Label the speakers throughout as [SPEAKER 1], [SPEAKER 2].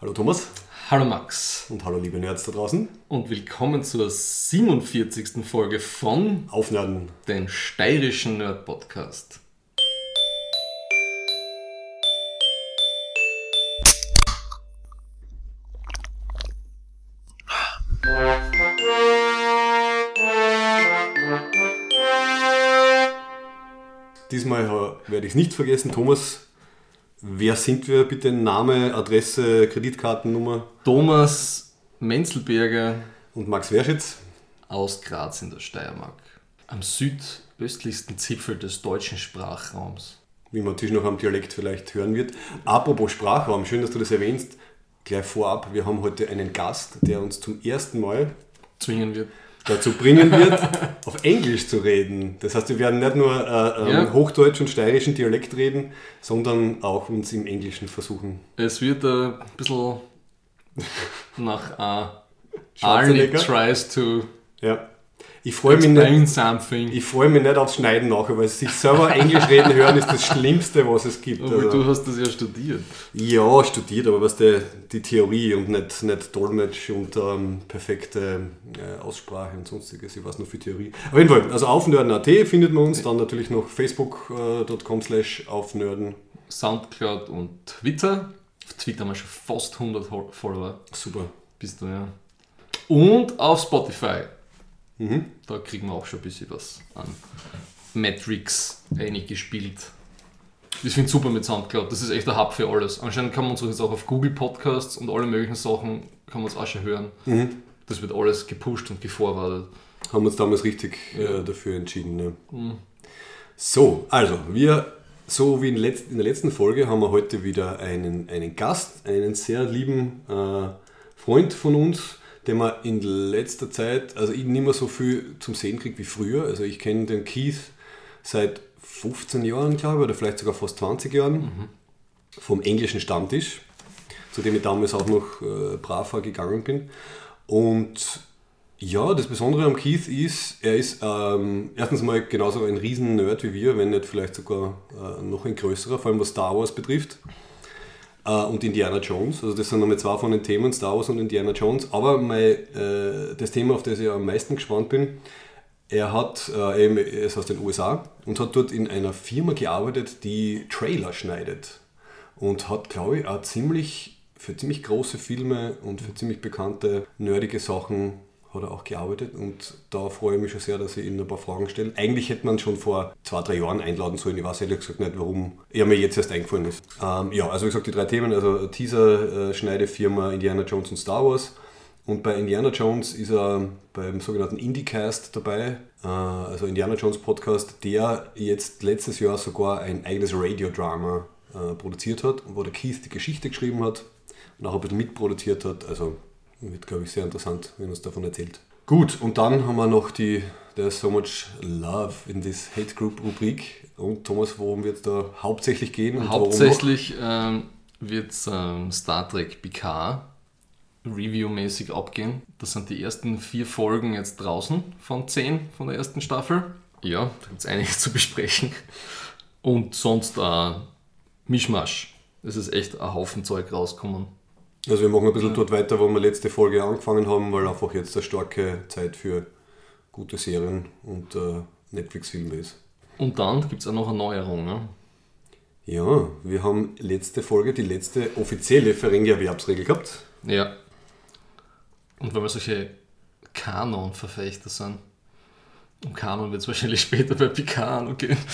[SPEAKER 1] Hallo Thomas.
[SPEAKER 2] Hallo Max.
[SPEAKER 1] Und hallo liebe Nerds da draußen.
[SPEAKER 2] Und willkommen zur 47. Folge von
[SPEAKER 1] Aufnörden,
[SPEAKER 2] den steirischen Nerd-Podcast.
[SPEAKER 1] Diesmal werde ich es nicht vergessen. Thomas, wer sind wir bitte? Name, Adresse, Kreditkartennummer?
[SPEAKER 2] Thomas Menzelberger
[SPEAKER 1] Und Max Werschitz
[SPEAKER 2] aus Graz in der Steiermark. Am südöstlichsten Zipfel des deutschen Sprachraums.
[SPEAKER 1] Wie man natürlich noch am Dialekt vielleicht hören wird. Apropos Sprachraum, schön, dass du das erwähnst. Gleich vorab, wir haben heute einen Gast, der uns zum ersten Mal
[SPEAKER 2] Zwingen wird.
[SPEAKER 1] dazu bringen wird, auf Englisch zu reden. Das heißt, wir werden nicht nur Hochdeutsch und steirischen Dialekt reden, sondern auch uns im Englischen versuchen.
[SPEAKER 2] Es wird ein bisschen nach Arnie tries to
[SPEAKER 1] Ja. Ich freue mich nicht.
[SPEAKER 2] Something.
[SPEAKER 1] Ich freue mich nicht aufs Schneiden nachher, weil sich selber Englisch reden hören ist das Schlimmste, was es gibt.
[SPEAKER 2] Aber du hast das ja studiert.
[SPEAKER 1] Ja, studiert, aber was die Theorie und nicht Dolmetsch und perfekte Aussprache und sonstiges. Ich weiß nur für Theorie. Auf jeden Fall, also aufnörden.at findet man uns, dann natürlich noch facebook.com/aufnörden.
[SPEAKER 2] Soundcloud und Twitter. Auf Twitter haben wir schon fast 100 Follower.
[SPEAKER 1] Super.
[SPEAKER 2] Bist du, ja. Und auf Spotify.
[SPEAKER 1] Mhm.
[SPEAKER 2] Da kriegen wir auch schon ein bisschen was an Metrics eingespielt. Ich finde es super mit Soundcloud. Das ist echt der Hub für alles. Anscheinend kann man uns jetzt auch auf Google Podcasts und alle möglichen Sachen kann man es auch schon hören. Mhm. Das wird alles gepusht und geforwardet.
[SPEAKER 1] Haben wir uns damals richtig dafür entschieden. Ne? Mhm. So, also so wie in der letzten Folge haben wir heute wieder einen Gast, einen sehr lieben Freund von uns, den man in letzter Zeit, also ich nicht mehr so viel zum Sehen kriege wie früher. Also ich kenne den Keith seit 15 Jahren, glaube ich, oder vielleicht sogar fast 20 Jahren, vom englischen Stammtisch, zu dem ich damals auch noch braver gegangen bin. Und ja, das Besondere am Keith ist, er ist erstens mal genauso ein Riesen-Nerd wie wir, wenn nicht vielleicht sogar noch ein größerer, vor allem was Star Wars betrifft. Und Indiana Jones, also das sind nochmal zwei von den Themen, Star Wars und Indiana Jones, aber das Thema, auf das ich am meisten gespannt bin, er ist aus den USA und hat dort in einer Firma gearbeitet, die Trailer schneidet und hat, glaube ich, auch für ziemlich große Filme und für ziemlich bekannte, nerdige Sachen hat er auch gearbeitet und da freue ich mich schon sehr, dass ich Ihnen ein paar Fragen stelle. Eigentlich hätte man schon vor 2-3 Jahren einladen sollen, ich weiß ehrlich gesagt nicht, warum er mir jetzt erst eingefallen ist. Ja, also wie gesagt, die 3 Themen, also Teaser-Schneidefirma Indiana Jones und Star Wars. Und bei Indiana Jones ist er beim sogenannten IndieCast dabei, also Indiana Jones Podcast, der jetzt letztes Jahr sogar ein eigenes Radiodrama produziert hat, wo der Keith die Geschichte geschrieben hat und auch ein bisschen mitproduziert hat, also wird, glaube ich, sehr interessant, wenn er uns davon erzählt. Gut, und dann haben wir noch There's so much love in this Hate Group Rubrik. Und Thomas, worum wird es da hauptsächlich gehen? Und
[SPEAKER 2] hauptsächlich wird es Star Trek Picard Review-mäßig abgehen. Das sind die ersten 4 Folgen jetzt draußen von 10 von der ersten Staffel. Ja, da gibt es einiges zu besprechen. Und sonst Mischmasch. Es ist echt ein Haufen Zeug rausgekommen.
[SPEAKER 1] Also wir machen ein bisschen dort weiter, wo wir letzte Folge angefangen haben, weil einfach jetzt eine starke Zeit für gute Serien und Netflix-Filme ist. Und
[SPEAKER 2] dann gibt es auch noch eine Neuerung, ne?
[SPEAKER 1] Ja, wir haben letzte Folge die letzte offizielle Ferengi-Erwerbsregel gehabt.
[SPEAKER 2] Ja. Und weil wir solche Kanon-Verfechter sind. Um Kanon wird es wahrscheinlich später bei Picard noch gehen.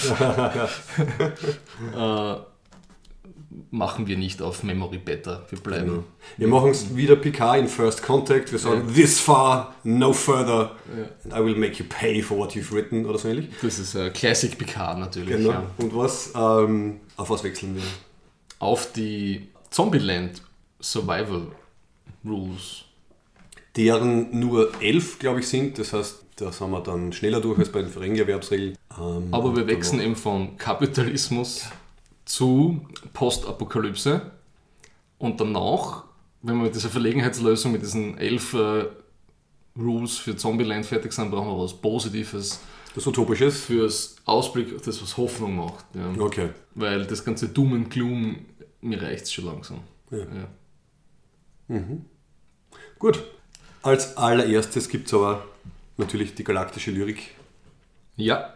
[SPEAKER 2] Machen wir nicht auf Memory Better. Wir bleiben.
[SPEAKER 1] Genau. Wir machen es wieder Picard in First Contact. Wir sagen this far, no further. And I will make you pay for what you've written oder so ähnlich.
[SPEAKER 2] Das ist Classic Picard natürlich.
[SPEAKER 1] Genau. Ja. Und auf was wechseln wir?
[SPEAKER 2] Auf die Zombieland Survival Rules.
[SPEAKER 1] Deren nur 11, glaube ich, sind. Das heißt, da sind wir dann schneller durch als bei den Ferengi-Erwerbsregeln.
[SPEAKER 2] Aber wir wechseln eben vom Kapitalismus zu Postapokalypse und danach, wenn wir mit dieser Verlegenheitslösung mit diesen 11 Rules für Zombieland fertig sind, brauchen wir was Positives.
[SPEAKER 1] Was Utopisches?
[SPEAKER 2] Fürs Ausblick, das was Hoffnung macht. Ja.
[SPEAKER 1] Okay.
[SPEAKER 2] Weil das ganze Doom and Gloom, mir reicht es schon langsam.
[SPEAKER 1] Ja. Gut. Als allererstes gibt es aber natürlich die galaktische Lyrik.
[SPEAKER 2] Ja.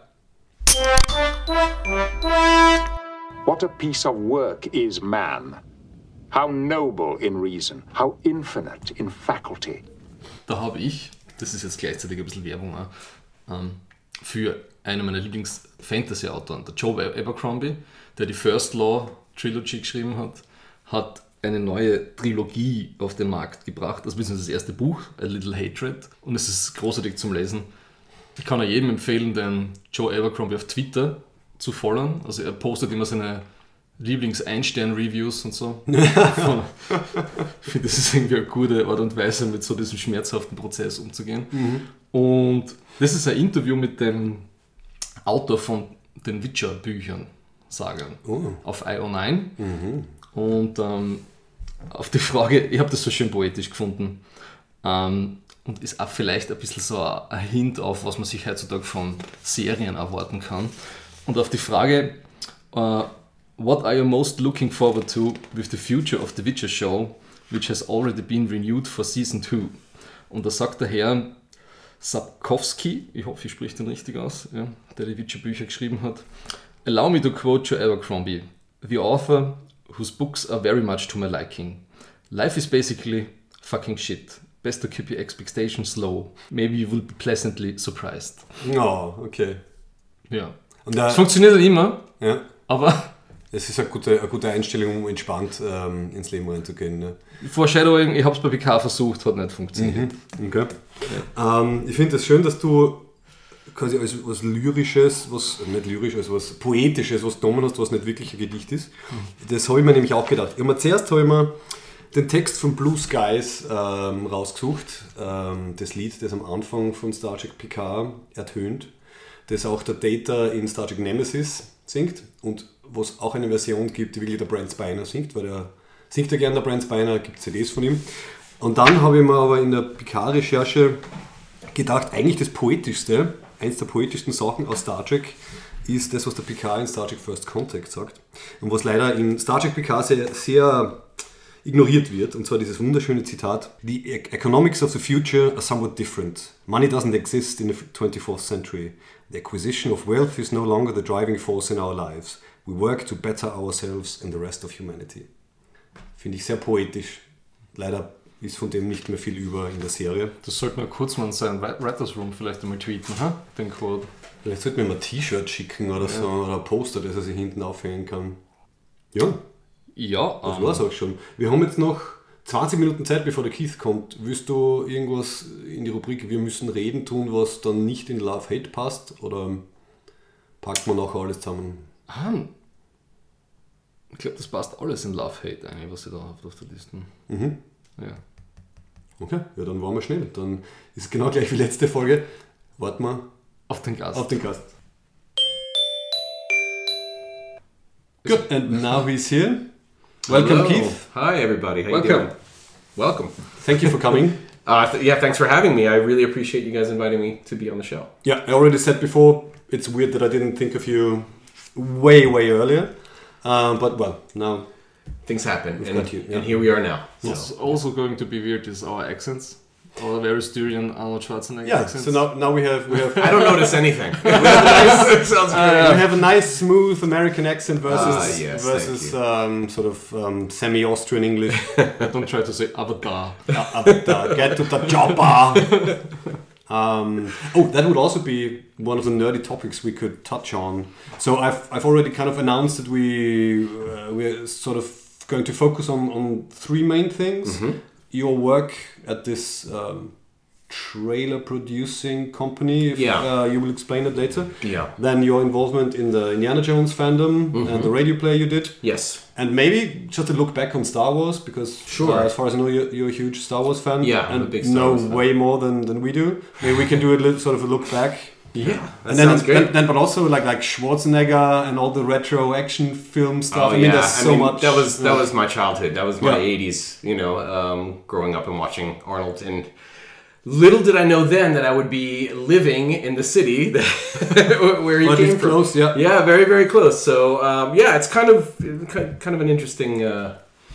[SPEAKER 3] What a piece of work is man. How noble in reason, how infinite in faculty.
[SPEAKER 2] Da habe ich, das ist jetzt gleichzeitig ein bisschen Werbung auch, für einen meiner Lieblings-Fantasy-Autoren, der Joe Abercrombie, der die First Law Trilogy geschrieben hat eine neue Trilogie auf den Markt gebracht. Das ist das erste Buch, A Little Hatred, und es ist großartig zum Lesen. Ich kann auch jedem empfehlen, den Joe Abercrombie auf Twitter zu folgen. Also er postet immer seine Lieblings-Ein-Stern-Reviews und so. Ich finde, das ist irgendwie eine gute Art und Weise, mit so diesem schmerzhaften Prozess umzugehen. Und das ist ein Interview mit dem Autor von den Witcher-Büchern, Sagern, auf IO9. Und auf die Frage, ich habe das so schön poetisch gefunden, und ist auch vielleicht ein bisschen so ein Hint auf, was man sich heutzutage von Serien erwarten kann. Und auf die Frage, what are you most looking forward to with the future of the Witcher show, which has already been renewed for Season 2? Und da sagt der Herr Sapkowski, ich hoffe, ich spreche den richtig aus, ja, der die Witcher-Bücher geschrieben hat, allow me to quote Joe Abercrombie, the author whose books are very much to my liking. Life is basically fucking shit. Best to keep your expectations low. Maybe you will be pleasantly surprised.
[SPEAKER 1] Oh, okay.
[SPEAKER 2] Ja.
[SPEAKER 1] Und
[SPEAKER 2] das funktioniert nicht immer,
[SPEAKER 1] ja.
[SPEAKER 2] Aber
[SPEAKER 1] es ist eine gute Einstellung, um entspannt ins Leben reinzugehen. Ne?
[SPEAKER 2] Foreshadowing, ich habe es bei PK versucht, hat nicht funktioniert.
[SPEAKER 1] Okay. Ja. Ich finde es das schön, dass du quasi als was Lyrisches, was nicht lyrisch, als was Poetisches, was genommen hast, was nicht wirklich ein Gedicht ist. Das habe ich mir nämlich auch gedacht. Zuerst habe ich mir den Text von Blue Skies rausgesucht, das Lied, das am Anfang von Star Trek Picard ertönt, das auch der Data in Star Trek Nemesis singt und was auch eine Version gibt, die wirklich der Brent Spiner singt, weil der singt ja gerne, der Brent Spiner, gibt CDs von ihm. Und dann habe ich mir aber in der Picard-Recherche gedacht, eigentlich das Poetischste, eins der poetischsten Sachen aus Star Trek ist das, was der Picard in Star Trek First Contact sagt. Und was leider in Star Trek Picard sehr, sehr ignoriert wird, und zwar dieses wunderschöne Zitat: The economics of the future are somewhat different. Money doesn't exist in the 24th century. The acquisition of wealth is no longer the driving force in our lives. We work to better ourselves and the rest of humanity. Finde ich sehr poetisch. Leider ist von dem nicht mehr viel über in der Serie.
[SPEAKER 2] Das sollte man kurz mal in seinen Writers Room vielleicht einmal tweeten, den Quote.
[SPEAKER 1] Vielleicht sollten wir mal ein T-Shirt schicken oder so, oder ein Poster, das er sich hinten aufhängen kann. Ja.
[SPEAKER 2] Ja.
[SPEAKER 1] Das war's auch schon. Wir haben jetzt noch 20 Minuten Zeit, bevor der Keith kommt. Willst du irgendwas in die Rubrik "Wir müssen reden" tun, was dann nicht in Love-Hate passt? Oder packt man nachher alles zusammen?
[SPEAKER 2] Ich glaube, das passt alles in Love-Hate eigentlich, was ich da habe auf der Liste. Ja.
[SPEAKER 1] Okay, ja, dann waren wir schnell. Dann ist es genau gleich wie letzte Folge. Warten wir
[SPEAKER 2] auf den Gast.
[SPEAKER 1] Good, and now he's here. Welcome,
[SPEAKER 4] Hello.
[SPEAKER 1] Keith.
[SPEAKER 4] Hi, everybody. How
[SPEAKER 2] Welcome.
[SPEAKER 4] you doing? Welcome.
[SPEAKER 1] Thank you for coming.
[SPEAKER 4] Thanks for having me. I really appreciate you guys inviting me to be on the show.
[SPEAKER 1] Yeah, I already said before, it's weird that I didn't think of you way earlier. But, well, now
[SPEAKER 4] Things happen,
[SPEAKER 1] we've
[SPEAKER 4] and,
[SPEAKER 1] got you, yeah.
[SPEAKER 4] and here we are now. So.
[SPEAKER 2] What's also going to be weird is our accents. Our very Styrian Arnold Schwarzenegger
[SPEAKER 1] Yeah,
[SPEAKER 2] accents.
[SPEAKER 1] so now we have
[SPEAKER 4] I don't notice anything. It sounds great.
[SPEAKER 1] we have a nice, smooth American accent versus
[SPEAKER 4] yes,
[SPEAKER 1] sort of semi-Austrian English.
[SPEAKER 2] Don't try to say Avatar.
[SPEAKER 1] Get to the chopper. That would also be one of the nerdy topics we could touch on. So I've already kind of announced that we're sort of going to focus on three main things.
[SPEAKER 4] Mm-hmm.
[SPEAKER 1] Your work at this trailer producing company, you will explain it later.
[SPEAKER 4] Yeah.
[SPEAKER 1] Then your involvement in the Indiana Jones fandom and the radio play you did.
[SPEAKER 4] Yes.
[SPEAKER 1] And maybe just to look back on Star Wars, because as far as I know, you're a huge Star Wars fan.
[SPEAKER 4] Yeah, I'm
[SPEAKER 1] and
[SPEAKER 4] a big Star Wars fan.
[SPEAKER 1] way more than we do. Maybe we can do a little sort of a look back.
[SPEAKER 4] Yeah, that
[SPEAKER 1] And
[SPEAKER 4] sounds great.
[SPEAKER 1] Then, but also like Schwarzenegger and all the retro action film stuff. There's so much.
[SPEAKER 4] That was my childhood. That was my
[SPEAKER 1] Yeah.
[SPEAKER 4] 80s. Growing up and watching Arnold. And little did I know then that I would be living in the city where he came from.
[SPEAKER 1] Close, yeah.
[SPEAKER 4] Yeah, very very close. So it's kind of an interesting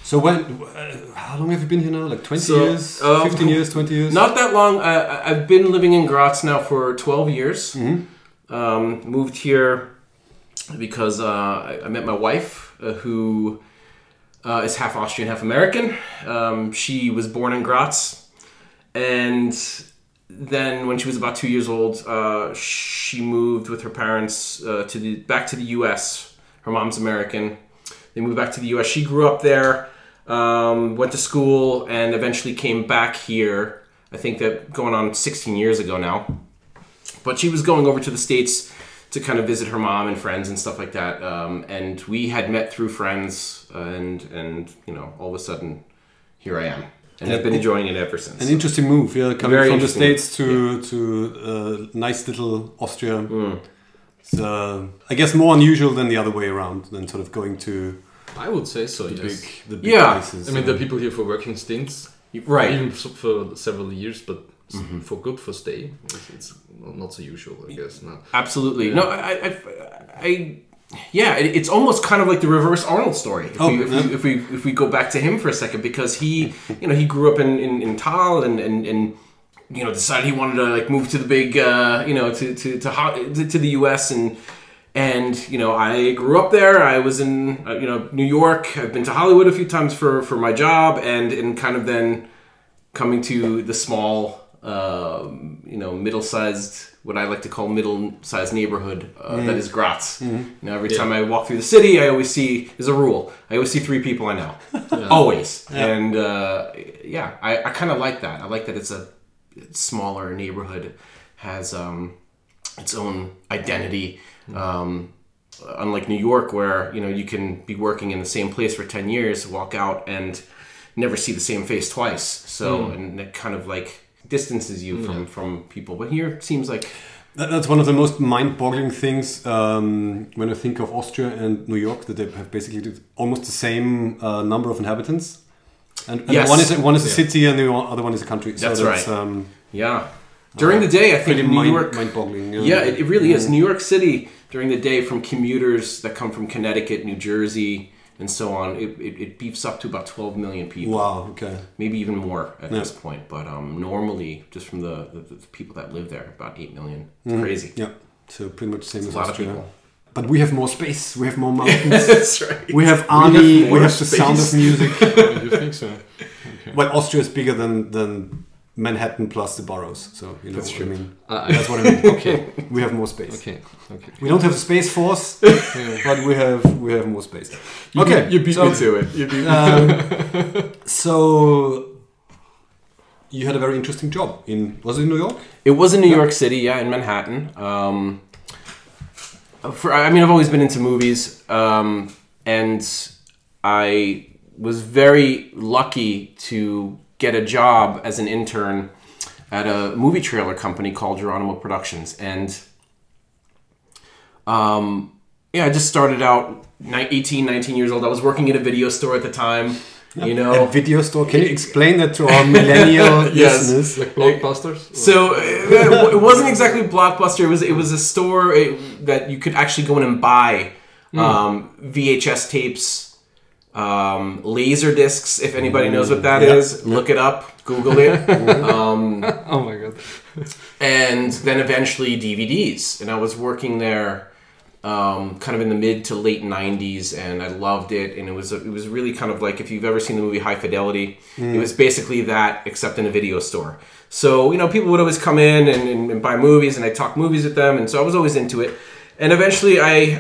[SPEAKER 1] So how long have you been here now? Like 20 years? 15 years, 20 years?
[SPEAKER 4] Not that long. I've been living in Graz now for 12 years. Moved here because I met my wife, who is half Austrian, half American. She was born in Graz. And then when she was about 2 years old, she moved with her parents back to the U.S. Her mom's American. They moved back to the U.S. She grew up there. Went to school and eventually came back here. I think that going on 16 years ago now. But she was going over to the States to kind of visit her mom and friends and stuff like that. And we had met through friends, and all of a sudden, here I am. And I've been enjoying it ever since.
[SPEAKER 1] An interesting move, yeah, coming from the States to nice little Austria. It's, I guess, more unusual than the other way around, than sort of going to...
[SPEAKER 2] I would say so,
[SPEAKER 1] the
[SPEAKER 2] yes.
[SPEAKER 1] big places.
[SPEAKER 2] I mean, there are people here for working stints, right? Even for several years, but for good for stay, it's not so usual, I guess. No.
[SPEAKER 4] Absolutely. Yeah. No, it's almost kind of like the reverse Arnold story. If we go back to him for a second, because he grew up in Thal and decided he wanted to like move to the big to the US and I grew up there. I was in New York. I've been to Hollywood a few times for my job, and kind of then coming to the small middle-sized, what I like to call middle-sized neighborhood that is Graz. Every time I walk through the city, I always see, there's a rule, I always see 3 people I know. Always. Yeah. And I kind of like that. I like that it's a smaller neighborhood, has its own identity. Unlike New York, where you can be working in the same place for 10 years, walk out and never see the same face twice. So and it kind of like distances you from people. But here it seems like
[SPEAKER 1] that's one of the most mind-boggling things when I think of Austria and New York, that they have basically almost the same number of inhabitants, and one is a city and the other one is a country.
[SPEAKER 4] That's right. During the day, I think in New York,
[SPEAKER 1] mind-boggling.
[SPEAKER 4] It really is. New York City during the day, from commuters that come from Connecticut, New Jersey, and so on, it beefs up to about 12 million people.
[SPEAKER 1] Wow. Okay.
[SPEAKER 4] Maybe even more at this point, but normally, just from the people that live there, about 8 million. It's crazy.
[SPEAKER 1] Yeah. So pretty much the same as
[SPEAKER 4] Austria.
[SPEAKER 1] A lot of people. But we have more space. We have more mountains.
[SPEAKER 4] That's right.
[SPEAKER 1] We have Arnie. We have the sound of music.
[SPEAKER 2] You think so? Okay.
[SPEAKER 1] Well, Austria is bigger than Manhattan plus the boroughs, so
[SPEAKER 4] that's
[SPEAKER 1] what
[SPEAKER 4] true.
[SPEAKER 1] I mean. That's what I mean. Okay, we have more space.
[SPEAKER 2] Okay.
[SPEAKER 1] We don't have the Space Force, but we have more space.
[SPEAKER 4] You beat me to it. You beat me.
[SPEAKER 1] So you had a very interesting job was it in New York?
[SPEAKER 4] It was in New York City, in Manhattan. I've always been into movies, and I was very lucky to get a job as an intern at a movie trailer company called Geronimo Productions. And I just started out 18, 19 years old. I was working at a video store at the time. A
[SPEAKER 1] video store? Can you explain that to our millennial listeners?
[SPEAKER 2] Like Blockbusters?
[SPEAKER 4] So it wasn't exactly Blockbuster. It was a store that you could actually go in and buy VHS tapes, laser discs, if anybody knows what that is. Look it up, Google it.
[SPEAKER 2] Oh my god.
[SPEAKER 4] And then eventually DVDs, and I was working there kind of in the mid to late 90s, and I loved it. And it was really kind of like, if you've ever seen the movie High Fidelity, it was basically that, except in a video store. So people would always come in and buy movies, and I talk movies with them, and so I was always into it. And eventually I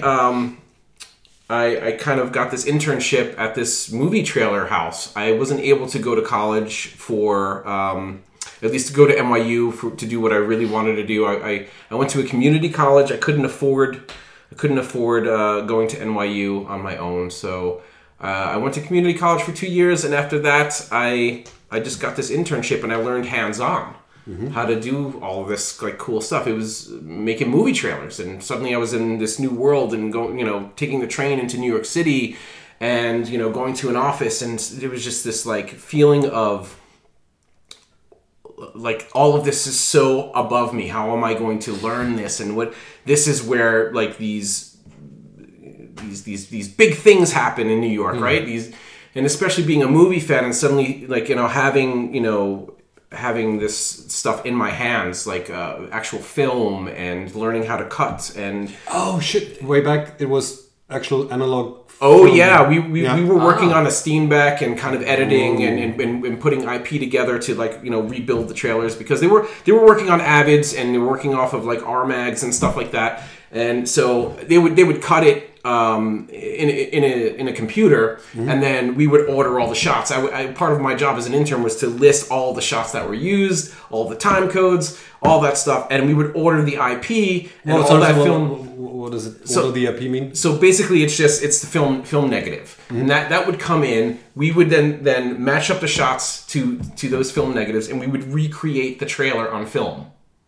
[SPEAKER 4] kind of got this internship at this movie trailer house. I wasn't able to go to college for, at least to go to NYU to do what I really wanted to do. I went to a community college. I couldn't afford going to NYU on my own. So I went to community college for 2 years, and after that, I just got this internship, and I learned hands-on. How to do all of this like cool stuff. It was making movie trailers, and suddenly I was in this new world, and taking the train into New York City, and going to an office, and there was just this like feeling of like all of this is so above me. How am I going to learn this? And what this is where like these big things happen in New York, right? and especially being a movie fan and suddenly like, having this stuff in my hands, like actual film, and learning how to cut and...
[SPEAKER 1] Oh shit! Way back, it was actual analog.
[SPEAKER 4] Oh yeah, we were working on a Steenbeck and kind of editing and putting IP together to rebuild the trailers, because they were working on Avids and they were working off of like RMags and stuff like that, and so they would cut it in a computer, and then we would order all the shots. Part of my job as an intern was to list all the shots that were used, all the time codes, all that stuff, and we would order the IP and film.
[SPEAKER 1] What does it? What does the IP mean?
[SPEAKER 4] So basically, it's the film negative, and that would come in. We would then match up the shots to those film negatives, and we would recreate the trailer on film.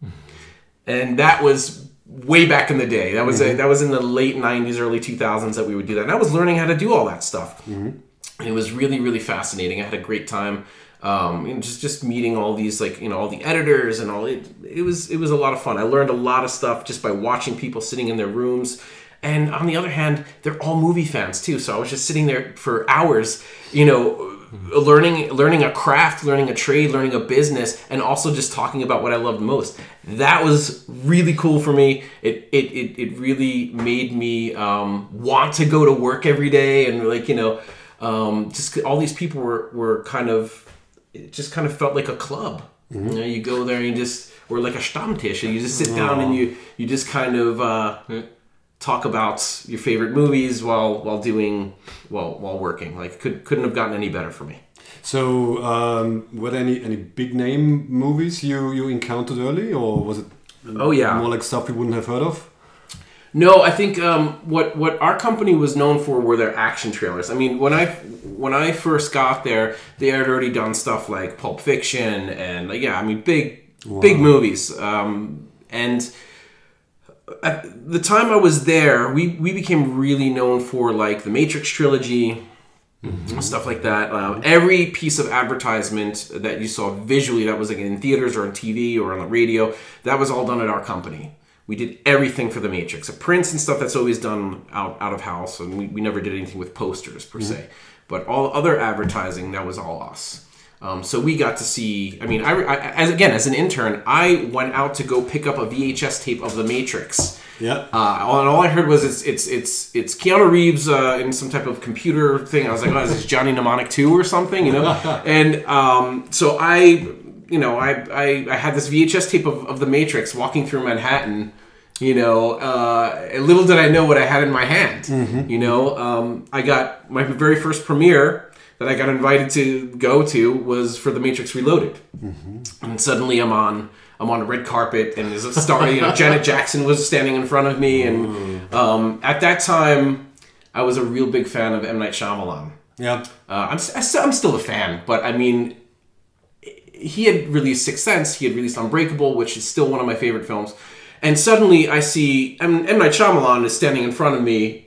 [SPEAKER 4] And that was way back in the day. That was that was in the late 90s, early 2000s that we would do that. And I was learning how to do all that stuff. And it was really, really fascinating. I had a great time. Just meeting all these all the editors and all it was a lot of fun. I learned a lot of stuff just by watching people sitting in their rooms. And on the other hand, they're all movie fans too. So I was just sitting there for hours, learning a craft, learning a trade, learning a business, and also just talking about what I loved most. That was really cool for me. It really made me want to go to work every day, and just all these people were kind of. It just kind of felt like a club. You go there and or like a Stammtisch, and you just sit down and you just kind of talk about your favorite movies while working. Like couldn't have gotten any better for me.
[SPEAKER 1] So were there any big name movies you encountered early, or was it more like stuff you wouldn't have heard of?
[SPEAKER 4] No, I think what our company was known for were their action trailers. I mean, when I first got there, they had already done stuff like Pulp Fiction and big movies. And at the time I was there, we became really known for like the Matrix trilogy, stuff like that. Every piece of advertisement that you saw visually that was like in theaters or on TV or on the radio, that was all done at our company. We did everything for the Matrix. Prints and stuff that's always done out of house, and we never did anything with posters per se. But all other advertising, that was all us. So we got to see. I mean, as an intern, I went out to go pick up a VHS tape of the Matrix.
[SPEAKER 1] Yeah.
[SPEAKER 4] And all I heard was it's Keanu Reeves in some type of computer thing. I was like, oh, is this Johnny Mnemonic 2 or something? And so I had this VHS tape of The Matrix walking through Manhattan, little did I know what I had in my hand. I got my very first premiere that I got invited to go to was for The Matrix Reloaded. And suddenly I'm on a red carpet, and there's a star, Janet Jackson was standing in front of me. And at that time, I was a real big fan of M. Night Shyamalan.
[SPEAKER 1] Yeah.
[SPEAKER 4] I'm still a fan, but I mean, he had released Sixth Sense, he had released Unbreakable, which is still one of my favorite films. And suddenly I see M. Night Shyamalan is standing in front of me,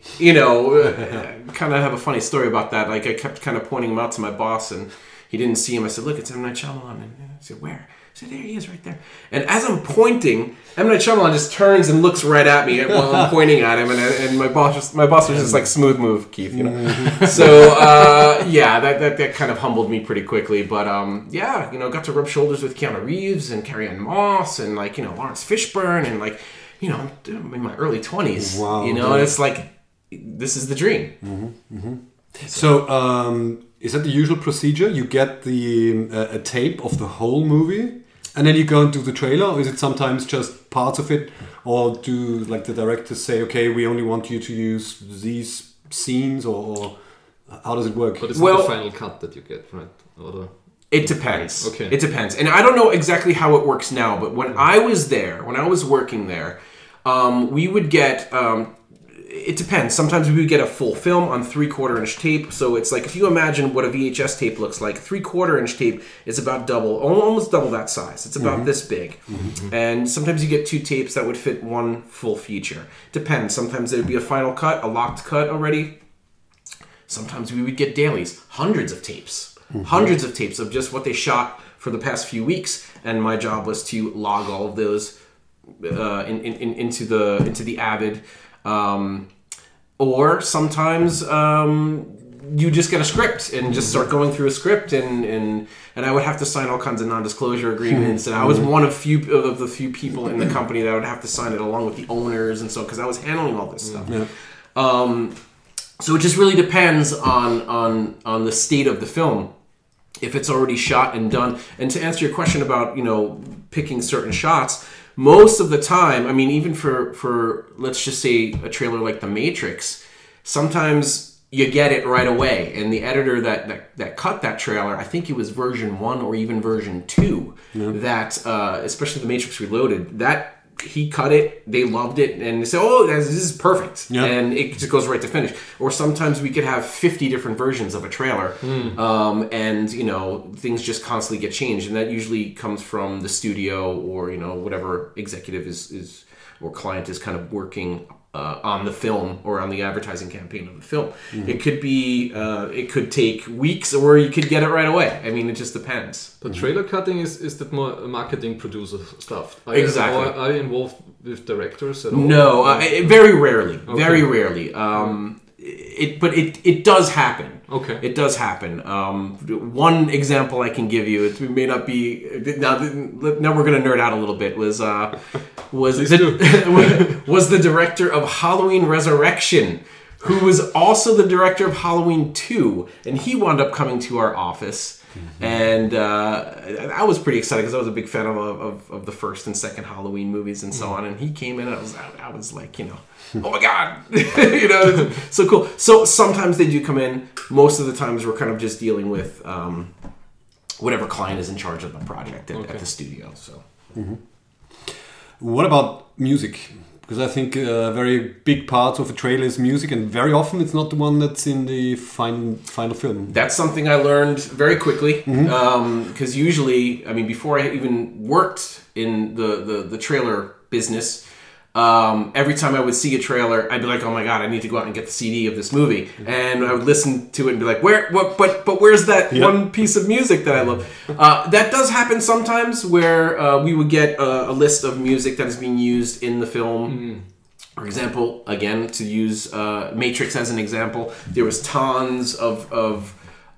[SPEAKER 4] kind of have a funny story about that. Like I kept kind of pointing him out to my boss, and he didn't see him. I said, look, it's M. Night Shyamalan. And I said, where? I said, there he is right there. And as I'm pointing, M. Night Shyamalan just turns and looks right at me while I'm pointing at him. And my boss was just like, smooth move, Keith, So, that kind of humbled me pretty quickly. But, got to rub shoulders with Keanu Reeves and Carrie-Anne Moss and, Lawrence Fishburne and, I'm in my early 20s.
[SPEAKER 1] Wow.
[SPEAKER 4] And it's like, this is the dream.
[SPEAKER 1] So, is that the usual procedure? You get a tape of the whole movie, and then you go and do the trailer, or is it sometimes just parts of it? Or do the directors say, okay, we only want you to use these scenes, or how does it work?
[SPEAKER 2] But it's not the final cut that you get, right?
[SPEAKER 4] It depends.
[SPEAKER 2] Okay.
[SPEAKER 4] It depends. And I don't know exactly how it works now, but when I was working there, we would get... it depends. Sometimes we would get a full film on 3/4 inch tape. So it's like, if you imagine what a VHS tape looks like, 3/4 inch tape is about almost double that size. It's about this big. And sometimes you get two tapes that would fit one full feature. Depends. Sometimes there would be a final cut, a locked cut already. Sometimes we would get dailies, hundreds of tapes of just what they shot for the past few weeks. And my job was to log all of those into the Avid. Or sometimes you just get a script and just start going through a script, and I would have to sign all kinds of non-disclosure agreements, and I was one of the few people in the company that would have to sign it along with the owners, and so because I was handling all this stuff. Yeah. So it just really depends on the state of the film, if it's already shot and done. And to answer your question about, picking certain shots, most of the time, I mean, even for let's just say a trailer like The Matrix, sometimes you get it right away. And the editor that cut that trailer, I think it was version 1 or even version 2, that especially The Matrix Reloaded, that he cut it, they loved it, and they said, oh, this is perfect. Yeah. And it just goes right to finish. Or sometimes we could have 50 different versions of a trailer, and, things just constantly get changed. And that usually comes from the studio or, whatever executive is or client is kind of working on the film or on the advertising campaign of the film. It could be, it could take weeks, or you could get it right away. I mean, it just depends.
[SPEAKER 2] But trailer cutting is that more marketing producer stuff?
[SPEAKER 4] Exactly.
[SPEAKER 2] Are you involved with directors at all?
[SPEAKER 4] No, very rarely. Okay. Very rarely. It does happen.
[SPEAKER 2] Okay.
[SPEAKER 4] It does happen. One example I can give you, it may not be now we're going to nerd out a little bit, was the director of Halloween Resurrection, who was also the director of Halloween 2, and he wound up coming to our office. And I was pretty excited because I was a big fan of the first and second Halloween movies and so on. And he came in, and I was like, oh my god, so cool. So sometimes they do come in. Most of the times we're kind of just dealing with whatever client is in charge of the project at the studio. So,
[SPEAKER 1] What about music? Because I think a very big part of a trailer is music, and very often it's not the one that's in the final film.
[SPEAKER 4] That's something I learned very quickly, because usually, I mean, before I even worked in the trailer business, every time I would see a trailer, I'd be like, oh my god, I need to go out and get the CD of this movie. And I would listen to it and be like, but where's that one piece of music that I love? That does happen sometimes, where we would get a list of music that is being used in the film. For example, again, to use Matrix as an example, there was tons of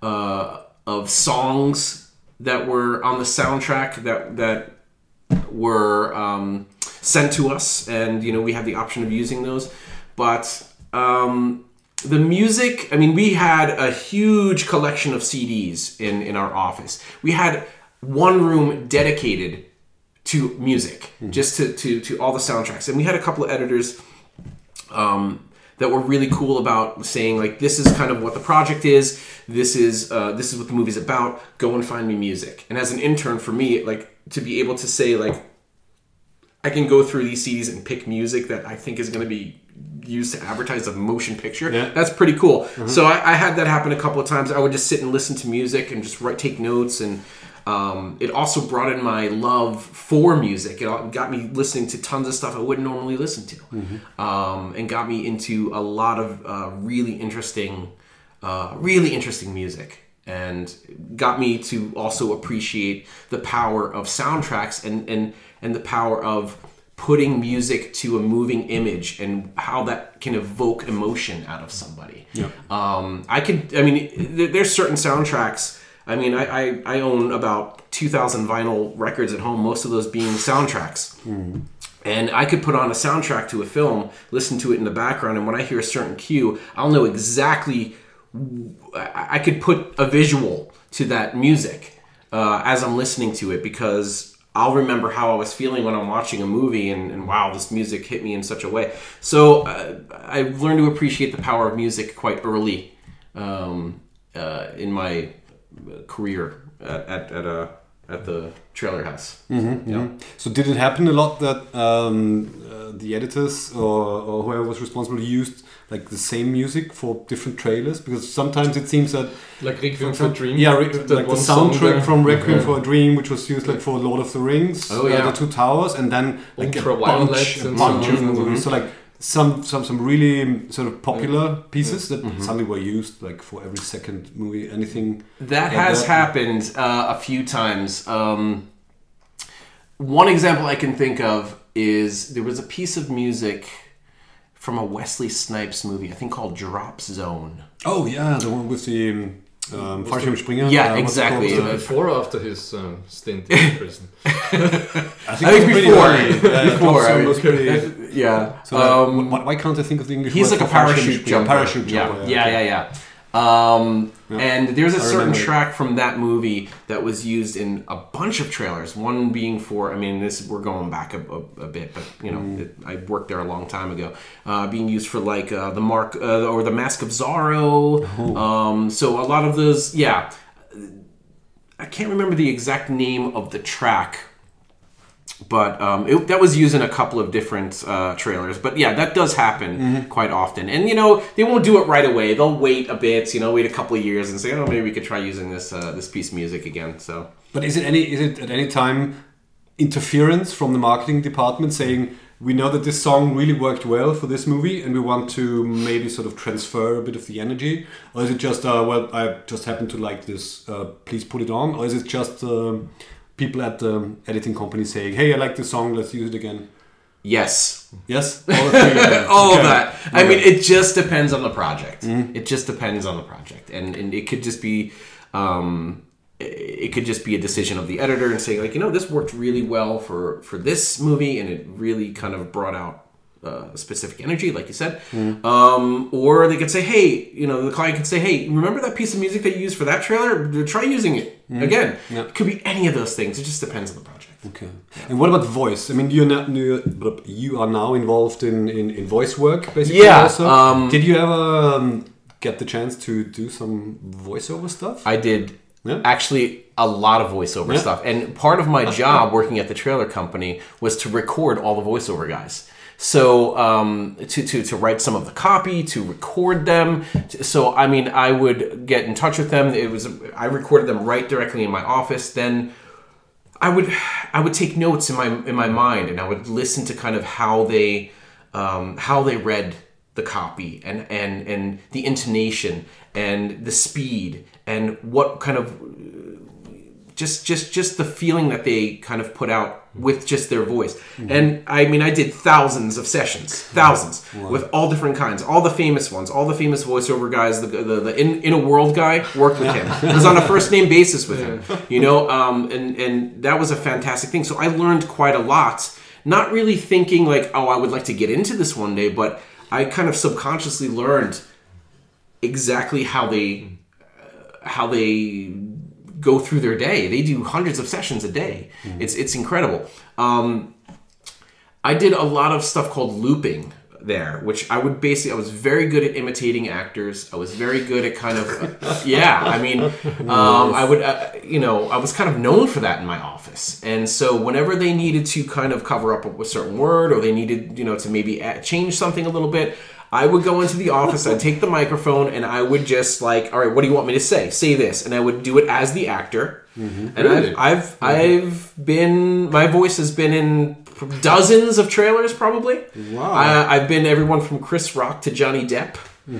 [SPEAKER 4] songs that were on the soundtrack that were sent to us, and we had the option of using those. But the music, I mean, we had a huge collection of CDs in our office. We had one room dedicated to music, just to all the soundtracks. And we had a couple of editors that were really cool about saying, like, this is kind of what the project is. This is what the movie's about. Go and find me music. And as an intern, for me, like, to be able to say, like, I can go through these CDs and pick music that I think is going to be used to advertise a motion picture. Yeah. That's pretty cool. So I had that happen a couple of times. I would just sit and listen to music and just take notes. And it also brought in my love for music. It got me listening to tons of stuff I wouldn't normally listen to. And got me into a lot of really interesting music. And got me to also appreciate the power of soundtracks and the power of putting music to a moving image and how that can evoke emotion out of somebody. Yeah. There's certain soundtracks. I mean, I own about 2,000 vinyl records at home, most of those being soundtracks. And I could put on a soundtrack to a film, listen to it in the background, and when I hear a certain cue, I'll know exactly. I could put a visual to that music as I'm listening to it, because I'll remember how I was feeling when I'm watching a movie, and wow, this music hit me in such a way. So I've learned to appreciate the power of music quite early in my career at the trailer house.
[SPEAKER 1] So did it happen a lot that the editors or whoever was responsible used like the same music for different trailers? Because sometimes it seems that
[SPEAKER 2] like Requiem for a Dream,
[SPEAKER 1] like the soundtrack from Requiem for a Dream, which was used like for Lord of the Rings, the Two Towers, and then like a bunch of movies. So like some really sort of popular pieces that suddenly were used like for every second movie. Anything
[SPEAKER 4] that has happened a few times. One example I can think of is there was a piece of music from a Wesley Snipes movie, I think called Drop Zone.
[SPEAKER 1] Oh yeah, the one with the Fallschirmspringer.
[SPEAKER 4] Yeah, exactly.
[SPEAKER 2] Before or after his stint in prison?
[SPEAKER 1] I think before.
[SPEAKER 4] Yeah.
[SPEAKER 1] So why can't I think of the English
[SPEAKER 4] He's
[SPEAKER 1] word
[SPEAKER 4] like a
[SPEAKER 1] for
[SPEAKER 4] parachute jumper.
[SPEAKER 1] Parachute jumper.
[SPEAKER 4] Yeah. And there's a certain track from that movie that was used in a bunch of trailers. One being for, we're going back a bit, but I worked there a long time ago. Being used for like the Mark or the Mask of Zorro. Oh. So a lot of those, I can't remember the exact name of the track. But that was used in a couple of different trailers. But yeah, that does happen quite often. And, they won't do it right away. They'll wait a bit, wait a couple of years and say, oh, maybe we could try using this piece of music again. So,
[SPEAKER 1] but is it at any time interference from the marketing department saying, we know that this song really worked well for this movie and we want to maybe sort of transfer a bit of the energy? Or is it just, I just happen to like this, please put it on? Or is it just... people at the editing company saying, hey, I like this song, let's use it again?
[SPEAKER 4] Yes.
[SPEAKER 1] Yes?
[SPEAKER 4] All of that. Okay. It just depends on the project. It just depends on the project. And it could just be a decision of the editor and saying, like, this worked really well for this movie and it really kind of brought out specific energy, like you said. Or they could say, hey, the client could say, hey, remember that piece of music that you used for that trailer? Try using it again. Yeah. It could be any of those things. It just depends on the project.
[SPEAKER 1] Okay. Yeah. And what about voice? You are now involved in voice work, basically.
[SPEAKER 4] Yeah.
[SPEAKER 1] Also. Did you ever get the chance to do some voiceover stuff?
[SPEAKER 4] I did. Yeah. Actually, a lot of voiceover stuff. And part of my job working at the trailer company was to record all the voiceover guys. So to write some of the copy, to record them. So I would get in touch with them. I recorded them right directly in my office. Then I would take notes in my mind, and I would listen to kind of how they read the copy and the intonation and the speed and what kind of just the feeling that they kind of put out with just their voice. And I did thousands of sessions, with all different kinds, all the famous ones, all the famous voiceover guys. The in a world guy worked with him. I was on a first name basis with him, and that was a fantastic thing. So I learned quite a lot, not really thinking like, oh, I would like to get into this one day, but I kind of subconsciously learned exactly how they go through their day. They do hundreds of sessions a day. It's incredible. I did a lot of stuff called looping there, which I was very good at imitating actors. I was very good at kind of, I was kind of known for that in my office. And so whenever they needed to kind of cover up a certain word, or they needed, to maybe change something a little bit, I would go into the office, I'd take the microphone, and I would just like, all right, what do you want me to say? Say this. And I would do it as the actor. And really? My voice has been in dozens of trailers probably. Wow. I've been everyone from Chris Rock to Johnny Depp.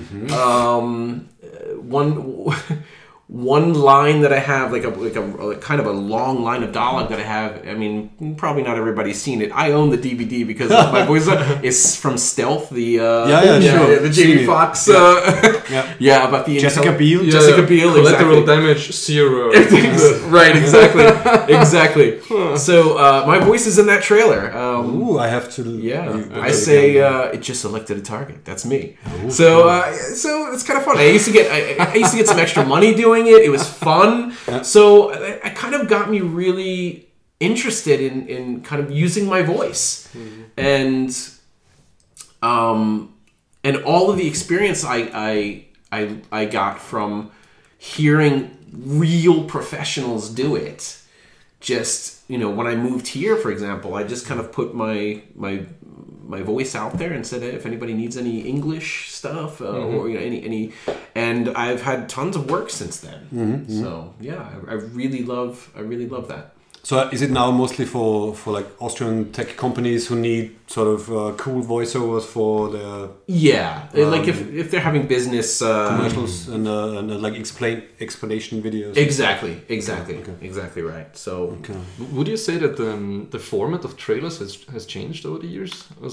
[SPEAKER 4] One line that I have, like a kind of a long line of dialogue that I have. Probably not everybody's seen it. I own the DVD because my voice is from Stealth, the Jamie Foxx. About the
[SPEAKER 1] Jessica Biel.
[SPEAKER 4] Jessica Biel.
[SPEAKER 2] Collateral damage 0.
[SPEAKER 4] Right, exactly. So my voice is in that trailer.
[SPEAKER 1] I have to.
[SPEAKER 4] I say it just selected a target. That's me. So it's kind of fun. I used to get some extra money doing it. It was fun. So it kind of got me really interested in kind of using my voice. And all of the experience I got from hearing real professionals do it. Just, when I moved here, for example, I just kind of put my voice out there and said, if anybody needs any English stuff or any, and I've had tons of work since then. So I really love that.
[SPEAKER 1] So is it now mostly for like Austrian tech companies who need sort of cool voiceovers for their
[SPEAKER 4] like if they're having business
[SPEAKER 1] commercials and like explanation videos?
[SPEAKER 4] Exactly right. So
[SPEAKER 2] would you say that the format of trailers has changed over the years?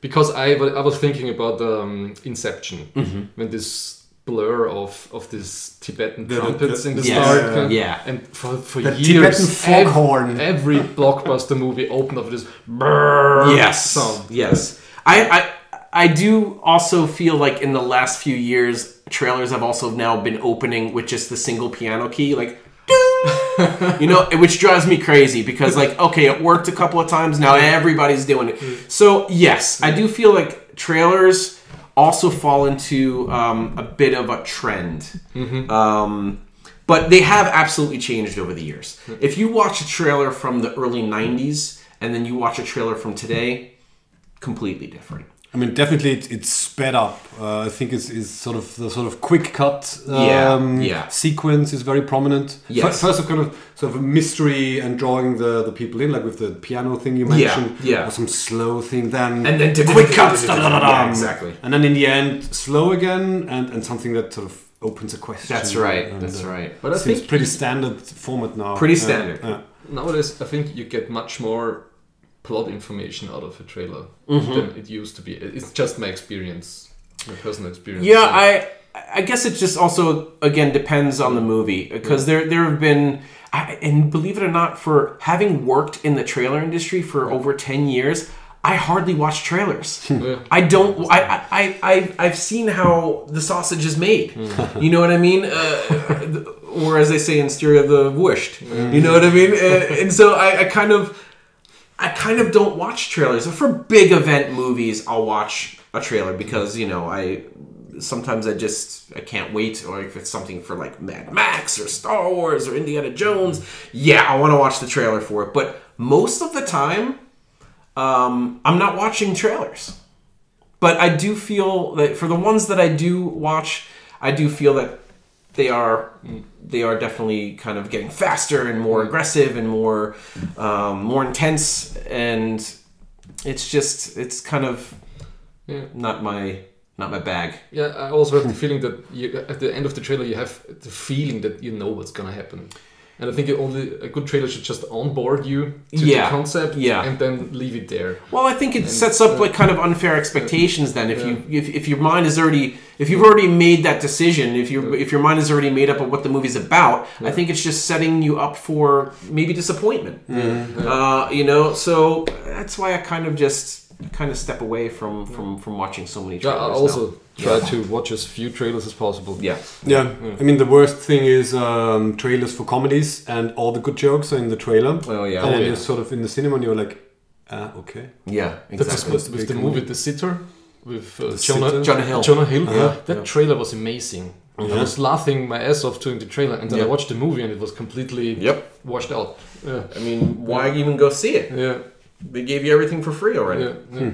[SPEAKER 2] because I was thinking about Inception when this blur of this Tibetan trumpets in the start. And for
[SPEAKER 1] the
[SPEAKER 2] years,
[SPEAKER 1] Tibetan foghorn.
[SPEAKER 2] Every blockbuster movie opened up with this brrr sound.
[SPEAKER 4] Yes. I do also feel like in the last few years, trailers have also now been opening with just the single piano key, like, you know, which drives me crazy because, like, okay, it worked a couple of times, now everybody's doing it. So, yes, I do feel like trailers also fall into a bit of a trend. But they have absolutely changed over the years. If you watch a trailer from the early 90s and then you watch a trailer from today, completely different.
[SPEAKER 1] I mean, definitely it's sped up. I think it's sort of the sort of quick cut sequence is very prominent.
[SPEAKER 4] Yes.
[SPEAKER 1] First of kind of sort of a mystery and drawing the people in, like with the piano thing you mentioned.
[SPEAKER 4] Yeah.
[SPEAKER 1] Or some slow thing then.
[SPEAKER 4] And then
[SPEAKER 1] quick cuts.
[SPEAKER 4] Yeah, exactly.
[SPEAKER 1] And then in the end, slow again and something that sort of opens a question.
[SPEAKER 4] That's right.
[SPEAKER 1] And,
[SPEAKER 4] That's right.
[SPEAKER 2] But I
[SPEAKER 1] seems
[SPEAKER 2] think
[SPEAKER 1] pretty standard format now.
[SPEAKER 4] Pretty standard.
[SPEAKER 2] Nowadays, I think you get much more plot information out of a trailer than it used to be. It's just my experience, my personal experience.
[SPEAKER 4] Yeah, I guess it just also, again, depends on the movie. Because there have been, and believe it or not, for having worked in the trailer industry for over 10 years, I hardly watch trailers. I don't. I've seen how the sausage is made. You know what I mean? Or as they say in Styria, the wushed. You know what I mean? And so I kind of don't watch trailers. For big event movies, I'll watch a trailer because, you know, sometimes I can't wait. Or if it's something for like Mad Max or Star Wars or Indiana Jones, I want to watch the trailer for it. But most of the time, I'm not watching trailers. But I do feel that for the ones that I do watch, I do feel that they are definitely kind of getting faster and more aggressive and more intense, and it's kind of not my bag.
[SPEAKER 2] Yeah, I also have the feeling that at the end of the trailer you have the feeling that you know what's gonna happen. And I think a good trailer should just onboard you to the concept and then leave it there.
[SPEAKER 4] Well, I think it sets up like kind of unfair expectations then. If your mind is already, if you've already made that decision, if your mind is already made up of what the movie's about, I think it's just setting you up for maybe disappointment. You know, so that's why I kind of step away from watching so many trailers.
[SPEAKER 2] I also try to watch as few trailers as possible.
[SPEAKER 1] Yeah. I mean, the worst thing is trailers for comedies, and all the good jokes are in the trailer.
[SPEAKER 4] Oh yeah.
[SPEAKER 1] And then you're sort of in the cinema, and you're like, okay.
[SPEAKER 4] Yeah, exactly.
[SPEAKER 2] That's supposed to be the movie The Sitter with
[SPEAKER 4] Jonah Hill.
[SPEAKER 2] Jonah Hill. That trailer was amazing. I was laughing my ass off during the trailer, and then I watched the movie, and it was completely washed out. Yeah.
[SPEAKER 4] I mean, why even go see it?
[SPEAKER 2] Yeah.
[SPEAKER 4] They gave you everything for free already.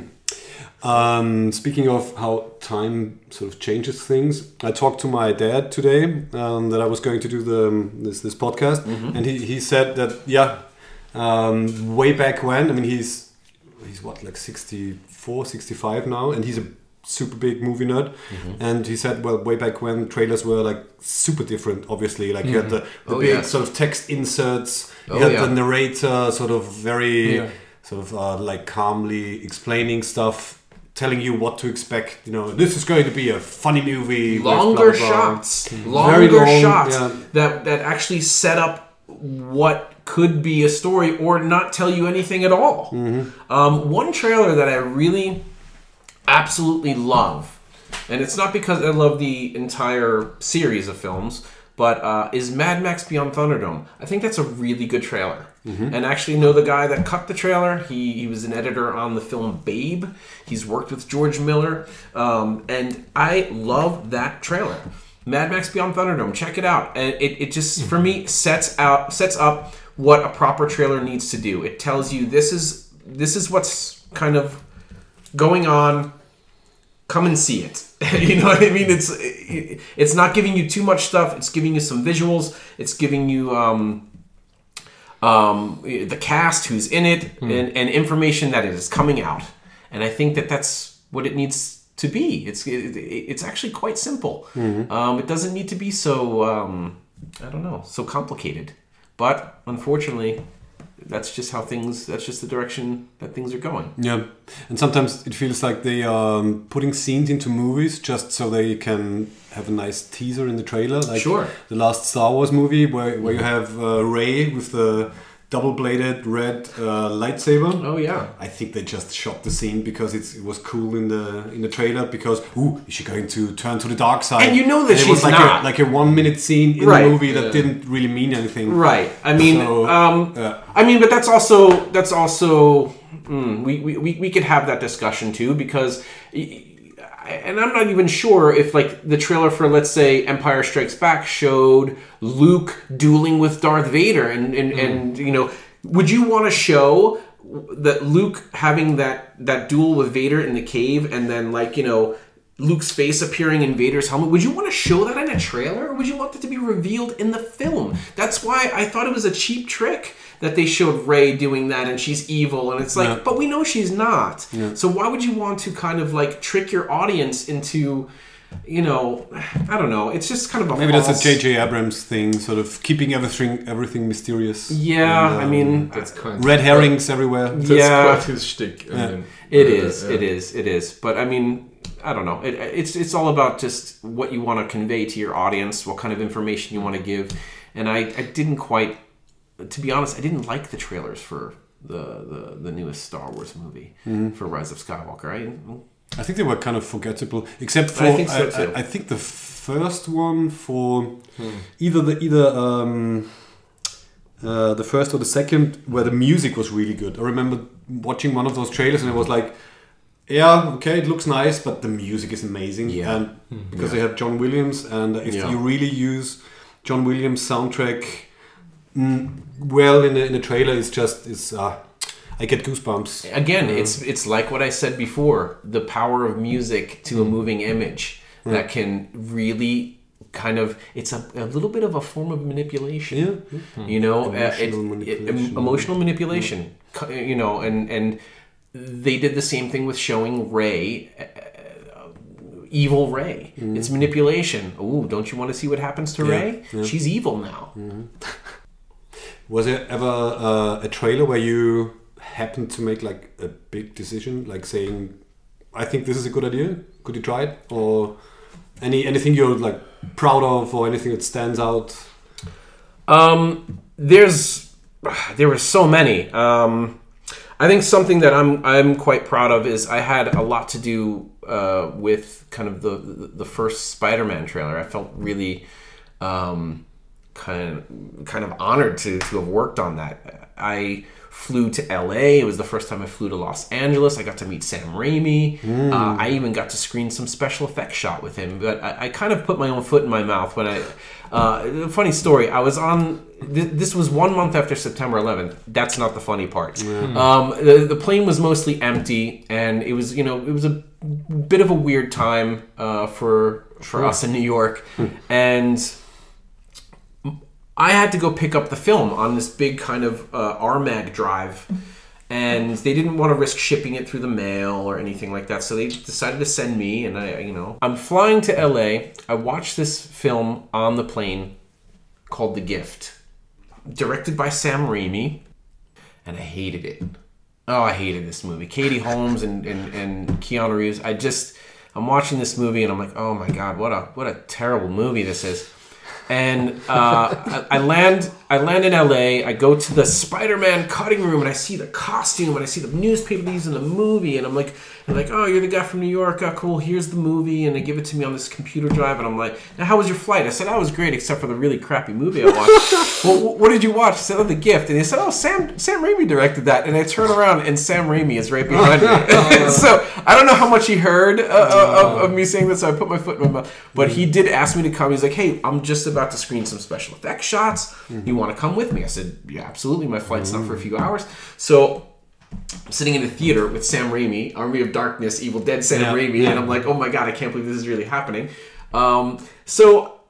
[SPEAKER 1] Speaking of how time sort of changes things, I talked to my dad today that I was going to do this podcast, and he said that way back when, I mean he's what, like 64, 65 now, and he's a super big movie nerd, and he said, well, way back when trailers were like super different, obviously, like you had the big sort of text inserts, you had the narrator sort of very sort of like calmly explaining stuff, telling you what to expect. You know, this is going to be a funny movie.
[SPEAKER 4] Longer shots that actually set up what could be a story or not tell you anything at all. One trailer that I really absolutely love, and it's not because I love the entire series of films, but is Mad Max Beyond Thunderdome. I think that's a really good trailer. And I actually know the guy that cut the trailer. He was an editor on the film Babe. He's worked with George Miller. And I love that trailer. Mad Max Beyond Thunderdome. Check it out. And it just, for me, sets up what a proper trailer needs to do. It tells you this is what's kind of going on. Come and see it. You know what I mean? It's not giving you too much stuff. It's giving you some visuals. It's giving you the cast who's in it and information that is coming out. And I think that's what it needs to be. It's actually quite simple. It doesn't need to be so so complicated. But unfortunately, that's just how things. That's just the direction that things are going.
[SPEAKER 1] Yeah, and sometimes it feels like they are putting scenes into movies just so they can have a nice teaser in the trailer. Like
[SPEAKER 4] Sure.
[SPEAKER 1] the last Star Wars movie where you have Rey with the double-bladed red lightsaber.
[SPEAKER 4] Oh yeah.
[SPEAKER 1] I think they just shot the scene because it was cool in the trailer because is she going to turn to the dark side?
[SPEAKER 4] And you know that
[SPEAKER 1] it was
[SPEAKER 4] she's
[SPEAKER 1] like
[SPEAKER 4] not.
[SPEAKER 1] like a 1 minute scene in
[SPEAKER 4] Right.
[SPEAKER 1] the movie that didn't really mean anything.
[SPEAKER 4] Right. I mean, but that's also we could have that discussion too because, and I'm not even sure if like the trailer for, let's say, Empire Strikes Back showed Luke dueling with Darth Vader and you know, would you want to show that Luke having that duel with Vader in the cave and then, like, you know, Luke's face appearing in Vader's helmet? Would you want to show that in a trailer, or would you want it to be revealed in the film? That's why I thought it was a cheap trick that they showed Rey doing that and she's evil, and it's like, but we know she's not. Yeah. So why would you want to kind of like trick your audience into, you know, I don't know. It's just kind of
[SPEAKER 1] maybe that's a J.J. Abrams thing, sort of keeping everything mysterious.
[SPEAKER 4] Yeah,
[SPEAKER 1] and,
[SPEAKER 4] I mean,
[SPEAKER 2] That's kind
[SPEAKER 1] red herrings everywhere.
[SPEAKER 2] That's quite his shtick.
[SPEAKER 4] It is. But I mean, I don't know. It's all about just what you want to convey to your audience, what kind of information you want to give. And I didn't quite, to be honest, I didn't like the trailers for the newest Star Wars movie for Rise of Skywalker.
[SPEAKER 1] I think they were kind of forgettable, except for
[SPEAKER 4] I think so too.
[SPEAKER 1] I think the first one for either the first or the second, where the music was really good. I remember watching one of those trailers and it was like, yeah, okay, it looks nice, but the music is amazing.
[SPEAKER 4] Yeah.
[SPEAKER 1] And because they have John Williams, and if you really use John Williams soundtrack well in the trailer, I get goosebumps.
[SPEAKER 4] Again, it's like what I said before, the power of music to a moving image that can really kind of, it's a little bit of a form of manipulation. Yeah. You know, emotional manipulation. You know, and they did the same thing with showing Rey, evil Rey. It's manipulation. Oh, don't you want to see what happens to Rey? Yeah. She's evil now.
[SPEAKER 1] Was there ever a trailer where you happened to make like a big decision, like saying, I think this is a good idea, could you try it? Or anything you're like proud of, or anything that stands out?
[SPEAKER 4] There were so many. I think something that I'm quite proud of is I had a lot to do with kind of the first Spider-Man trailer. I felt really kind of honored to have worked on that. I flew to LA. It was the first time I flew to Los Angeles. I got to meet Sam Raimi. I even got to screen some special effects shot with him. But I kind of put my own foot in my mouth when funny story. I was on. This was 1 month after September 11th. That's not the funny part. The plane was mostly empty, and it was a bit of a weird time for us in New York, and I had to go pick up the film on this big kind of RMAG drive, and they didn't want to risk shipping it through the mail or anything like that, so they decided to send me, and I'm flying to LA. I watched this film on the plane called The Gift, directed by Sam Raimi, and I hated it. Oh, I hated this movie. Katie Holmes and Keanu Reeves. I'm watching this movie, and I'm like, oh my God, what a terrible movie this is. And I land in LA. I go to the Spider-Man cutting room, and I see the costume, and I see the newspaper they use in the movie, and I'm like, oh, you're the guy from New York. Oh, cool. Here's the movie, and they give it to me on this computer drive, and I'm like, now how was your flight? I said, that was great, except for the really crappy movie I watched. Well, what did you watch? I said, oh, The Gift, and they said, oh, Sam Raimi directed that, and I turn around, and Sam Raimi is right behind me. So I don't know how much he heard of me saying this, so I put my foot in my mouth, but he did ask me to come. He's like, hey, I'm just about to screen some special effects shots. You want to come with me? I said, yeah, absolutely. My flight's not for a few hours. So I'm sitting in the theater with Sam Raimi, Army of Darkness, Evil Dead Sam Raimi, and I'm like, oh my God, I can't believe this is really happening. So,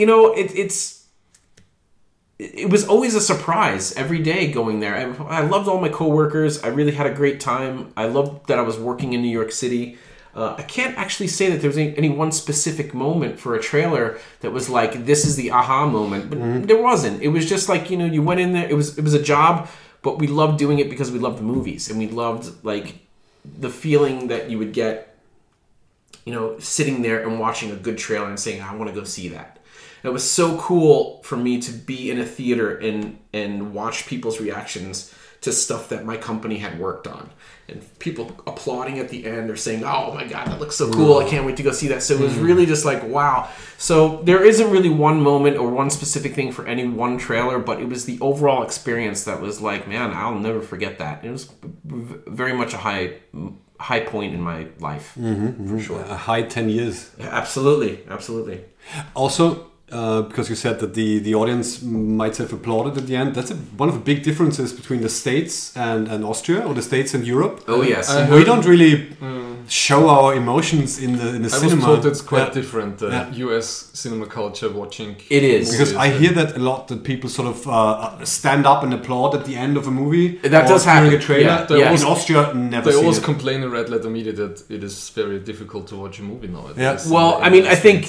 [SPEAKER 4] it was always a surprise every day going there. I loved all my coworkers. I really had a great time. I loved that I was working in New York City. I can't actually say that there was any one specific moment for a trailer that was like, this is the aha moment, but there wasn't. It was just like, you went in there. It was a job but we loved doing it because we loved the movies, and we loved like the feeling that you would get, sitting there and watching a good trailer and saying, I want to go see that. And it was so cool for me to be in a theater and watch people's reactions to stuff that my company had worked on, and people applauding at the end or saying, oh my God, that looks so cool, I can't wait to go see that. So it was really just like, wow. So there isn't really one moment or one specific thing for any one trailer, but it was the overall experience that was like, man, I'll never forget that. It was very much a high point in my life, for sure.
[SPEAKER 1] A high 10 years.
[SPEAKER 4] Yeah, absolutely.
[SPEAKER 1] Also, because you said that the audience might have applauded at the end. That's one of the big differences between the States and Austria, or the States and Europe.
[SPEAKER 4] Oh yes,
[SPEAKER 1] we don't really show our emotions in the cinema.
[SPEAKER 2] I was told it's quite different. US cinema culture watching.
[SPEAKER 4] It is
[SPEAKER 1] because I hear that a lot. That people sort of stand up and applaud at the end of a movie.
[SPEAKER 4] That does happen.
[SPEAKER 1] During a trailer.
[SPEAKER 4] Yeah.
[SPEAKER 1] In Austria, never.
[SPEAKER 2] They always complain in Red Letter Media that it is very difficult to watch a movie nowadays.
[SPEAKER 1] Yeah.
[SPEAKER 4] Well, I mean, I think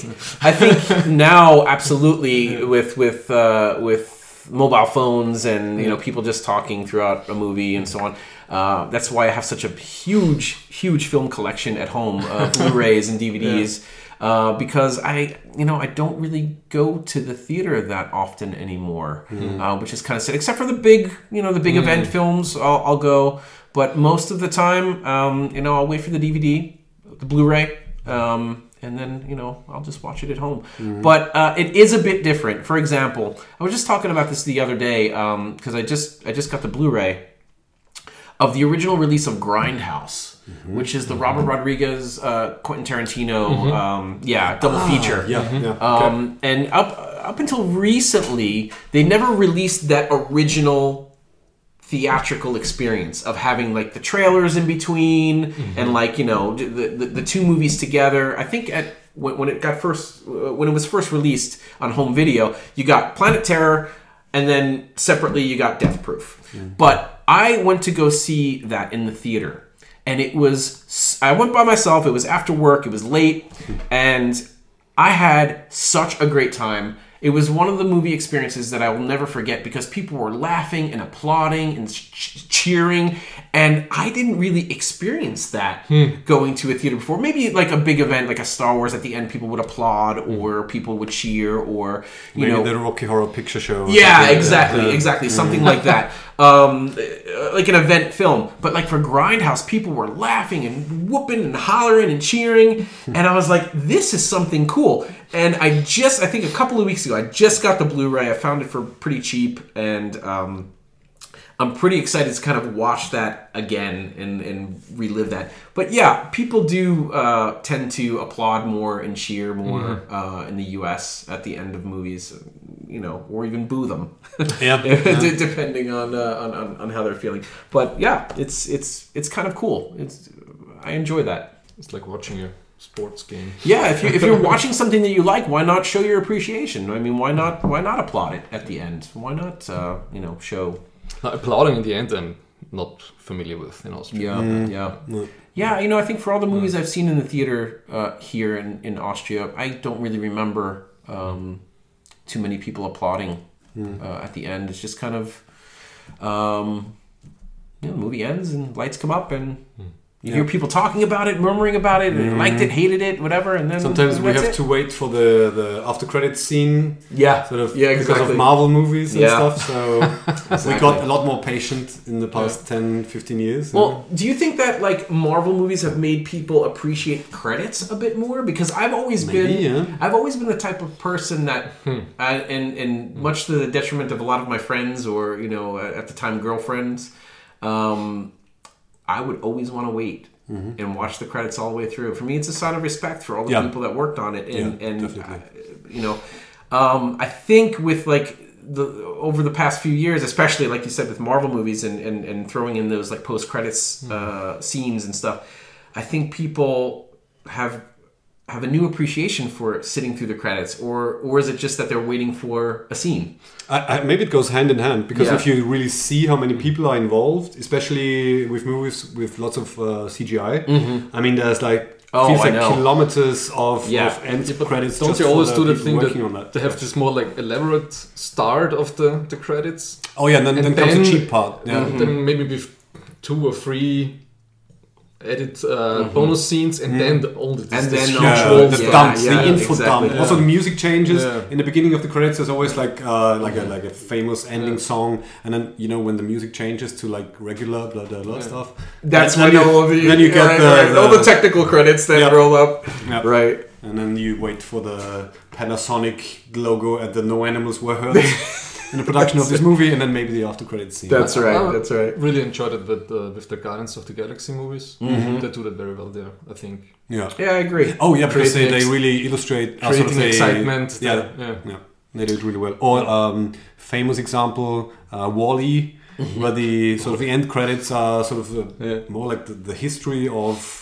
[SPEAKER 4] now. Absolutely, with mobile phones and people just talking throughout a movie and so on. That's why I have such a huge film collection at home, Blu-rays and DVDs, because I don't really go to the theater that often anymore, which is kind of sad. Except for the big event films, I'll go. But most of the time, I'll wait for the DVD, the Blu-ray. And then, I'll just watch it at home. But it is a bit different. For example, I was just talking about this the other day because I just got the Blu-ray of the original release of Grindhouse, which is the Robert Rodriguez, Quentin Tarantino, double feature.
[SPEAKER 1] Okay.
[SPEAKER 4] And up until recently, they never released that original theatrical experience of having like the trailers in between and like the two movies together. I think when it was first released on home video, you got Planet Terror, and then separately you got Death Proof. But I went to go see that in the theater, and I went by myself. It was after work. It was late, and I had such a great time. It was one of the movie experiences that I will never forget because people were laughing and applauding and cheering, and I didn't really experience that going to a theater before. Maybe like a big event like a Star Wars, at the end people would applaud or people would cheer, or
[SPEAKER 1] maybe the Rocky Horror Picture Show.
[SPEAKER 4] Yeah, exactly. Something like that. Like an event film. But like for Grindhouse, people were laughing and whooping and hollering and cheering, and I was like, this is something cool. And I think a couple of weeks ago, I just got the Blu-ray. I found it for pretty cheap, and I'm pretty excited to kind of watch that again and relive that. But yeah, people do tend to applaud more and cheer more in the U.S. at the end of movies, or even boo them, depending on how they're feeling. But yeah, it's kind of cool. I enjoy that.
[SPEAKER 2] It's like watching a sports game.
[SPEAKER 4] Yeah, if you're watching something that you like, why not show your appreciation? I mean, why not applaud it at the end? Why not show?
[SPEAKER 2] Applauding in the end, I'm not familiar with in Austria.
[SPEAKER 4] Yeah. I think for all the movies I've seen in the theater here in Austria, I don't really remember too many people applauding at the end. It's just kind of the movie ends and lights come up and you hear people talking about it, murmuring about it, and liked it, hated it, whatever, and then
[SPEAKER 1] sometimes we have to wait for the after credits scene.
[SPEAKER 4] Exactly.
[SPEAKER 1] Because of Marvel movies and stuff. So we got a lot more patient in the past 10, 15 years.
[SPEAKER 4] Well, do you think that like Marvel movies have made people appreciate credits a bit more? Because I've always been the type of person that, and much to the detriment of a lot of my friends or at the time girlfriends. I would always want to wait and watch the credits all the way through. For me, it's a sign of respect for all the people that worked on it. I think with like over the past few years, especially like you said with Marvel movies and throwing in those like post credits scenes and stuff, I think people have a new appreciation for sitting through the credits, or is it just that they're waiting for a scene?
[SPEAKER 1] Maybe it goes hand in hand, because if you really see how many people are involved, especially with movies with lots of CGI, I mean, there's like
[SPEAKER 4] Oh,
[SPEAKER 1] feels
[SPEAKER 4] I
[SPEAKER 1] like
[SPEAKER 4] know.
[SPEAKER 1] kilometers of
[SPEAKER 4] Yeah.
[SPEAKER 1] end
[SPEAKER 2] Yeah, but
[SPEAKER 1] credits.
[SPEAKER 2] don't
[SPEAKER 1] just
[SPEAKER 2] you
[SPEAKER 1] for
[SPEAKER 2] always
[SPEAKER 1] the
[SPEAKER 2] do the
[SPEAKER 1] people
[SPEAKER 2] thing
[SPEAKER 1] working on
[SPEAKER 2] that they have this more like elaborate start of the credits?
[SPEAKER 1] Oh yeah, and then comes the cheap part. Yeah.
[SPEAKER 2] And then maybe with 2 or 3 edit bonus scenes, and then all the
[SPEAKER 4] And then
[SPEAKER 2] usual
[SPEAKER 1] the
[SPEAKER 2] stuff.
[SPEAKER 1] dumps,
[SPEAKER 4] yeah,
[SPEAKER 1] the info
[SPEAKER 4] exactly.
[SPEAKER 1] dump. Also, the music changes.
[SPEAKER 2] Yeah.
[SPEAKER 1] In the beginning of the credits, there's always like a famous ending song, and then when the music changes to like regular blah blah blah stuff.
[SPEAKER 4] That's
[SPEAKER 1] then
[SPEAKER 4] when all of the
[SPEAKER 1] then you get
[SPEAKER 4] all the technical credits that
[SPEAKER 1] Yeah.
[SPEAKER 4] roll up.
[SPEAKER 1] Yeah.
[SPEAKER 4] Right.
[SPEAKER 1] And then you wait for the Panasonic logo and the No Animals Were Hurt in the production of this movie, and then maybe the after credits scene.
[SPEAKER 4] That's right. That's right.
[SPEAKER 2] Really enjoyed it with the Guardians of the Galaxy movies. They do that very well there, I think.
[SPEAKER 1] Yeah.
[SPEAKER 4] Yeah, I agree.
[SPEAKER 1] Oh yeah, because they
[SPEAKER 2] Creating
[SPEAKER 1] really illustrate
[SPEAKER 2] creating excitement.
[SPEAKER 1] Yeah, yeah, they do it really well. Or famous example, WALL-E, where the sort of the end credits are sort of more like the history of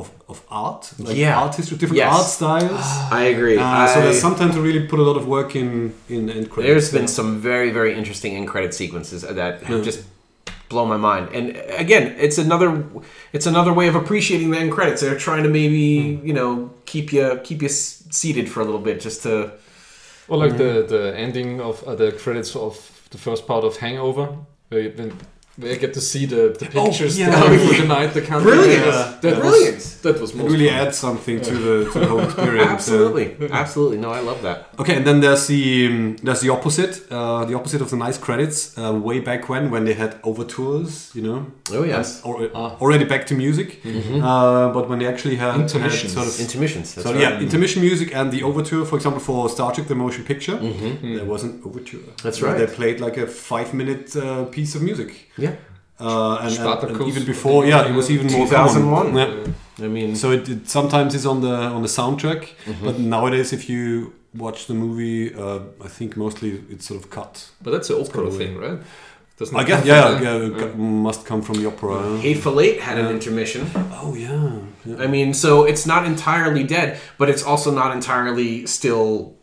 [SPEAKER 1] art, like art history, different art styles.
[SPEAKER 4] I agree.
[SPEAKER 1] So there's sometimes to really put a lot of work in end credits.
[SPEAKER 4] There's been some very, very interesting end credit sequences that have just blown my mind. And again, it's another way of appreciating the end credits. They're trying to maybe keep you seated for a little bit, just to.
[SPEAKER 2] Or like the ending of the credits of the first part of Hangover, where I get to see the pictures before the night. The country.
[SPEAKER 4] Brilliant.
[SPEAKER 2] That was
[SPEAKER 1] It
[SPEAKER 2] most
[SPEAKER 1] really
[SPEAKER 2] fun.
[SPEAKER 1] adds something to the whole experience.
[SPEAKER 4] Absolutely. No, I love that.
[SPEAKER 1] Okay, and then there's the opposite. The opposite of the nice credits. Way back when they had overtures,
[SPEAKER 4] Oh yes.
[SPEAKER 1] already back to music. But when they actually had
[SPEAKER 2] Intermissions.
[SPEAKER 1] sort of
[SPEAKER 4] Intermissions. That's
[SPEAKER 1] so
[SPEAKER 4] right.
[SPEAKER 1] yeah, intermission music and the overture, for example, for Star Trek: The Motion Picture, there was an overture.
[SPEAKER 4] That's
[SPEAKER 1] where
[SPEAKER 4] right.
[SPEAKER 1] They played like a 5-minute piece of music.
[SPEAKER 4] Yeah.
[SPEAKER 1] And
[SPEAKER 2] Spartacus.
[SPEAKER 1] even before, it was even more
[SPEAKER 4] 2001.
[SPEAKER 1] common. Yeah.
[SPEAKER 4] I mean,
[SPEAKER 1] So it sometimes is on the soundtrack, but nowadays if you watch the movie, I think mostly it's sort of cut.
[SPEAKER 2] But that's an opera thing, right? Doesn't
[SPEAKER 1] I
[SPEAKER 2] it
[SPEAKER 1] guess,
[SPEAKER 2] come from
[SPEAKER 1] must come from the opera.
[SPEAKER 4] Hateful Eight had an intermission.
[SPEAKER 1] Oh yeah.
[SPEAKER 4] I mean, so it's not entirely dead, but it's also not entirely still,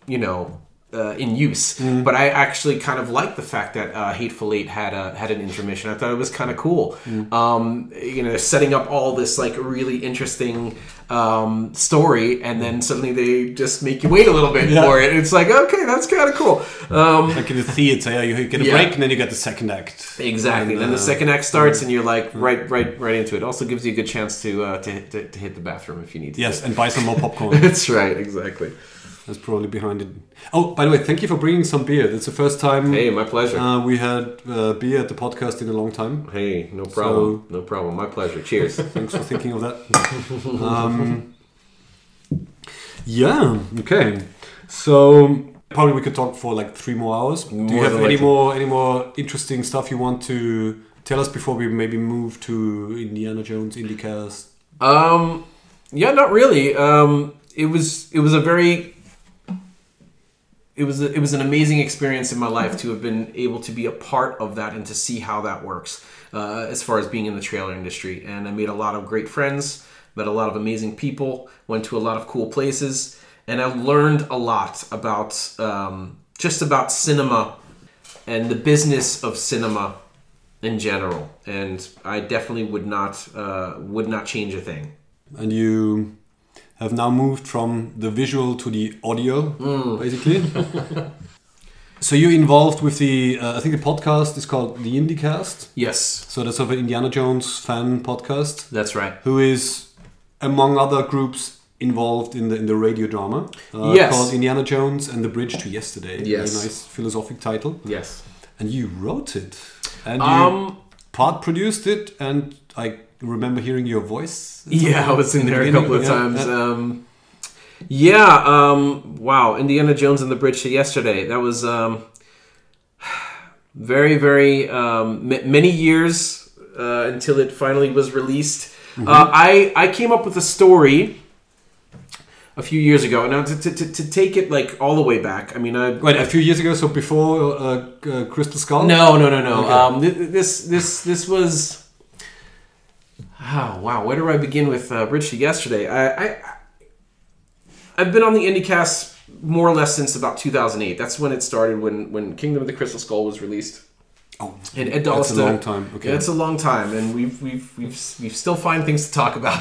[SPEAKER 4] in use. But I actually kind of like the fact that Hateful Eight had an intermission. I thought it was kind of cool. Setting up all this like really interesting story, and then suddenly they just make you wait a little bit for it. It's like, okay, that's kind of cool.
[SPEAKER 1] Like in the theater, you get a break and then you get the second act.
[SPEAKER 4] Exactly. And then the second act starts, and you're like right into it. Also gives you a good chance to hit the bathroom if you need to.
[SPEAKER 1] Yes, and buy some more popcorn.
[SPEAKER 4] That's right. Exactly.
[SPEAKER 1] That's probably behind it. Oh, by the way, thank you for bringing some beer. That's the first time
[SPEAKER 4] Hey, my pleasure.
[SPEAKER 1] we had beer at the podcast in a long time.
[SPEAKER 4] Hey, no problem. No problem. My pleasure. Cheers.
[SPEAKER 1] Thanks for thinking of that. Okay. So probably we could talk for like 3 more hours. Do you have any more interesting stuff you want to tell us before we maybe move to Indiana Jones IndyCast?
[SPEAKER 4] Yeah, not really. It was an amazing experience in my life to have been able to be a part of that and to see how that works as far as being in the trailer industry. And I made a lot of great friends, met a lot of amazing people, went to a lot of cool places, and I learned a lot about just about cinema and the business of cinema in general. And I definitely would not change a thing.
[SPEAKER 1] And you have now moved from the visual to the audio, basically. So you're involved with the, I think the podcast is called The IndyCast.
[SPEAKER 4] Yes,
[SPEAKER 1] So that's sort of an Indiana Jones fan podcast.
[SPEAKER 4] that's right.
[SPEAKER 1] Who is, among other groups, involved in the radio drama.
[SPEAKER 4] Yes.
[SPEAKER 1] Called Indiana Jones and the Bridge to Yesterday.
[SPEAKER 4] Yes.
[SPEAKER 1] Very nice philosophic title.
[SPEAKER 4] Yes.
[SPEAKER 1] And you wrote it. And you part produced it, and I remember hearing your voice.
[SPEAKER 4] Yeah, I was in there a couple of times. Wow, Indiana Jones and the Bridge to Yesterday. That was very, very many years until it finally was released. I came up with a story a few years ago. Now, to take it like all the way back, I mean,
[SPEAKER 1] Wait, a few years ago, so before Crystal Skull?
[SPEAKER 4] No.
[SPEAKER 1] Okay.
[SPEAKER 4] This was. Oh, wow. Where do I begin with Bridge to Yesterday? I've been on the IndyCast more or less since about 2008. That's when it started, when Kingdom of the Crystal Skull was released.
[SPEAKER 1] Oh,
[SPEAKER 4] and Ed Dallista.
[SPEAKER 1] That's a long time. Okay,
[SPEAKER 4] yeah, it's a long time, and we've still find things to talk about.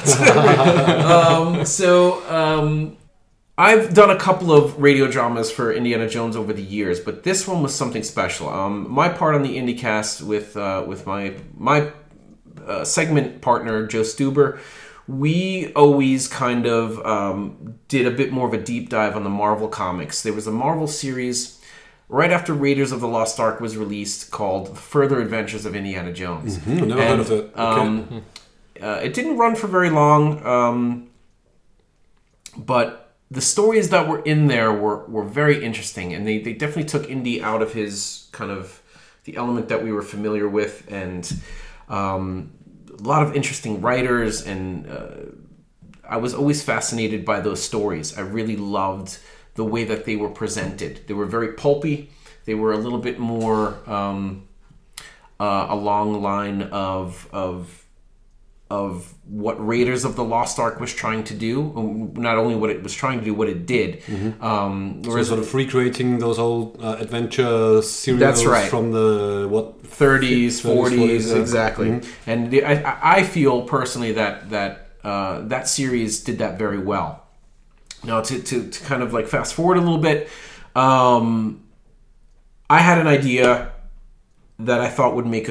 [SPEAKER 4] I've done a couple of radio dramas for Indiana Jones over the years, but this one was something special. My part on the IndyCast with my segment partner Joe Stuber, we always kind of did a bit more of a deep dive on the Marvel comics. There was a Marvel series right after Raiders of the Lost Ark was released called Further Adventures of Indiana Jones.
[SPEAKER 1] Mm-hmm. Never heard of it. Okay.
[SPEAKER 4] It didn't run for very long, but the stories that were in there were very interesting, and they definitely took Indy out of his kind of the element that we were familiar with, and a lot of interesting writers, and I was always fascinated by those stories. I really loved the way that they were presented. They were very pulpy. They were a little bit more along the line of what Raiders of the Lost Ark was trying to do. Not only what it was trying to do, what it did.
[SPEAKER 1] Mm-hmm. So sort of recreating those old adventure serials.
[SPEAKER 4] That's right.
[SPEAKER 1] From the
[SPEAKER 4] 30s, 40s, exactly. Mm-hmm. And I feel personally that series did that very well. Now to kind of like fast forward a little bit, I had an idea that I thought would make a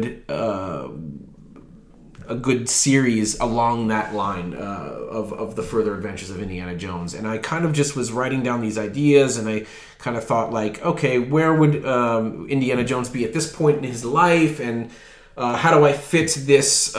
[SPEAKER 4] good series along that line of the Further Adventures of Indiana Jones. And I kind of just was writing down these ideas, and I kind of thought like, okay, where would Indiana Jones be at this point in his life, and how do I fit this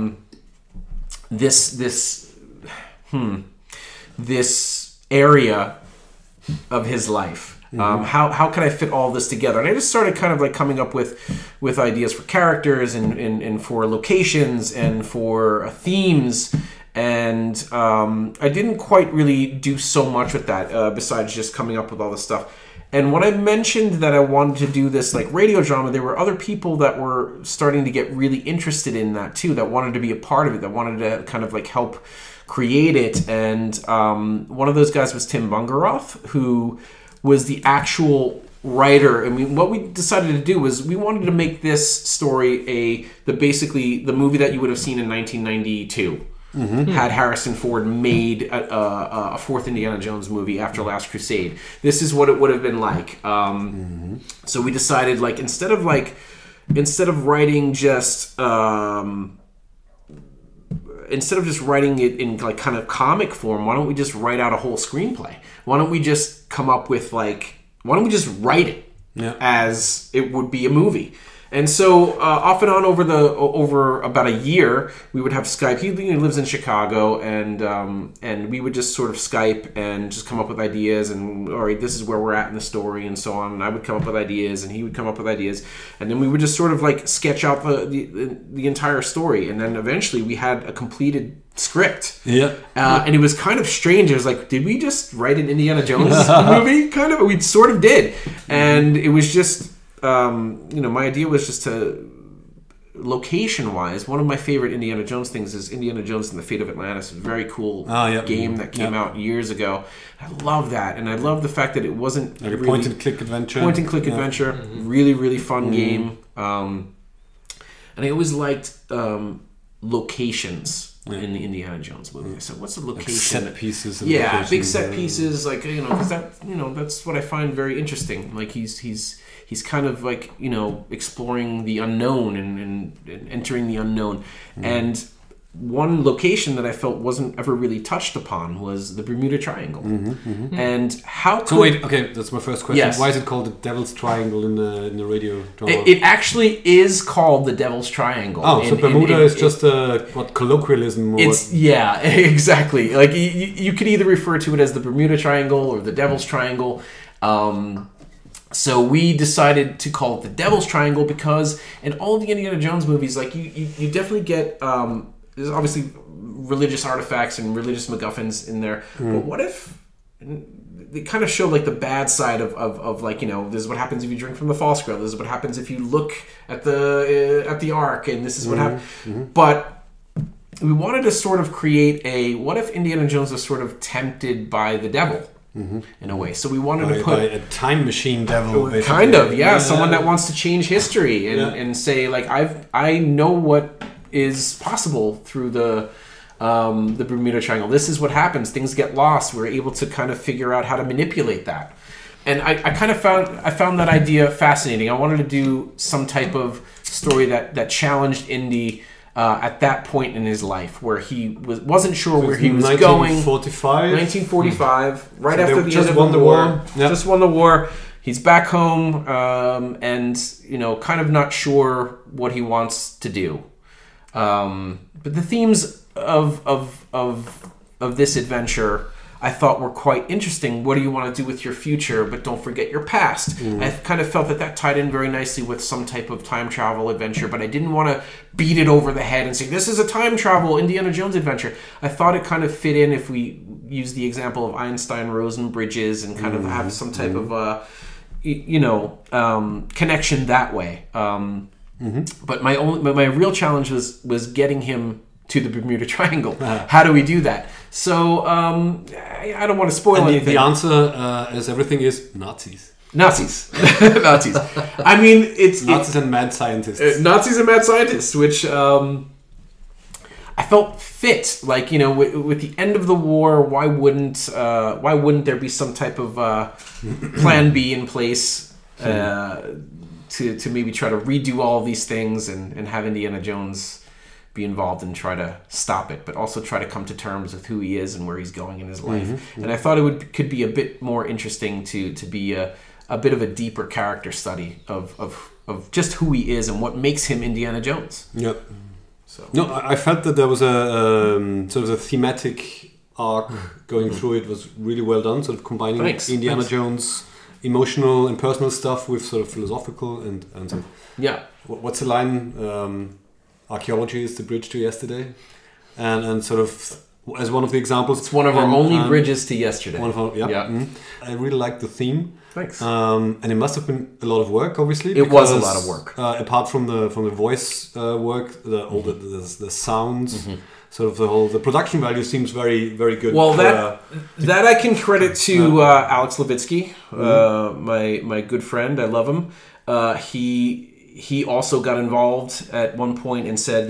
[SPEAKER 4] area of his life? How can I fit all this together? And I just started kind of like coming up with ideas for characters and for locations and for themes. And I didn't quite really do so much with that besides just coming up with all this stuff. And when I mentioned that I wanted to do this like radio drama, there were other people that were starting to get really interested in that too, that wanted to be a part of it, that wanted to kind of like help create it. And one of those guys was Tim Bungeroth, who was the actual writer. I mean, what we decided to do was we wanted to make this story basically the movie that you would have seen in 1992. Mm-hmm. Had Harrison Ford made a fourth Indiana Jones movie after Last Crusade. This is what it would have been like. So we decided, like, instead of writing just writing it in like kind of comic form, why don't we just write out a whole screenplay? Why don't we just come up with why don't we just write it as it would be a movie? And so off and on over about a year, we would have Skype. He lives in Chicago, and we would just sort of Skype and just come up with ideas. And all right, this is where we're at in the story, and so on. And I would come up with ideas, and he would come up with ideas, and then we would just sort of like sketch out the entire story. And then eventually, we had a completed script. And it was kind of strange. It was like, did we just write an Indiana Jones movie? Kind of. We sort of did, and it was just. My idea was just to, location-wise, one of my favorite Indiana Jones things is Indiana Jones and the Fate of Atlantis. A very cool game that came out years ago. I love that, and I love the fact that it wasn't
[SPEAKER 1] like a point-and-click adventure.
[SPEAKER 4] Point-and-click adventure. Mm-hmm. Really, really fun game. And I always liked locations in the Indiana Jones movie. So what's a location?
[SPEAKER 1] Like set pieces.
[SPEAKER 4] Big set pieces. Like, because that's what I find very interesting. Like he's kind of like, exploring the unknown and entering the unknown. And one location that I felt wasn't ever really touched upon was the Bermuda Triangle. And how could...
[SPEAKER 1] So wait, okay, that's my first question.
[SPEAKER 4] Yes.
[SPEAKER 1] Why is it called the Devil's Triangle in the radio drama?
[SPEAKER 4] It actually is called the Devil's Triangle.
[SPEAKER 1] Oh, so Bermuda is just a colloquialism?
[SPEAKER 4] Yeah, exactly. Like you could either refer to it as the Bermuda Triangle or the Devil's Triangle. So we decided to call it the Devil's Triangle because in all of the Indiana Jones movies, like you definitely get there's obviously religious artifacts and religious MacGuffins in there. But what if they kind of show like the bad side of like, this is what happens if you drink from the false grail. This is what happens if you look at the Ark, and this is what happens. But we wanted to sort of create what if Indiana Jones was sort of tempted by the devil? in a way. So we wanted to put
[SPEAKER 1] by a time machine devil, basically.
[SPEAKER 4] kind of, someone that wants to change history and say like I know what is possible through the Bermuda Triangle. This is what happens. Things get lost. We're able to kind of figure out how to manipulate that. And I kind of found that idea fascinating. I wanted to do some type of story that challenged Indy at that point in his life, where he wasn't sure where he was going. 1945, right after the end of the war. Just won the war. He's back home, and kind of not sure what he wants to do. But the themes of this adventure, I thought, were quite interesting. What do you want to do with your future, but don't forget your past? I kind of felt that tied in very nicely with some type of time travel adventure, but I didn't want to beat it over the head and say, this is a time travel Indiana Jones adventure. I thought it kind of fit in if we use the example of Einstein-Rosen bridges and kind of have some type of, connection that way. But my real challenge was getting him to the Bermuda Triangle. How do we do that? So I don't want to spoil anything.
[SPEAKER 1] The answer, as everything, is Nazis.
[SPEAKER 4] Nazis. I mean, it's
[SPEAKER 1] Nazis and mad scientists.
[SPEAKER 4] Nazis and mad scientists, which I felt fit. Like, with the end of the war, why wouldn't there be some type of plan B in place to maybe try to redo all of these things and have Indiana Jones be involved and try to stop it, but also try to come to terms with who he is and where he's going in his life. And I thought could be a bit more interesting to be a bit of a deeper character study of just who he is and what makes him Indiana Jones.
[SPEAKER 1] Yep. So no, I felt that there was a sort of a thematic arc going through it was really well done, sort of combining Indiana Jones emotional and personal stuff with sort of philosophical and sort of, what's the line? Archaeology is the bridge to yesterday, and sort of as one of the examples,
[SPEAKER 4] it's one of our only bridges to yesterday.
[SPEAKER 1] I really like the theme.
[SPEAKER 4] Thanks.
[SPEAKER 1] And it must have been a lot of work, obviously.
[SPEAKER 4] It was a lot of work.
[SPEAKER 1] Apart from the voice work, the sounds, sort of the production value seems very, very good.
[SPEAKER 4] Well, that I can credit to Alex Levitsky, my good friend. I love him. He also got involved at one point and said,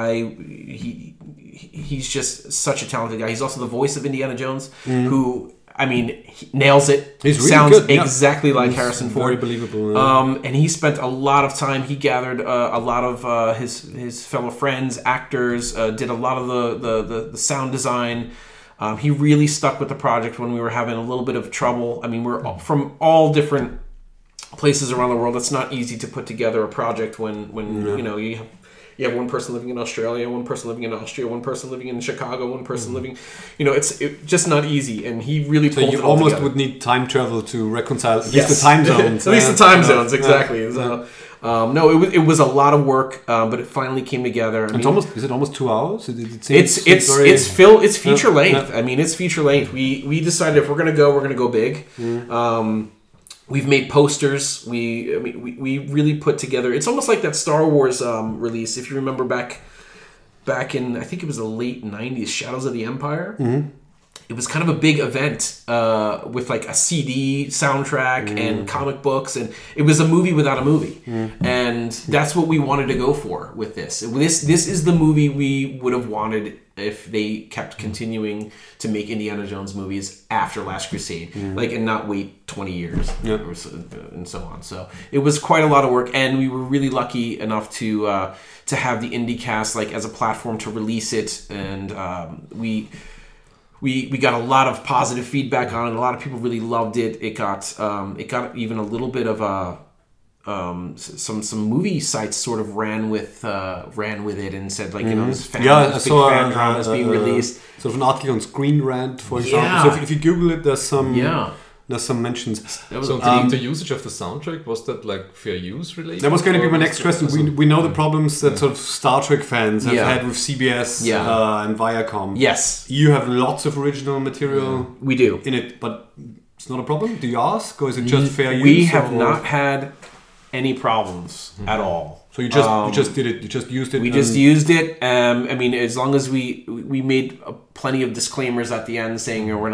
[SPEAKER 4] he's just such a talented guy. He's also the voice of Indiana Jones, who, I mean, he nails it.
[SPEAKER 1] He's really
[SPEAKER 4] sounds
[SPEAKER 1] good.
[SPEAKER 4] Exactly like Harrison Ford.
[SPEAKER 1] Very believable.
[SPEAKER 4] And he spent a lot of time. He gathered a lot of his fellow friends, actors, did a lot of the sound design. He really stuck with the project when we were having a little bit of trouble. I mean, we're from all different places around the world. It's not easy to put together a project when you have one person living in Australia, one person living in Austria, one person living in Chicago, one person living, it's just not easy. And he really pulled it all
[SPEAKER 1] almost
[SPEAKER 4] together.
[SPEAKER 1] Would need time travel to reconcile at least the time zones.
[SPEAKER 4] At least the time zones, exactly. So, no, it was a lot of work, but it finally came together.
[SPEAKER 1] Is it almost 2 hours?
[SPEAKER 4] It's feature length. I mean, it's feature length. We decided if we're gonna go big. We've made posters. We really put together. It's almost like that Star Wars release. If you remember back in, I think it was the late 90s, Shadows of the Empire. It was kind of a big event with like a CD soundtrack and comic books, and it was a movie without a movie. And that's what we wanted to go for with this. This is the movie we would have wanted if they kept continuing to make Indiana Jones movies after Last Crusade, and not wait 20 years and so on. So it was quite a lot of work, and we were really lucky enough to have the IndyCast as a platform to release it, and we got a lot of positive feedback on it. A lot of people really loved it. It got even a little bit of some movie sites sort of ran with it and said this fan drama is being released.
[SPEAKER 1] Sort of an article on Screen Rant, for example. So if you Google it, there's some mentions.
[SPEAKER 2] So the usage of the soundtrack, was that fair use related?
[SPEAKER 1] That was going to be my next question. We know the problems that sort of Star Trek fans have had with CBS and Viacom.
[SPEAKER 4] Yes.
[SPEAKER 1] You have lots of original material
[SPEAKER 4] we do
[SPEAKER 1] in it, but it's not a problem? Do you ask? Or is it just fair use?
[SPEAKER 4] We have not had any problems at all.
[SPEAKER 1] So you just did it. You just used it.
[SPEAKER 4] We just used it. I mean, as long as we made plenty of disclaimers at the end saying we're not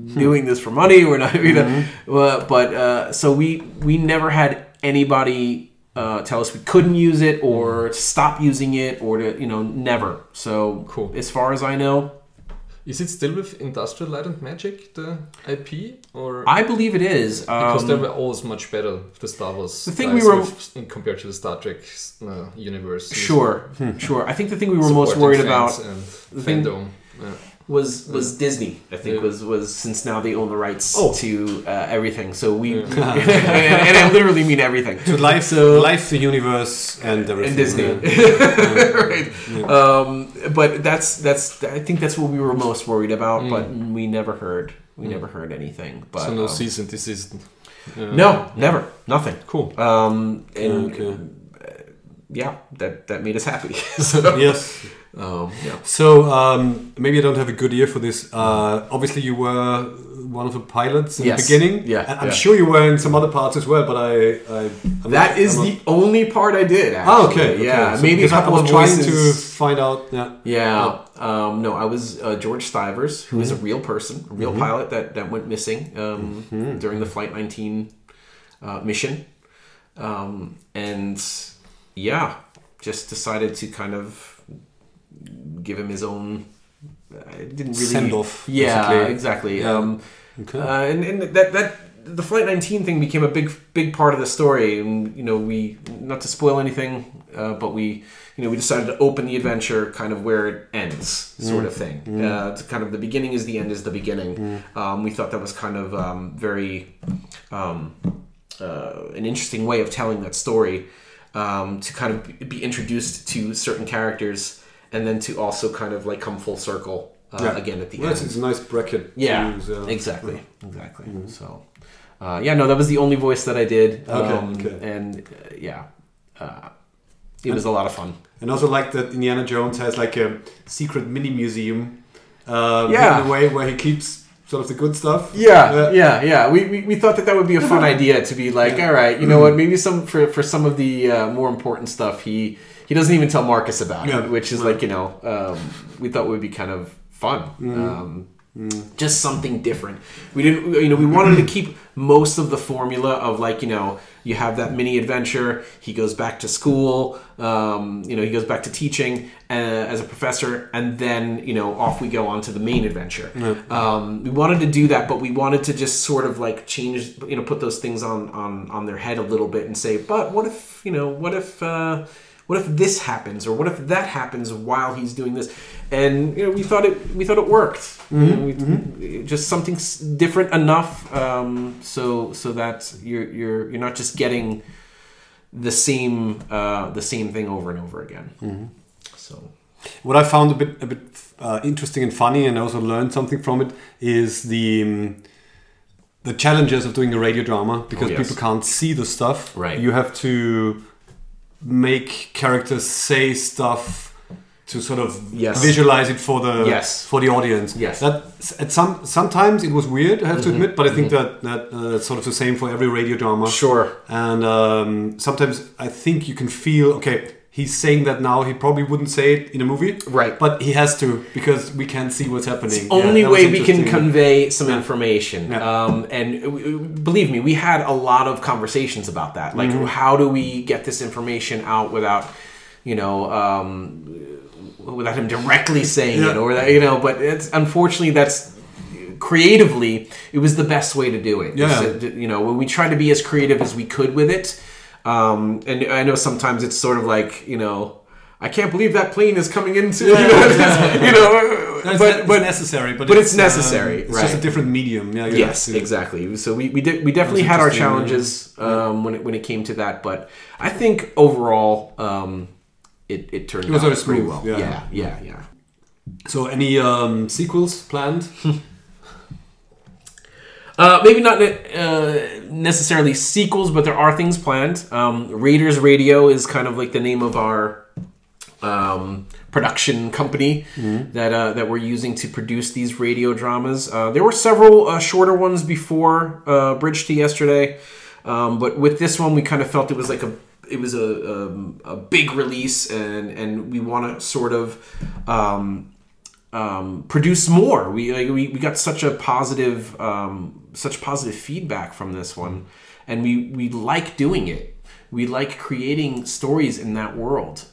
[SPEAKER 4] doing this for money. We're not, so we never had anybody tell us we couldn't use it or stop using it or to, never. So
[SPEAKER 2] Cool.
[SPEAKER 4] As far as I know,
[SPEAKER 2] Is it still with Industrial Light and Magic, the IP? Or
[SPEAKER 4] I believe it is.
[SPEAKER 2] because they were always much better, the Star Wars.
[SPEAKER 4] The thing
[SPEAKER 2] guys
[SPEAKER 4] we were-
[SPEAKER 2] compared to the Star Trek universe.
[SPEAKER 4] Sure. I think the thing we were most worried about
[SPEAKER 2] and
[SPEAKER 4] thing-
[SPEAKER 2] fandom. Yeah.
[SPEAKER 4] was Disney. I think was since now they own the rights to everything. So we and I literally mean everything.
[SPEAKER 1] So life, the universe, and everything.
[SPEAKER 4] And Disney,
[SPEAKER 1] Yeah.
[SPEAKER 4] right? But that's I think that's what we were most worried about. But we never heard anything. But
[SPEAKER 2] So no cease and desist.
[SPEAKER 4] no, never, nothing.
[SPEAKER 2] Cool.
[SPEAKER 4] And
[SPEAKER 1] Okay.
[SPEAKER 4] yeah, that made us happy. So,
[SPEAKER 1] Yes.
[SPEAKER 4] yeah.
[SPEAKER 1] So maybe I don't have a good ear for this. Obviously, you were one of the pilots in
[SPEAKER 4] Yes.
[SPEAKER 1] the beginning.
[SPEAKER 4] Yeah,
[SPEAKER 1] And I'm
[SPEAKER 4] yeah.
[SPEAKER 1] sure you were in some other parts as well. But I'm
[SPEAKER 4] That is
[SPEAKER 1] I'm
[SPEAKER 4] the only part I did. Actually.
[SPEAKER 1] Oh, okay.
[SPEAKER 4] Yeah,
[SPEAKER 1] So
[SPEAKER 4] maybe a
[SPEAKER 1] because
[SPEAKER 4] couple
[SPEAKER 1] I
[SPEAKER 4] of
[SPEAKER 1] was trying
[SPEAKER 4] voices.
[SPEAKER 1] to find out. Yeah.
[SPEAKER 4] Yeah. No, I was George Stivers, who is a real person, a real pilot that went missing during the Flight 19 mission. And yeah, just decided to kind of give him his own. I didn't really
[SPEAKER 1] Send off.
[SPEAKER 4] Yeah,
[SPEAKER 1] basically.
[SPEAKER 4] exactly.
[SPEAKER 1] Yeah. Okay.
[SPEAKER 4] And that the Flight 19 thing became a big part of the story, and we not to spoil anything, but we decided to open the adventure kind of where it ends, sort of thing. To kind of the beginning is the end is the beginning. We thought that was kind of very an interesting way of telling that story, to kind of be introduced to certain characters, and then to also kind of like come full circle again at the
[SPEAKER 1] Well,
[SPEAKER 4] end.
[SPEAKER 1] it's a nice bracket.
[SPEAKER 4] Yeah,
[SPEAKER 1] to use,
[SPEAKER 4] exactly. So, no, that was the only voice that I did.
[SPEAKER 1] Okay.
[SPEAKER 4] And it was a lot of fun.
[SPEAKER 1] And also like that Indiana Jones has like a secret mini museum.
[SPEAKER 4] Yeah.
[SPEAKER 1] In a way where he keeps sort of the good stuff.
[SPEAKER 4] Yeah. We thought that would be a fun idea to be like, all right, you know what? Maybe for some of the more important stuff, he doesn't even tell Marcus about it, which is like we thought would be kind of fun. Just something different. We didn't, we wanted to keep most of the formula of like, you have that mini adventure. He goes back to school. He goes back to teaching as a professor, and then off we go on to the main adventure. We wanted to do that, but we wanted to just sort of like change, put those things on their head a little bit and say, but what if this happens, or what if that happens while he's doing this? And we thought it worked. Just something different enough, so that you're not just getting the same thing over and over again. So
[SPEAKER 1] What I found a bit interesting and funny, and I also learned something from it, is the challenges of doing a radio drama, because
[SPEAKER 4] yes.
[SPEAKER 1] people can't see the stuff.
[SPEAKER 4] Right.
[SPEAKER 1] You have to make characters say stuff to sort of
[SPEAKER 4] Yes.
[SPEAKER 1] visualize it for the
[SPEAKER 4] Yes.
[SPEAKER 1] for the audience.
[SPEAKER 4] Yes.
[SPEAKER 1] That sometimes it was weird, I have to admit, but I think that that's sort of the same for every radio drama.
[SPEAKER 4] Sure.
[SPEAKER 1] And sometimes I think you can feel, okay, he's saying that now, he probably wouldn't say it in a movie.
[SPEAKER 4] Right.
[SPEAKER 1] But he has to, because we can't see what's happening.
[SPEAKER 4] Only
[SPEAKER 1] that was
[SPEAKER 4] way we can
[SPEAKER 1] interesting.
[SPEAKER 4] convey some information.
[SPEAKER 1] Yeah.
[SPEAKER 4] And believe me, we had a lot of conversations about that. Like, how do we get this information out without, without him directly saying it, or that, but it's unfortunately that's creatively, it was the best way to do it.
[SPEAKER 1] Yeah.
[SPEAKER 4] When we tried to be as creative as we could with it. And I know sometimes it's sort of like, I can't believe that plane is coming into,
[SPEAKER 1] But necessary.
[SPEAKER 4] But it's necessary,
[SPEAKER 1] It's
[SPEAKER 4] right.
[SPEAKER 1] just a different medium. Yeah. you
[SPEAKER 4] Yes,
[SPEAKER 1] have to-
[SPEAKER 4] exactly. So we definitely had our
[SPEAKER 1] interesting,
[SPEAKER 4] challenges when it came to that, but I think overall it turned
[SPEAKER 1] was
[SPEAKER 4] out
[SPEAKER 1] very
[SPEAKER 4] pretty
[SPEAKER 1] smooth,
[SPEAKER 4] well.
[SPEAKER 1] yeah.
[SPEAKER 4] Yeah.
[SPEAKER 1] So any sequels planned?
[SPEAKER 4] Maybe not necessarily sequels, but there are things planned. Raiders Radio is kind of like the name of our production company that we're using to produce these radio dramas. There were several shorter ones before Bridge to Yesterday, but with this one, we kind of felt it was like a big release, and we want to sort of produce more. We got such positive feedback from this one, and we like doing it. We like creating stories in that world.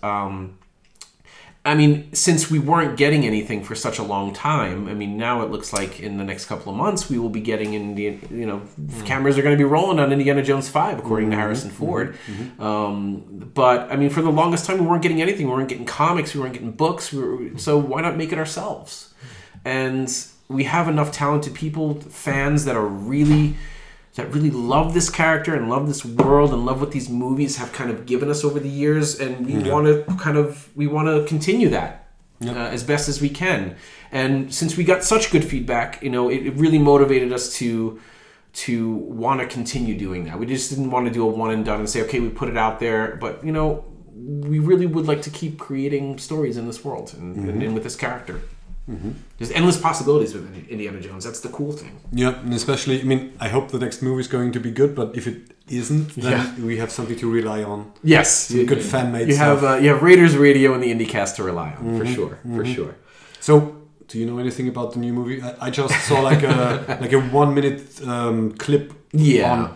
[SPEAKER 4] I mean, since we weren't getting anything for such a long time, I mean, now it looks like in the next couple of months we will be getting cameras are going to be rolling on Indiana Jones 5, according to Harrison Ford. But I mean, for the longest time we weren't getting anything. We weren't getting comics. We weren't getting books. So why not make it ourselves? And we have enough talented people, fans that really love this character and love this world and love what these movies have kind of given us over the years, and we want to continue that as best as we can. And since we got such good feedback, it really motivated us to want to continue doing that. We just didn't want to do a one and done and say, okay, we put it out there, but we really would like to keep creating stories in this world and with this character. There's endless possibilities with Indiana Jones. That's the cool thing.
[SPEAKER 1] Yeah, and especially, I mean, I hope the next movie is going to be good, but if it isn't, then we have something to rely on.
[SPEAKER 4] Yes,
[SPEAKER 1] some good fan-made
[SPEAKER 4] you
[SPEAKER 1] stuff.
[SPEAKER 4] You have Raiders Radio and the IndieCast to rely on, for sure.
[SPEAKER 1] So, do you know anything about the new movie? I just saw like a 1 minute clip on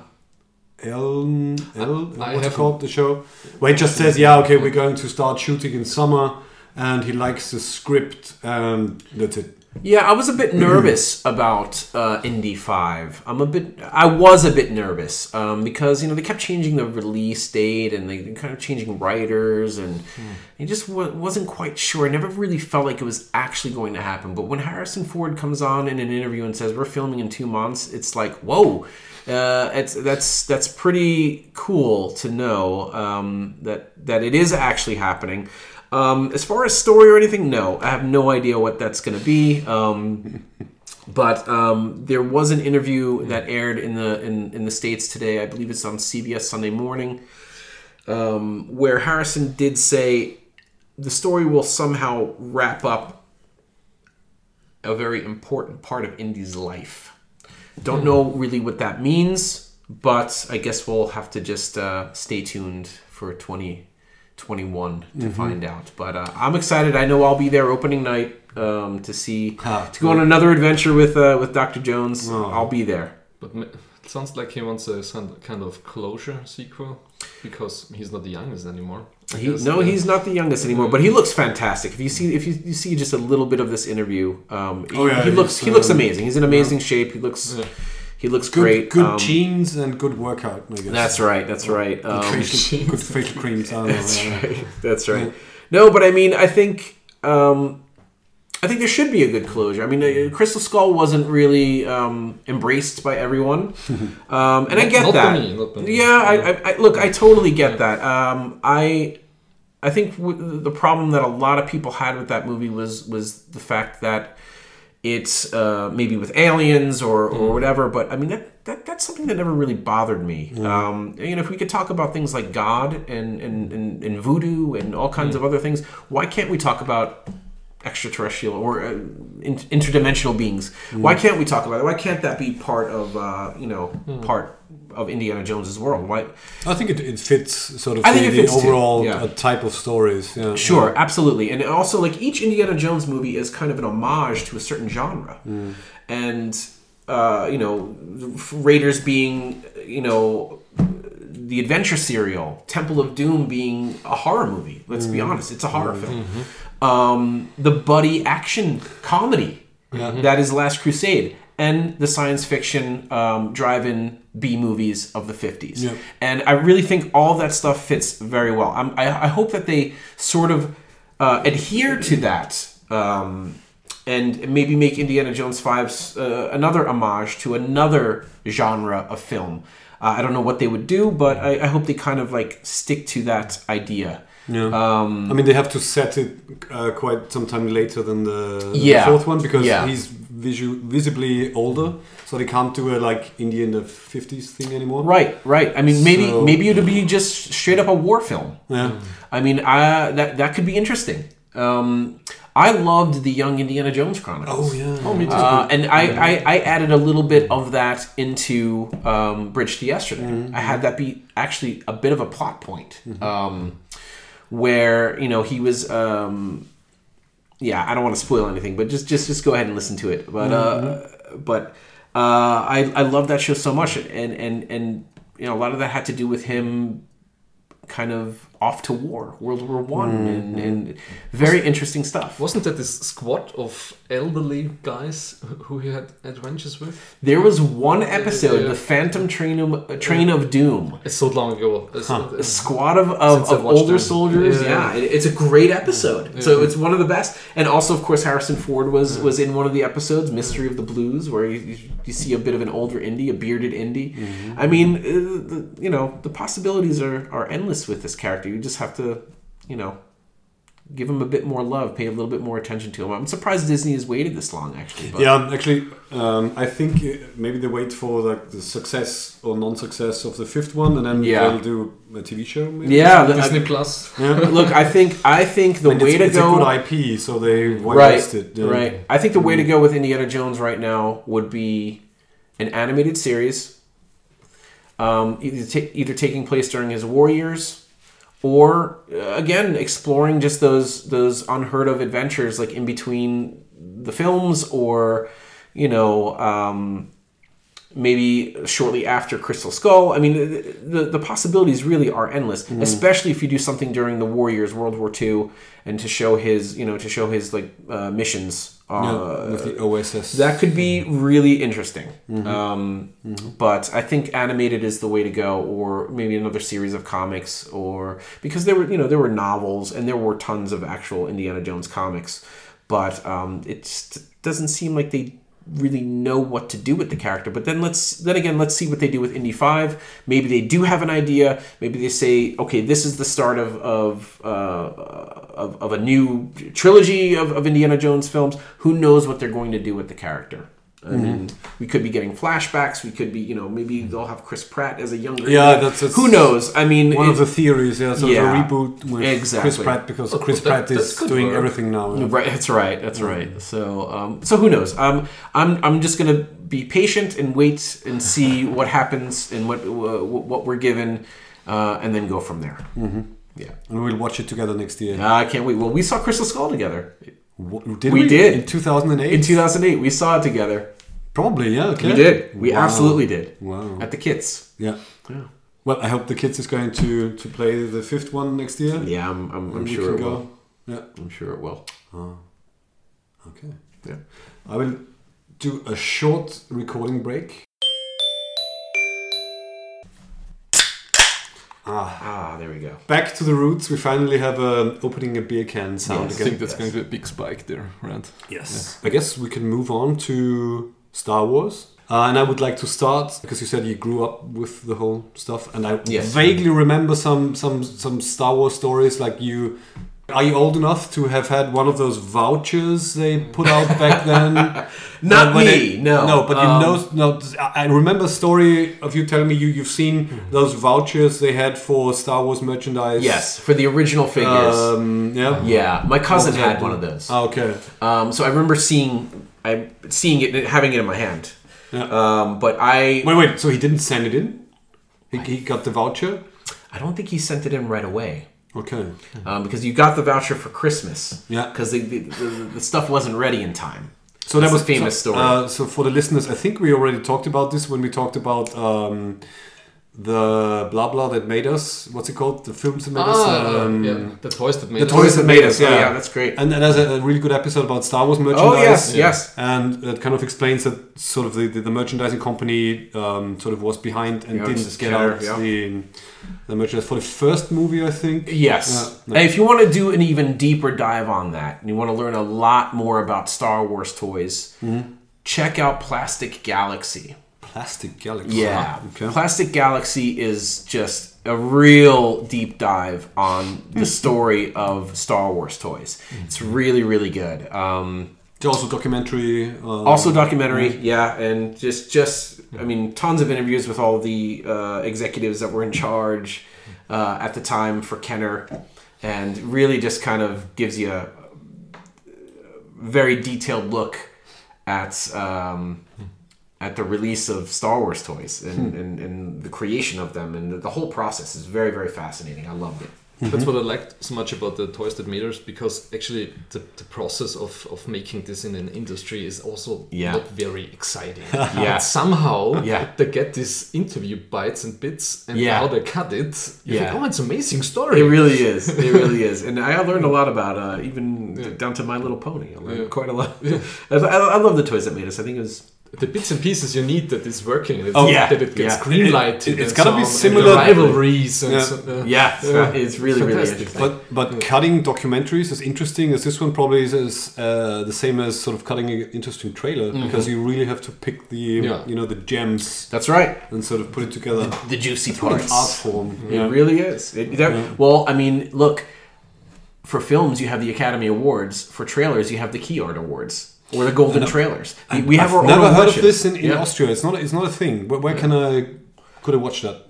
[SPEAKER 1] what's it called, the show? Where it just says, we're going to start shooting in summer, and he likes the script, and that's it.
[SPEAKER 4] Yeah, I was a bit nervous about Indy 5. I was a bit nervous because they kept changing the release date and they kind of changing writers, and I just wasn't quite sure. I never really felt like it was actually going to happen. But when Harrison Ford comes on in an interview and says we're filming in 2 months, it's like, whoa. That's pretty cool to know that it is actually happening. As far as story or anything, no. I have no idea what that's going to be. But there was an interview that aired in the States today. I believe it's on CBS Sunday Morning, where Harrison did say the story will somehow wrap up a very important part of Indy's life. Don't know really what that means, but I guess we'll have to just stay tuned for 2021 to find out. But I'm excited. I know I'll be there opening night to go on another adventure with Dr. Jones. I'll be there.
[SPEAKER 2] But it sounds like he wants a kind of closure sequel, because he's not the youngest anymore.
[SPEAKER 4] He's not the youngest anymore, but he looks fantastic. If you see just a little bit of this interview, he looks amazing. He's in amazing shape. He looks good, great.
[SPEAKER 1] Good genes and good workout, I guess.
[SPEAKER 4] That's right.
[SPEAKER 1] Good facial creams.
[SPEAKER 4] That's right. No, but I mean, I think there should be a good closure. I mean, Crystal Skull wasn't really embraced by everyone, and I get that.
[SPEAKER 2] Not by me.
[SPEAKER 4] Yeah, I totally get that. I think the problem that a lot of people had with that movie was the fact that it's maybe with aliens or whatever. But I mean, that's something that never really bothered me. If we could talk about things like God and voodoo and all kinds of other things, why can't we talk about extraterrestrial or interdimensional beings? Why can't we talk about it? Why can't that be part of part of Indiana Jones's world? Why?
[SPEAKER 1] I think it fits sort of the overall type of stories. Yeah.
[SPEAKER 4] Sure, absolutely. And also, like, each Indiana Jones movie is kind of an homage to a certain genre. And Raiders being the adventure serial, Temple of Doom being a horror movie. Let's be honest, it's a horror film. The buddy action comedy that is Last Crusade, and the science fiction drive-in B movies of the 50s. Yep. And I really think all that stuff fits very well. I hope that they sort of adhere to that and maybe make Indiana Jones 5 another homage to another genre of film. I don't know what they would do, but I hope they kind of like stick to that idea.
[SPEAKER 1] Yeah. I mean, they have to set it quite some time later than the fourth one, because he's visibly older, so they can't do a like India in the 50s thing anymore. Right. I mean, maybe it would be just straight up a war film.
[SPEAKER 4] Yeah. I mean, that could be interesting. I loved the Young Indiana Jones Chronicles.
[SPEAKER 1] Oh yeah.
[SPEAKER 2] Oh, me too.
[SPEAKER 4] And I added a little bit of that into Bridge to Yesterday. I had that be actually a bit of a plot point. Where he was I don't want to spoil anything, but just go ahead and listen to it. But I love that show so much, and you know, a lot of that had to do with him kind of off to war, World War One, and very interesting stuff.
[SPEAKER 2] Wasn't that this squad of elderly guys who he had adventures with?
[SPEAKER 4] There was one episode, the Phantom Train of Doom.
[SPEAKER 2] It's so long ago.
[SPEAKER 4] A squad of older soldiers. It's a great episode. So it's one of the best. And also, of course, Harrison Ford was in one of the episodes, Mystery of the Blues, where you see a bit of an older Indy, a bearded Indy. I mean, the possibilities are endless with this character. You just have to, give him a bit more love, pay a little bit more attention to him. I'm surprised Disney has waited this long, actually. But.
[SPEAKER 1] Yeah, actually, I think maybe they wait for like the success or non-success of the fifth one, and then they'll do a TV show. Maybe?
[SPEAKER 4] Yeah,
[SPEAKER 2] Disney Plus.
[SPEAKER 1] Yeah.
[SPEAKER 4] Look, I think the way to go.
[SPEAKER 1] It's a good IP, so they invest it. Yeah.
[SPEAKER 4] Right. I think the way to go with Indiana Jones right now would be an animated series, either taking place during his war years. Or again, exploring just those unheard of adventures, like in between the films, or maybe shortly after Crystal Skull. I mean, the possibilities really are endless, especially if you do something during the war years, World War II, and to show his missions.
[SPEAKER 1] With the OSS.
[SPEAKER 4] That could be really interesting. But I think animated is the way to go, or maybe another series of comics, or because there were novels and there were tons of actual Indiana Jones comics, but it just doesn't seem like they really know what to do with the character. But then let's see what they do with Indy 5. Maybe they do have an idea. Maybe they say, okay, this is the start of a new trilogy of Indiana Jones films. Who knows what they're going to do with the character? I mean, we could be getting flashbacks. We could be, maybe they'll have Chris Pratt as a younger.
[SPEAKER 1] Yeah, that's
[SPEAKER 4] who knows. I mean,
[SPEAKER 1] one of the theories. Yeah, so a reboot with Chris Pratt, because Chris Pratt is doing everything now. Yeah.
[SPEAKER 4] Right, that's right. So who knows? I'm just gonna be patient and wait and see what happens and what we're given, and then go from there. Yeah,
[SPEAKER 1] and we'll watch it together next year.
[SPEAKER 4] I can't wait. Well, we saw Crystal Skull together.
[SPEAKER 1] Did we?
[SPEAKER 4] In
[SPEAKER 1] 2008?
[SPEAKER 4] In 2008, we saw it together.
[SPEAKER 1] Probably, yeah. Okay.
[SPEAKER 4] We did. We absolutely did.
[SPEAKER 1] Wow.
[SPEAKER 4] At the Kids.
[SPEAKER 1] Yeah. Well, I hope the Kids is going to play the fifth one next year.
[SPEAKER 4] Yeah, I'm sure it will.
[SPEAKER 1] Yeah,
[SPEAKER 4] I'm sure it will.
[SPEAKER 1] Oh. Okay.
[SPEAKER 4] Yeah.
[SPEAKER 1] I will do a short recording break.
[SPEAKER 4] There we go.
[SPEAKER 1] Back to the roots. We finally have opening a beer can sound again.
[SPEAKER 2] I think that's going to be a big spike there, right?
[SPEAKER 1] Yes. Yeah. I guess we can move on to Star Wars. And I would like to start, because you said you grew up with the whole stuff, and I vaguely remember some Star Wars stories. Like are you old enough to have had one of those vouchers they put out back then?
[SPEAKER 4] Not me, no.
[SPEAKER 1] No, but I remember a story of you telling me you've seen those vouchers they had for Star Wars merchandise.
[SPEAKER 4] Yes, for the original figures. Yeah, my cousin had one of those.
[SPEAKER 1] Oh, okay.
[SPEAKER 4] So I remember seeing it, having it in my hand.
[SPEAKER 1] Yeah.
[SPEAKER 4] But I...
[SPEAKER 1] Wait, so he didn't send it in? He got the voucher?
[SPEAKER 4] I don't think he sent it in right away.
[SPEAKER 1] Okay.
[SPEAKER 4] Because you got the voucher for Christmas.
[SPEAKER 1] Yeah.
[SPEAKER 4] Because the stuff wasn't ready in time.
[SPEAKER 1] So that was
[SPEAKER 4] a famous story.
[SPEAKER 1] So for the listeners, I think we already talked about this when we talked about the blah blah that made us. What's it called? The films that made us.
[SPEAKER 2] The toys that made us.
[SPEAKER 1] The toys that made us. Yeah,
[SPEAKER 4] yeah, that's great.
[SPEAKER 1] And there's a really good episode about Star Wars merchandise.
[SPEAKER 4] Oh yes.
[SPEAKER 1] And it kind of explains that sort of the merchandising company sort of was behind and didn't get out the merchandise for the first movie, I think.
[SPEAKER 4] Yes. And if you want to do an even deeper dive on that, and you want to learn a lot more about Star Wars toys, check out Plastic Galaxy.
[SPEAKER 1] Plastic Galaxy.
[SPEAKER 4] Yeah.
[SPEAKER 1] Okay.
[SPEAKER 4] Plastic Galaxy is just a real deep dive on the story of Star Wars toys. It's really, really good.
[SPEAKER 1] It's also documentary.
[SPEAKER 4] And just I mean, tons of interviews with all the executives that were in charge at the time for Kenner, and really just kind of gives you a very detailed look at the release of Star Wars toys and the creation of them, and the whole process is very, very fascinating. I loved it.
[SPEAKER 2] That's what I liked so much about the Toys That Made Us, because actually the process of making this in an industry is also not very exciting. But somehow they get these interview bites and bits, and how they cut it, you think, oh, it's an amazing story.
[SPEAKER 4] It really is. It really is. And I learned a lot about even down to My Little Pony. I learned quite a lot. I love the Toys That Made Us. I think it was
[SPEAKER 2] the bits and pieces you need that is working. That it gets greenlighted.
[SPEAKER 1] It's gotta be similar
[SPEAKER 2] rivalries. And
[SPEAKER 4] it's really interesting.
[SPEAKER 1] But cutting documentaries as interesting as this one probably is the same as sort of cutting an interesting trailer, because you really have to pick the the gems.
[SPEAKER 4] That's right.
[SPEAKER 1] And sort of put it together.
[SPEAKER 4] The juicy parts.
[SPEAKER 1] Art form.
[SPEAKER 4] It really is. Well, I mean, look, for films you have the Academy Awards. For trailers you have the Key Art Awards. Or the Golden Trailers. We have our own
[SPEAKER 1] never heard of this in Austria. It's not a thing. Where could I watch that?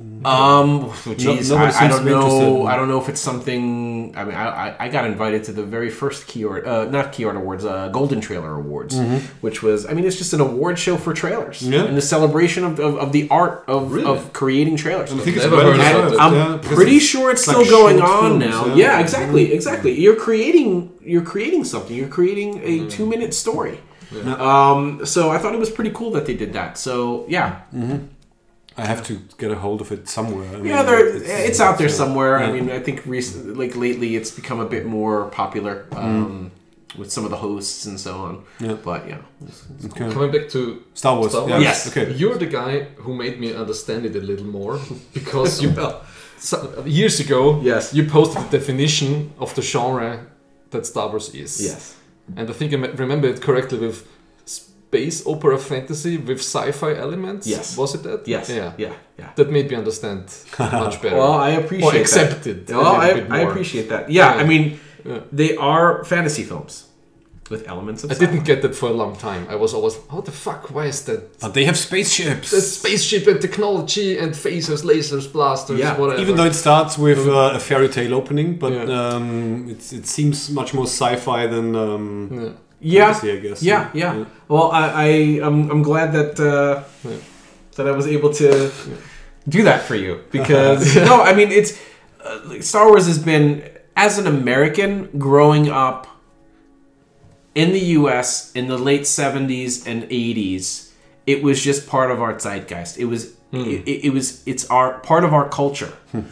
[SPEAKER 4] I don't know. I don't know if it's something. I mean, I got invited to the very first not Key Art Awards, Golden Trailer Awards, which was. I mean, it's just an award show for trailers and the celebration of the art of creating trailers.
[SPEAKER 1] I think I'm
[SPEAKER 4] pretty sure it's still going on now. Yeah, exactly. You're creating something. You're creating a 2-minute story. So I thought it was pretty cool that they did that. So yeah.
[SPEAKER 1] I have to get a hold of it somewhere. I mean,
[SPEAKER 4] it's out there somewhere. I mean, I think lately it's become a bit more popular with some of the hosts and so on. Yeah. But it's
[SPEAKER 2] cool. Coming back to
[SPEAKER 1] Star Wars.
[SPEAKER 4] Yes.
[SPEAKER 1] Okay.
[SPEAKER 2] You're the guy who made me understand it a little more, because years ago, you posted the definition of the genre that Star Wars is.
[SPEAKER 4] Yes.
[SPEAKER 2] And I think I remember it correctly with space opera fantasy with sci-fi elements.
[SPEAKER 4] Yes.
[SPEAKER 2] Was it that?
[SPEAKER 4] Yes. Yeah.
[SPEAKER 2] That made me understand much better.
[SPEAKER 4] Well, I appreciate that.
[SPEAKER 2] Or accept it.
[SPEAKER 4] Well, I appreciate that. Yeah, I mean, they are fantasy films with elements of
[SPEAKER 2] sci-fi. I didn't get that for a long time. I was always, what the fuck? Why is that?
[SPEAKER 1] But they have spaceships.
[SPEAKER 2] There's spaceship and technology and phasers, lasers, blasters, whatever.
[SPEAKER 1] Even though it starts with a fairy tale opening, but it seems much more sci-fi than... fantasy, I guess.
[SPEAKER 4] Yeah. Well, I'm glad that that I was able to do that for you, because no, I mean, it's Star Wars has been, as an American growing up in the U.S. in the late 70s and 80s, it was just part of our zeitgeist. It was it's part of our culture.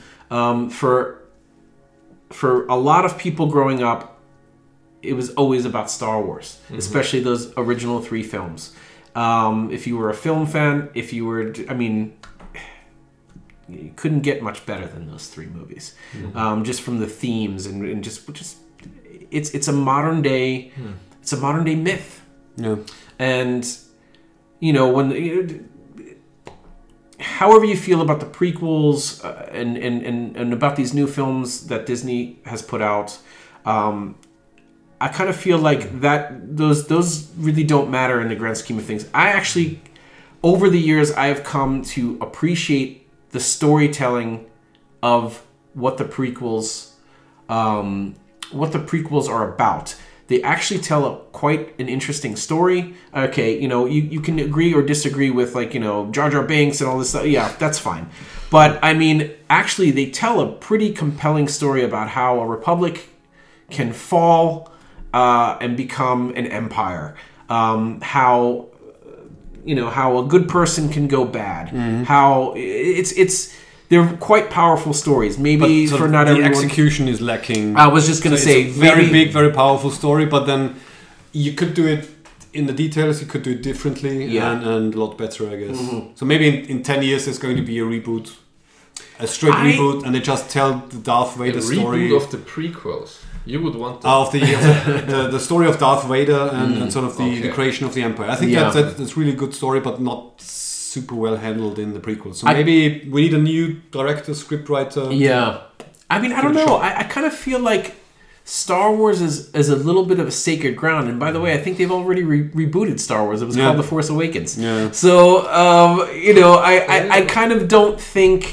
[SPEAKER 4] For a lot of people growing up, it was always about Star Wars, especially those original 3 films. If you were a film fan, you couldn't get much better than those 3 movies. Just from the themes and just it's a modern day, it's a modern day myth.
[SPEAKER 1] Yeah.
[SPEAKER 4] And when however you feel about the prequels and about these new films that Disney has put out, I kind of feel like that those really don't matter in the grand scheme of things. I actually, over the years, I have come to appreciate the storytelling of what the prequels are about. They actually tell quite an interesting story. Okay, you can agree or disagree with Jar Jar Binks and all this stuff. Yeah, that's fine. But I mean, actually, they tell a pretty compelling story about how a republic can fall and become an empire. How a good person can go bad. How they're quite powerful stories. Maybe for not everyone.
[SPEAKER 1] The execution is lacking.
[SPEAKER 4] I was just going to say,
[SPEAKER 1] it's a very big, very powerful story, but then you could do it in the details. You could do it differently and a lot better, I guess. So maybe in 10 years there's going to be a reboot, a straight reboot, and they just tell the Darth Vader story.
[SPEAKER 2] Reboot of the prequels. You would want that.
[SPEAKER 1] Of the story of Darth Vader and sort of the creation of the Empire. I think that's really good story, but not super well handled in the prequels. So maybe we need a new director, scriptwriter.
[SPEAKER 4] Yeah. I mean, I don't know. I kind of feel like Star Wars is a little bit of a sacred ground. And by the way, I think they've already rebooted Star Wars. It was called The Force Awakens.
[SPEAKER 1] Yeah.
[SPEAKER 4] So, I kind of don't think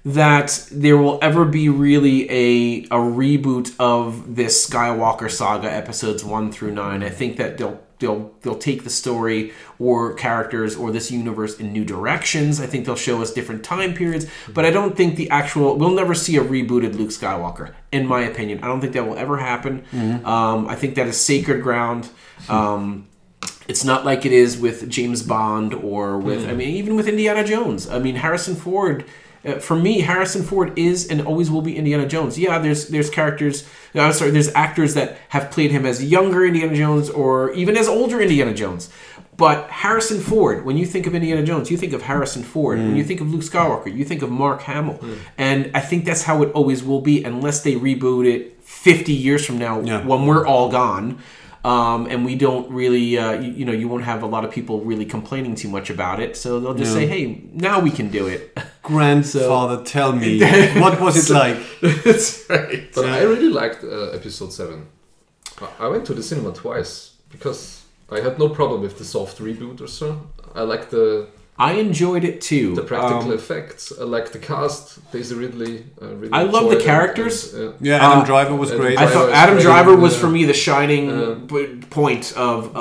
[SPEAKER 4] that there will ever be really a reboot of this Skywalker saga episodes 1 through 9. I think that they'll take the story or characters or this universe in new directions. I think they'll show us different time periods, but I don't think we'll never see a rebooted Luke Skywalker, in my opinion. I don't think that will ever happen. I think that is sacred ground. It's not like it is with James Bond or with, even with Indiana Jones. Harrison Ford, for me, Harrison Ford is and always will be Indiana Jones. Yeah, there's characters, there's actors that have played him as younger Indiana Jones or even as older Indiana Jones. But Harrison Ford, when you think of Indiana Jones, you think of Harrison Ford. When you think of Luke Skywalker, you think of Mark Hamill. And I think that's how it always will be unless they reboot it 50 years from now when we're all gone. And we don't really, you won't have a lot of people really complaining too much about it. So they'll just say, hey, now we can do it.
[SPEAKER 1] Grandfather, tell me, what was it like?
[SPEAKER 4] That's right.
[SPEAKER 2] But I really liked episode 7. I went to the cinema twice because I had no problem with the soft reboot or so. I liked
[SPEAKER 4] I enjoyed it too.
[SPEAKER 2] The practical effects. I like the cast. Daisy Ridley.
[SPEAKER 4] I love the characters.
[SPEAKER 1] Adam Driver was great.
[SPEAKER 4] I thought Adam Driver was for me the shining point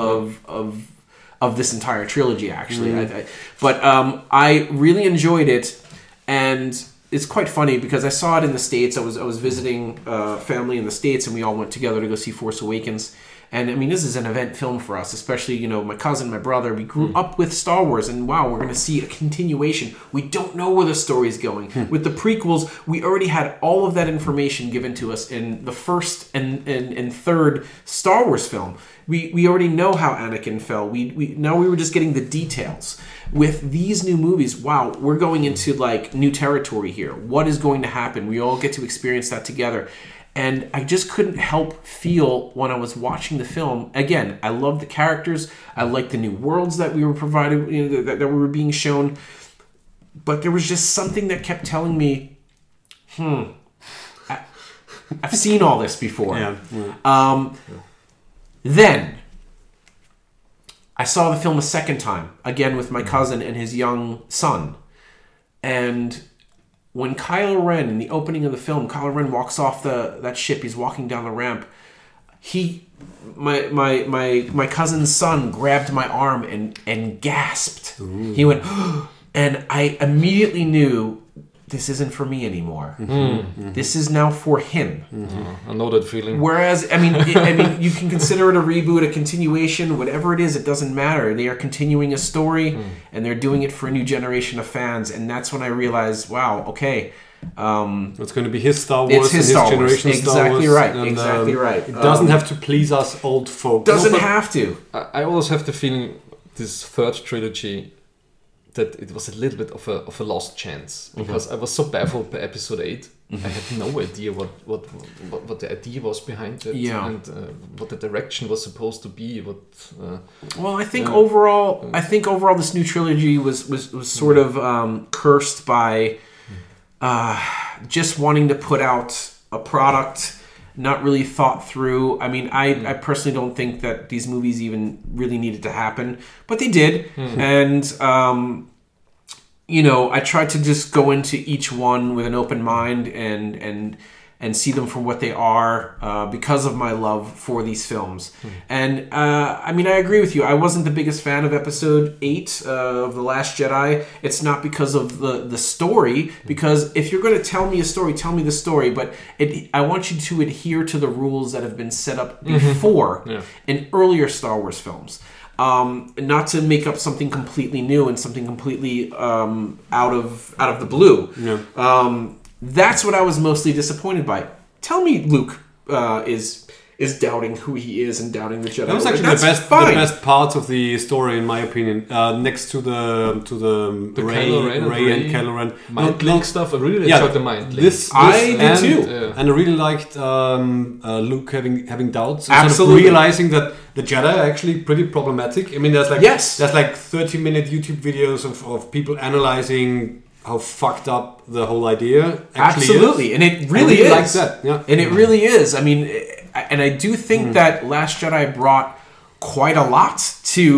[SPEAKER 4] of this entire trilogy. Actually, I really enjoyed it, and it's quite funny because I saw it in the States. I was visiting family in the States, and we all went together to go see Force Awakens. And this is an event film for us, especially, my cousin, my brother. We grew up with Star Wars, and wow, we're going to see a continuation. We don't know where the story's going. With the prequels, we already had all of that information given to us in the first and third Star Wars film. We already know how Anakin fell. Now we were just getting the details. With these new movies, wow, we're going into new territory here. What is going to happen? We all get to experience that together. And I just couldn't help feel when I was watching the film. Again, I love the characters. I like the new worlds that we were provided, that we were being shown. But there was just something that kept telling me, I've seen all this before. Then I saw the film a second time, again with my cousin and his young son. And when Kylo Ren, in the opening of the film, Kylo Ren walks off that ship, he's walking down the ramp. My cousin's son grabbed my arm and gasped. Ooh. He went, and I immediately knew this isn't for me anymore. This is now for him.
[SPEAKER 2] I know that feeling.
[SPEAKER 4] Whereas, you can consider it a reboot, a continuation, whatever it is, it doesn't matter. They are continuing a story, and they're doing it for a new generation of fans. And that's when I realized, wow, okay.
[SPEAKER 1] It's going to be his Star Wars.
[SPEAKER 4] It's his Star Wars.
[SPEAKER 1] Generation's Star Wars.
[SPEAKER 4] Exactly right.
[SPEAKER 1] It doesn't have to please us old folk.
[SPEAKER 4] Doesn't have to.
[SPEAKER 2] I always have the feeling this third trilogy that it was a little bit of a lost chance because I was so baffled by episode 8. I had no idea what the idea was behind it and what the direction was supposed to be.
[SPEAKER 4] Well, I think overall, this new trilogy was sort of cursed by just wanting to put out a product not really thought through. I personally don't think that these movies even really needed to happen, but they did. And, I tried to just go into each one with an open mind and see them for what they are because of my love for these films. And, I agree with you. I wasn't the biggest fan of episode 8 of The Last Jedi. It's not because of the story, because if you're going to tell me a story, tell me the story. But I want you to adhere to the rules that have been set up before in earlier Star Wars films. Not to make up something completely new and something completely out of the blue. That's what I was mostly disappointed by. Tell me Luke is doubting who he is and doubting the Jedi.
[SPEAKER 1] That was actually the best part of the story, in my opinion. Next to the Rey and Kylo Ren
[SPEAKER 2] mind link stuff. I really enjoyed the mind link.
[SPEAKER 4] I did too,
[SPEAKER 1] and I really liked Luke having doubts,
[SPEAKER 4] absolutely,
[SPEAKER 1] sort of realizing that the Jedi are actually pretty problematic. There's like 30-minute YouTube videos of people analyzing how fucked up the whole idea actually
[SPEAKER 4] is. And it really is.
[SPEAKER 1] Like that. Yeah.
[SPEAKER 4] And it really is. And I do think that Last Jedi brought quite a lot to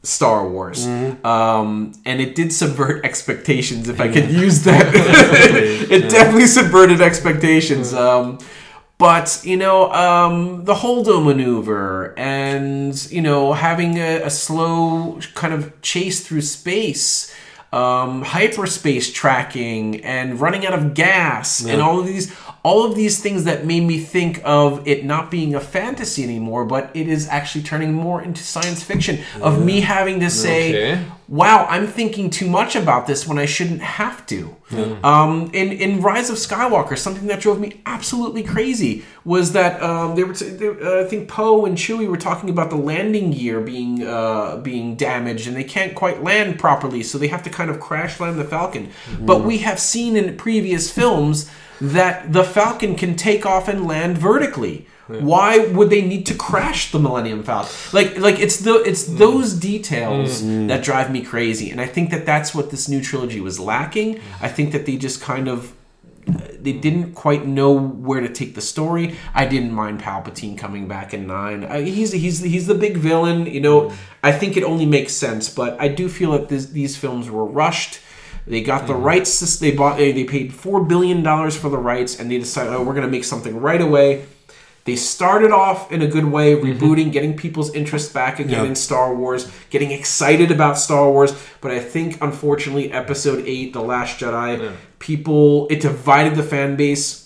[SPEAKER 4] Star Wars. And it did subvert expectations, if I could use that. It definitely subverted expectations. But, the Holdo maneuver and, having a slow kind of chase through space, hyperspace tracking and running out of gas and all of these things that made me think of it not being a fantasy anymore, but it is actually turning more into science fiction of me having to say, wow, I'm thinking too much about this when I shouldn't have to. In Rise of Skywalker, something that drove me absolutely crazy was that I think Poe and Chewie were talking about the landing gear being damaged and they can't quite land properly, so they have to kind of crash land the Falcon. But we have seen in previous films that the Falcon can take off and land vertically. Why would they need to crash the Millennium Falcon? Like it's those details that drive me crazy, and I think that that's what this new trilogy was lacking. I think that they just kind of they didn't quite know where to take the story. I didn't mind Palpatine coming back in 9. He's the big villain. I think it only makes sense, but I do feel that these films were rushed. They got the rights. They paid $4 billion for the rights, and they decided, we're going to make something right away. They started off in a good way, rebooting, getting people's interest back again in Star Wars, getting excited about Star Wars. But I think, unfortunately, Episode 8, The Last Jedi, it divided the fan base.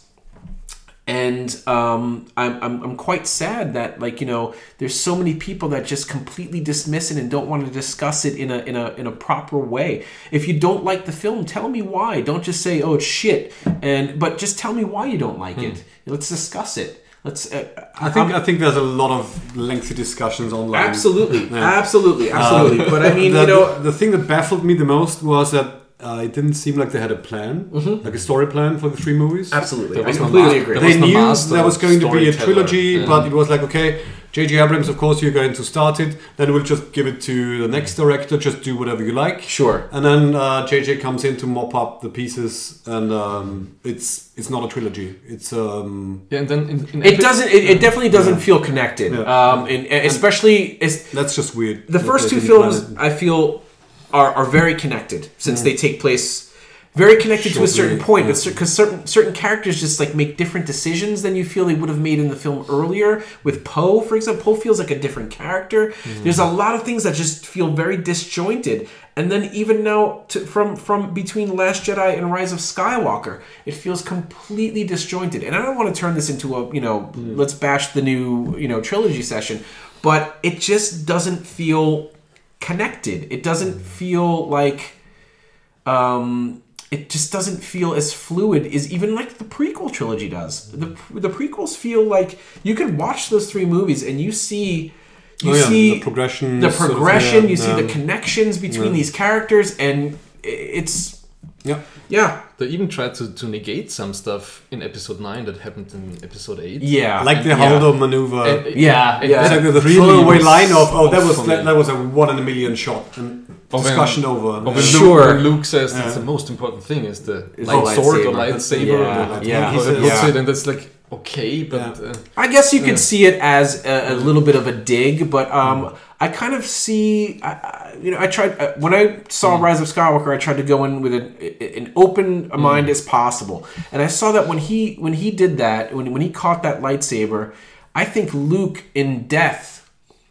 [SPEAKER 4] And I'm quite sad that there's so many people that just completely dismiss it and don't want to discuss it in a proper way. If you don't like the film, tell me why. Don't just say, oh, it's shit, but just tell me why you don't like it. Let's discuss it.
[SPEAKER 1] I think there's a lot of lengthy discussions online.
[SPEAKER 4] Absolutely. But I mean,
[SPEAKER 1] the thing that baffled me the most was that it didn't seem like they had a plan, like a story plan for the 3 movies.
[SPEAKER 4] Absolutely, I completely agree.
[SPEAKER 1] They knew there was going to be a trilogy, but it was like, okay, J.J. Abrams, of course, you're going to start it. Then we'll just give it to the next director. Just do whatever you like.
[SPEAKER 4] Sure.
[SPEAKER 1] And then J.J. comes in to mop up the pieces, and it's not a trilogy. It's
[SPEAKER 2] and then
[SPEAKER 4] it definitely doesn't feel connected. And especially
[SPEAKER 1] that's just weird.
[SPEAKER 4] The first 2 films I feel are very connected since they take place. Very connected to a certain point, but because certain characters just make different decisions than you feel they would have made in the film earlier. With Poe, for example, Poe feels like a different character. There's a lot of things that just feel very disjointed. And then even now, from between Last Jedi and Rise of Skywalker, it feels completely disjointed. And I don't want to turn this into a let's bash the new trilogy session, but it just doesn't feel connected. It doesn't feel like. It just doesn't feel as fluid as even like the prequel trilogy does. The prequels feel like you can watch those 3 movies and you see
[SPEAKER 1] the progression.
[SPEAKER 4] You see the connections between these characters, and it's
[SPEAKER 2] They even tried to negate some stuff in Episode 9 that happened in Episode 8.
[SPEAKER 4] Yeah,
[SPEAKER 1] like the Holdo maneuver.
[SPEAKER 4] It's
[SPEAKER 1] like the throwaway line of that was a 1 in a million shot. And discussion over.
[SPEAKER 2] When Luke says that's the most important thing is the sword or lightsaber. And that's like, okay, but
[SPEAKER 4] I guess you could see it as a little bit of a dig, but I kind of see. I tried when I saw Rise of Skywalker. I tried to go in with an open mind as possible, and I saw that when he did that, when he caught that lightsaber, I think Luke in death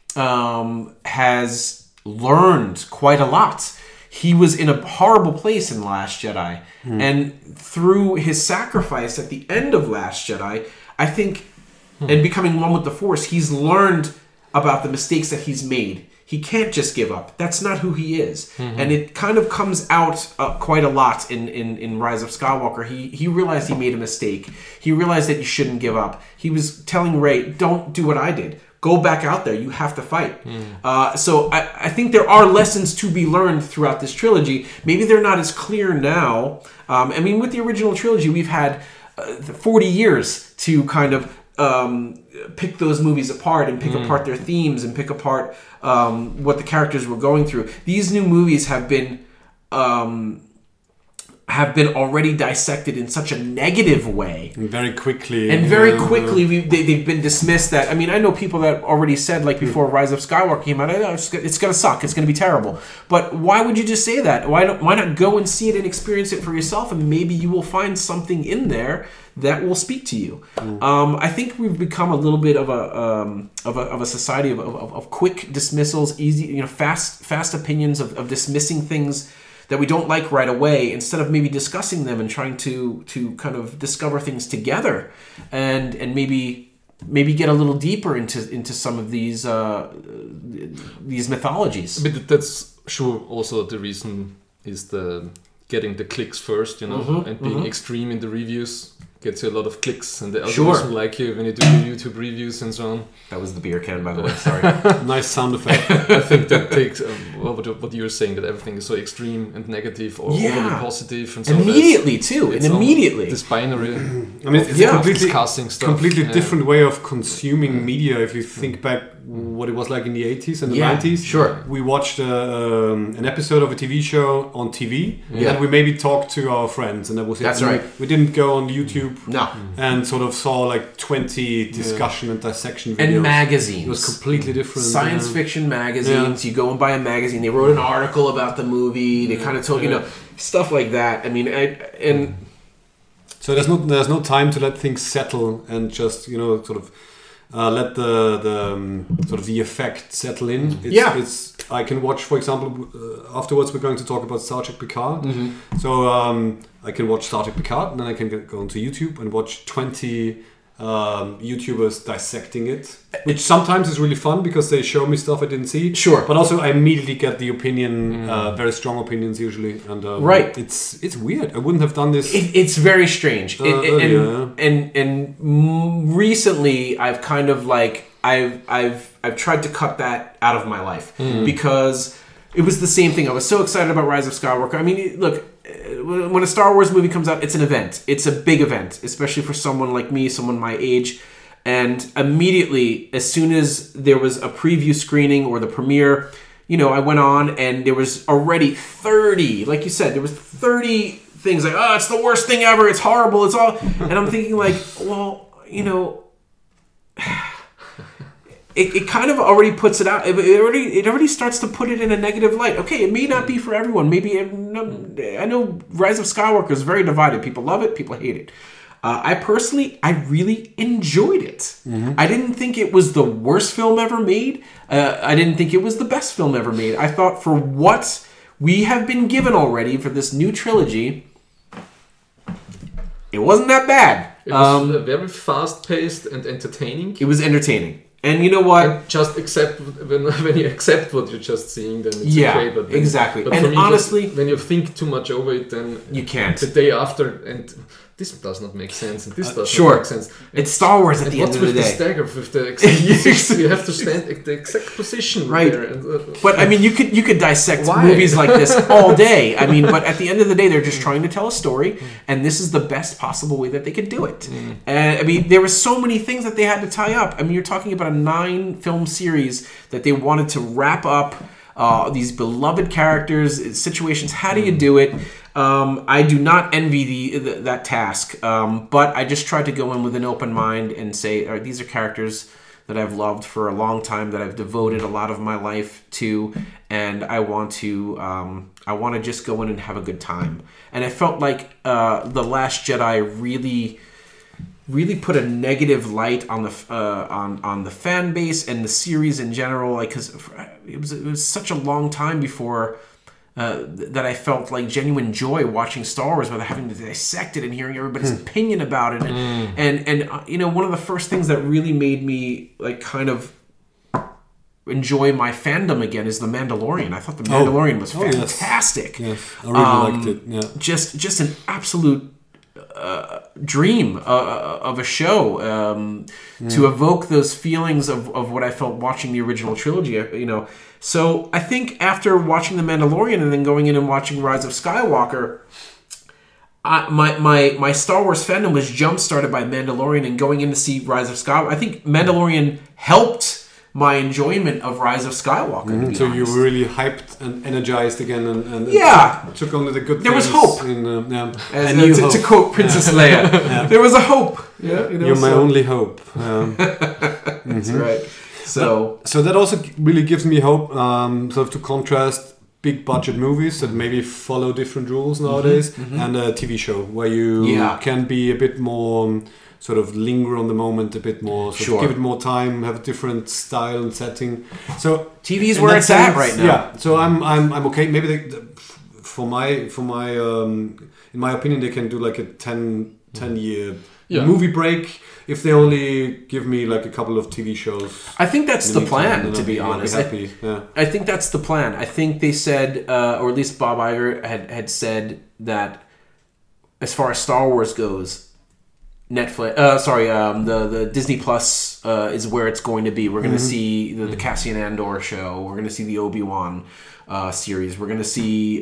[SPEAKER 4] has learned quite a lot. He was in a horrible place in Last Jedi, and through his sacrifice at the end of Last Jedi, I think, and becoming one with the Force, he's learned about the mistakes that he's made. He can't just give up. That's not who he is. And it kind of comes out quite a lot in Rise of Skywalker. He realized he made a mistake. He realized that you shouldn't give up. He was telling Rey, don't do what I did. Go back out there. You have to fight. So I think there are lessons to be learned throughout this trilogy. Maybe they're not as clear now. I mean, with the original trilogy, we've had 40 years to kind of pick those movies apart and pick apart their themes and pick apart what the characters were going through. These new movies have been have been already dissected in such a negative way.
[SPEAKER 1] And very quickly.
[SPEAKER 4] And very quickly, they've been dismissed. That, I mean, I know people that already said, like, before Rise of Skywalker came out, it's going to suck, it's going to be terrible. But why would you just say that? Why not go and see it and experience it for yourself, and maybe you will find something in there that will speak to you. I think we've become a little bit of a society of quick dismissals, easy, fast opinions of dismissing things that we don't like right away, instead of maybe discussing them and trying to kind of discover things together, and maybe get a little deeper into some of these mythologies.
[SPEAKER 2] But that's sure also the reason is the getting the clicks first, and being extreme in the reviews gets you a lot of clicks, and the algorithm like you when you do your YouTube reviews and so on.
[SPEAKER 4] That was the beer can, by the way. Sorry.
[SPEAKER 1] Nice sound effect.
[SPEAKER 2] I think that takes what you're saying, that everything is so extreme and negative or overly positive, and so
[SPEAKER 4] immediately too, and immediately
[SPEAKER 2] this binary.
[SPEAKER 1] I mean, it's a completely
[SPEAKER 2] stuff.
[SPEAKER 1] different way of consuming media. If you think back what it was like in the 80s and the 90s.
[SPEAKER 4] Sure.
[SPEAKER 1] We watched an episode of a TV show on TV, and we maybe talked to our friends, and that was it.
[SPEAKER 4] That's right.
[SPEAKER 1] We didn't go on YouTube
[SPEAKER 4] and
[SPEAKER 1] sort of saw like 20 discussion and dissection videos.
[SPEAKER 4] And magazines.
[SPEAKER 1] It was completely different.
[SPEAKER 4] Science fiction magazines. You go and buy a magazine. They wrote an article about the movie. They kind of told, stuff like that. I mean,
[SPEAKER 1] so there's no time to let things settle and just, sort of let the sort of the effect settle in. It's I can watch, for example, afterwards we're going to talk about Star Trek Picard. So I can watch Star Trek Picard, and then I can go onto YouTube and watch 20 YouTubers dissecting it, which sometimes is really fun because they show me stuff I didn't see.
[SPEAKER 4] Sure.
[SPEAKER 1] But also I immediately get the opinion, very strong opinions usually, and
[SPEAKER 4] right.
[SPEAKER 1] It's weird. I wouldn't have done this.
[SPEAKER 4] It's very strange. And recently I've kind of like I've tried to cut that out of my life because it was the same thing. I was so excited about Rise of Skywalker. I mean, look, when a Star Wars movie comes out, it's an event. It's a big event, especially for someone like me, someone my age. And immediately, as soon as there was a preview screening or the premiere, I went on and there was already 30, like you said, there was 30 things like, it's the worst thing ever, it's horrible, it's all... And I'm thinking like, well, It kind of already puts it out. It already starts to put it in a negative light. Okay, it may not be for everyone. Maybe I know Rise of Skywalker is very divided. People love it. People hate it. I really enjoyed it. I didn't think it was the worst film ever made. I didn't think it was the best film ever made. I thought for what we have been given already for this new trilogy, it wasn't that bad.
[SPEAKER 2] It was very fast-paced and entertaining.
[SPEAKER 4] It was entertaining. And you know what?
[SPEAKER 2] And just accept when you accept what you're just seeing, then it's okay. But
[SPEAKER 4] exactly.
[SPEAKER 2] But
[SPEAKER 4] and
[SPEAKER 2] for me,
[SPEAKER 4] honestly,
[SPEAKER 2] when you think too much over it, then
[SPEAKER 4] you can't.
[SPEAKER 2] The day after, and this does not make sense, and this does
[SPEAKER 4] not
[SPEAKER 2] make sense.
[SPEAKER 4] It's Star Wars at the end of the day.
[SPEAKER 2] What's with the stagger with the exact position? You have to stand at the exact position,
[SPEAKER 4] right?
[SPEAKER 2] There and,
[SPEAKER 4] but I mean, you could dissect movies like this all day. I mean, but at the end of the day, they're just trying to tell a story, and this is the best possible way that they could do it. And I mean, there were so many things that they had to tie up. I mean, you're talking about a 9-film series that they wanted to wrap up. These beloved characters, situations. How do you do it? I do not envy that task, but I just tried to go in with an open mind and say, these are characters that I've loved for a long time, that I've devoted a lot of my life to, and I want to just go in and have a good time. And I felt like The Last Jedi really put a negative light on the fan base and the series in general, like, because it was such a long time before that I felt like genuine joy watching Star Wars without having to dissect it and hearing everybody's opinion about it. And one of the first things that really made me like kind of enjoy my fandom again is The Mandalorian. I thought The Mandalorian was fantastic.
[SPEAKER 1] Yes. I really liked it. Yeah.
[SPEAKER 4] Just an absolute dream of a show to evoke those feelings of what I felt watching the original trilogy, So I think after watching The Mandalorian and then going in and watching Rise of Skywalker, my Star Wars fandom was jump-started by Mandalorian, and going in to see Rise of Skywalker, I think Mandalorian helped my enjoyment of Rise of Skywalker. To be
[SPEAKER 1] So you
[SPEAKER 4] honest.
[SPEAKER 1] were really hyped and energized again, and took on the good.
[SPEAKER 4] There was
[SPEAKER 1] things
[SPEAKER 4] hope. To quote Princess Leia, there was a hope. Yeah,
[SPEAKER 1] You're my only hope.
[SPEAKER 4] That's right. So
[SPEAKER 1] that also really gives me hope, sort of to contrast big budget movies that maybe follow different rules nowadays, and a TV show where you can be a bit more sort of linger on the moment a bit more, sort of give it more time, have a different style and setting. So
[SPEAKER 4] TV is where it's at right now.
[SPEAKER 1] Yeah, so I'm okay. Maybe for my in my opinion, they can do like a 10 year movie break if they only give me like a couple of TV shows.
[SPEAKER 4] I think that's the plan, to be honest.
[SPEAKER 1] I'll be happy.
[SPEAKER 4] I think that's the plan. I think they said, or at least Bob Iger had said that as far as Star Wars goes, Netflix, the Disney Plus is where it's going to be. We're going to see the Cassian Andor show. We're going to see the Obi-Wan series. We're going to see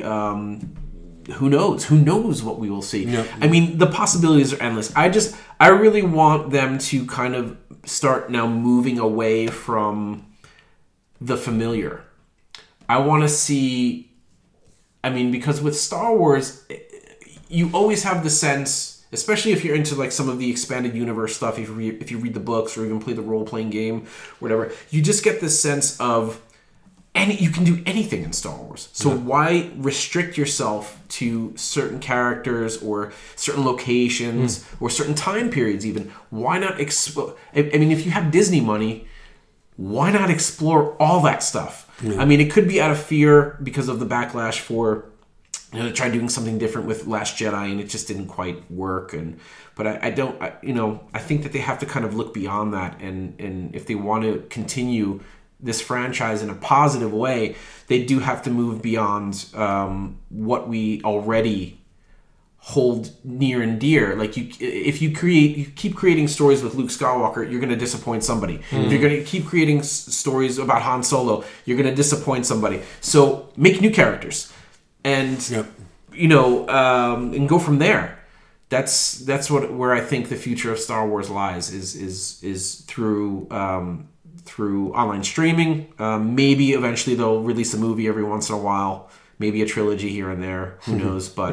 [SPEAKER 4] who knows what we will see. Yeah. I mean, the possibilities are endless. I really want them to kind of start now moving away from the familiar. I want to see, I mean, because with Star Wars, you always have the sense, especially if you're into like some of the expanded universe stuff, if you read the books or even play the role-playing game, whatever, you just get this sense of you can do anything in Star Wars. So why restrict yourself to certain characters or certain locations or certain time periods even? Why not explore? I mean, if you have Disney money, why not explore all that stuff? I mean, it could be out of fear because of the backlash for, they tried doing something different with Last Jedi and it just didn't quite work. But I think that they have to kind of look beyond that. And if they want to continue this franchise in a positive way, they do have to move beyond what we already hold near and dear. Like if you keep creating stories with Luke Skywalker, you're going to disappoint somebody. If you're going to keep creating stories about Han Solo, you're going to disappoint somebody. So make new characters, and and go from there. That's where I think the future of Star Wars lies is through online streaming. Maybe eventually they'll release a movie every once in a while, maybe a trilogy here and there, who knows, but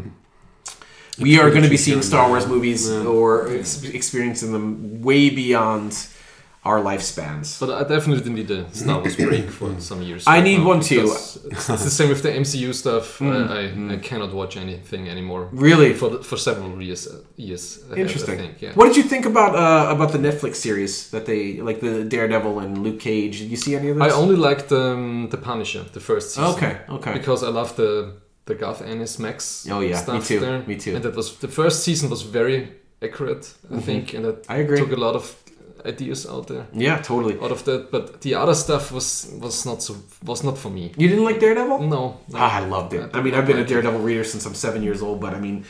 [SPEAKER 4] we are going to be seeing Star Wars movies or experiencing them way beyond our lifespans.
[SPEAKER 2] But I definitely need a Star Wars break for some years.
[SPEAKER 4] I need one too.
[SPEAKER 2] It's the same with the MCU stuff. I cannot watch anything anymore.
[SPEAKER 4] Really?
[SPEAKER 2] For several years.
[SPEAKER 4] Interesting.
[SPEAKER 2] I think, yeah.
[SPEAKER 4] What did you think about the Netflix series that they like, the Daredevil and Luke Cage? Did you see any of this?
[SPEAKER 2] I only liked the Punisher, the first season.
[SPEAKER 4] Okay.
[SPEAKER 2] Because I love the Garth Ennis Max stuff there.
[SPEAKER 4] Me too.
[SPEAKER 2] And that was the first season was very accurate, I think, and
[SPEAKER 4] I agree.
[SPEAKER 2] Took a lot of ideas out there.
[SPEAKER 4] Yeah, totally.
[SPEAKER 2] Out of that, but the other stuff was not for me.
[SPEAKER 4] You didn't like Daredevil?
[SPEAKER 2] No.
[SPEAKER 4] I loved it. I mean, I've been a Daredevil reader since I'm 7 years old, but I mean,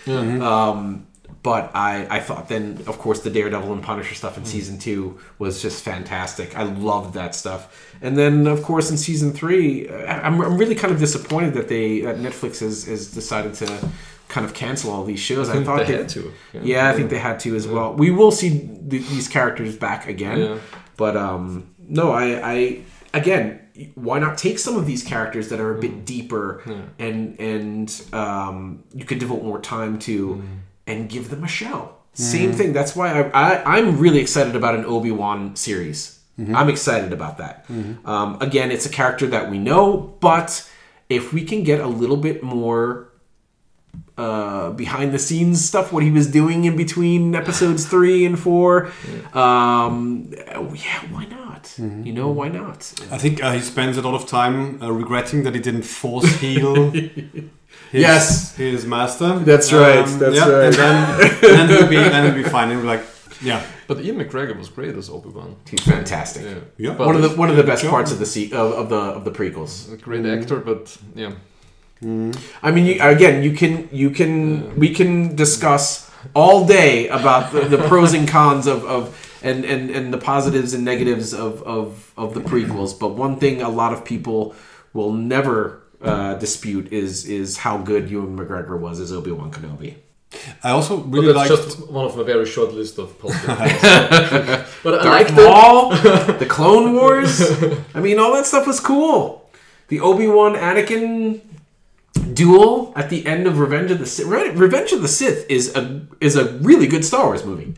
[SPEAKER 4] but I thought then, of course, the Daredevil and Punisher stuff in season 2 was just fantastic. I loved that stuff. And then, of course, in season 3, I'm really kind of disappointed that Netflix has decided to kind of cancel all these shows. I thought
[SPEAKER 2] they had to.
[SPEAKER 4] Yeah, I think they had to as well. We will see these characters back again, but no, I again, why not take some of these characters that are a bit deeper and you could devote more time to and give them a show. Same thing. That's why I'm really excited about an Obi-Wan series. I'm excited about that. Again, it's a character that we know, but if we can get a little bit more behind the scenes stuff, what he was doing in between episodes 3 and 4, why not? Why not?
[SPEAKER 1] I think he spends a lot of time regretting that he didn't force heal his master.
[SPEAKER 4] That's right.
[SPEAKER 1] And then he'll be fine. He'll be like, yeah.
[SPEAKER 2] But Ian McGregor was great as Obi-Wan.
[SPEAKER 4] He's fantastic.
[SPEAKER 1] Yeah.
[SPEAKER 4] One of the best parts of the prequels.
[SPEAKER 2] A great actor, but yeah.
[SPEAKER 4] I mean, we can discuss all day about the pros and cons of and the positives and negatives of the prequels. But one thing a lot of people will never dispute is how good Ewan McGregor was as Obi-Wan Kenobi.
[SPEAKER 1] I also
[SPEAKER 2] But
[SPEAKER 1] really
[SPEAKER 2] that's
[SPEAKER 1] liked...
[SPEAKER 2] just one of a very short list of positive things. But I
[SPEAKER 4] Darth
[SPEAKER 2] like
[SPEAKER 4] Maul, the Clone Wars. I mean, all that stuff was cool. The Obi-Wan Anakin duel at the end of Revenge of the Sith. Revenge of the Sith is a really good Star Wars movie.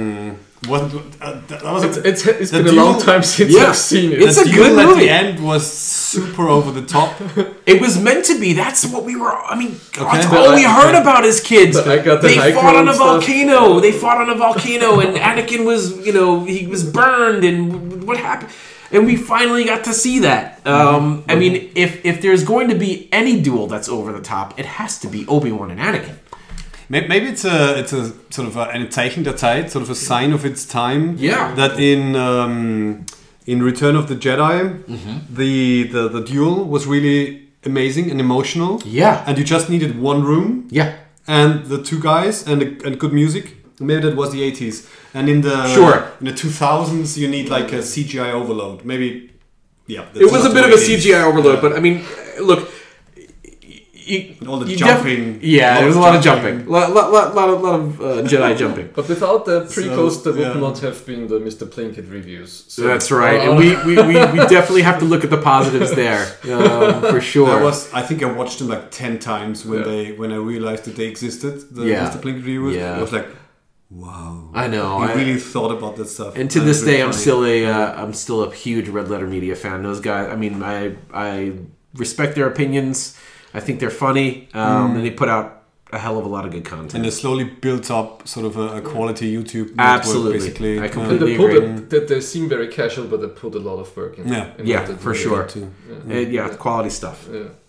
[SPEAKER 2] It's been a long time since I've seen it.
[SPEAKER 4] It's a good
[SPEAKER 1] at
[SPEAKER 4] movie.
[SPEAKER 1] the end was super over the top.
[SPEAKER 4] It was meant to be. That's what we were. I mean, that's
[SPEAKER 1] Okay.
[SPEAKER 4] all we heard about as kids.
[SPEAKER 2] But I got the
[SPEAKER 4] They
[SPEAKER 2] high
[SPEAKER 4] fought on a
[SPEAKER 2] ground stuff.
[SPEAKER 4] volcano. They fought on a volcano, and Anakin was, he was burned, and what happened? And we finally got to see that. I mean, if there's going to be any duel that's over the top, it has to be Obi-Wan and Anakin.
[SPEAKER 1] Maybe it's a sort of ein Zeichen der Zeit, sort of a sign of its time.
[SPEAKER 4] Yeah.
[SPEAKER 1] That in Return of the Jedi, the duel was really amazing and emotional.
[SPEAKER 4] Yeah.
[SPEAKER 1] And you just needed one room.
[SPEAKER 4] Yeah.
[SPEAKER 1] And the two guys and good music. Maybe that was the 80s. And in the in the 2000s, you need like a CGI overload. Maybe, yeah.
[SPEAKER 4] It was a bit of a CGI overload, but I mean, look.
[SPEAKER 1] All the jumping.
[SPEAKER 4] There was a lot of jumping. Lot of Jedi jumping.
[SPEAKER 2] But without the prequels, there would
[SPEAKER 1] yeah.
[SPEAKER 2] not have been the Mr. Plinkett reviews. So,
[SPEAKER 4] That's right, and we definitely have to look at the positives there, for sure.
[SPEAKER 1] I think I watched them like 10 times when I realized that they existed. The
[SPEAKER 4] Yeah.
[SPEAKER 1] Mr. Plinkett reviews.
[SPEAKER 4] Yeah.
[SPEAKER 1] I was like, wow.
[SPEAKER 4] I know.
[SPEAKER 1] I really thought about that stuff.
[SPEAKER 4] And to this day, I'm still a huge Red Letter Media fan. Those guys. I mean, I respect their opinions. I think they're funny, and they put out a hell of a lot of good content.
[SPEAKER 1] And they slowly built up sort of a quality YouTube network,
[SPEAKER 4] Absolutely.
[SPEAKER 1] basically.
[SPEAKER 4] I completely
[SPEAKER 2] They,
[SPEAKER 4] agree.
[SPEAKER 2] they seem very casual, but they put a lot of work in.
[SPEAKER 1] Yeah.
[SPEAKER 4] Yeah,
[SPEAKER 2] what they
[SPEAKER 4] for
[SPEAKER 2] do.
[SPEAKER 4] sure.
[SPEAKER 1] too.
[SPEAKER 4] Quality stuff.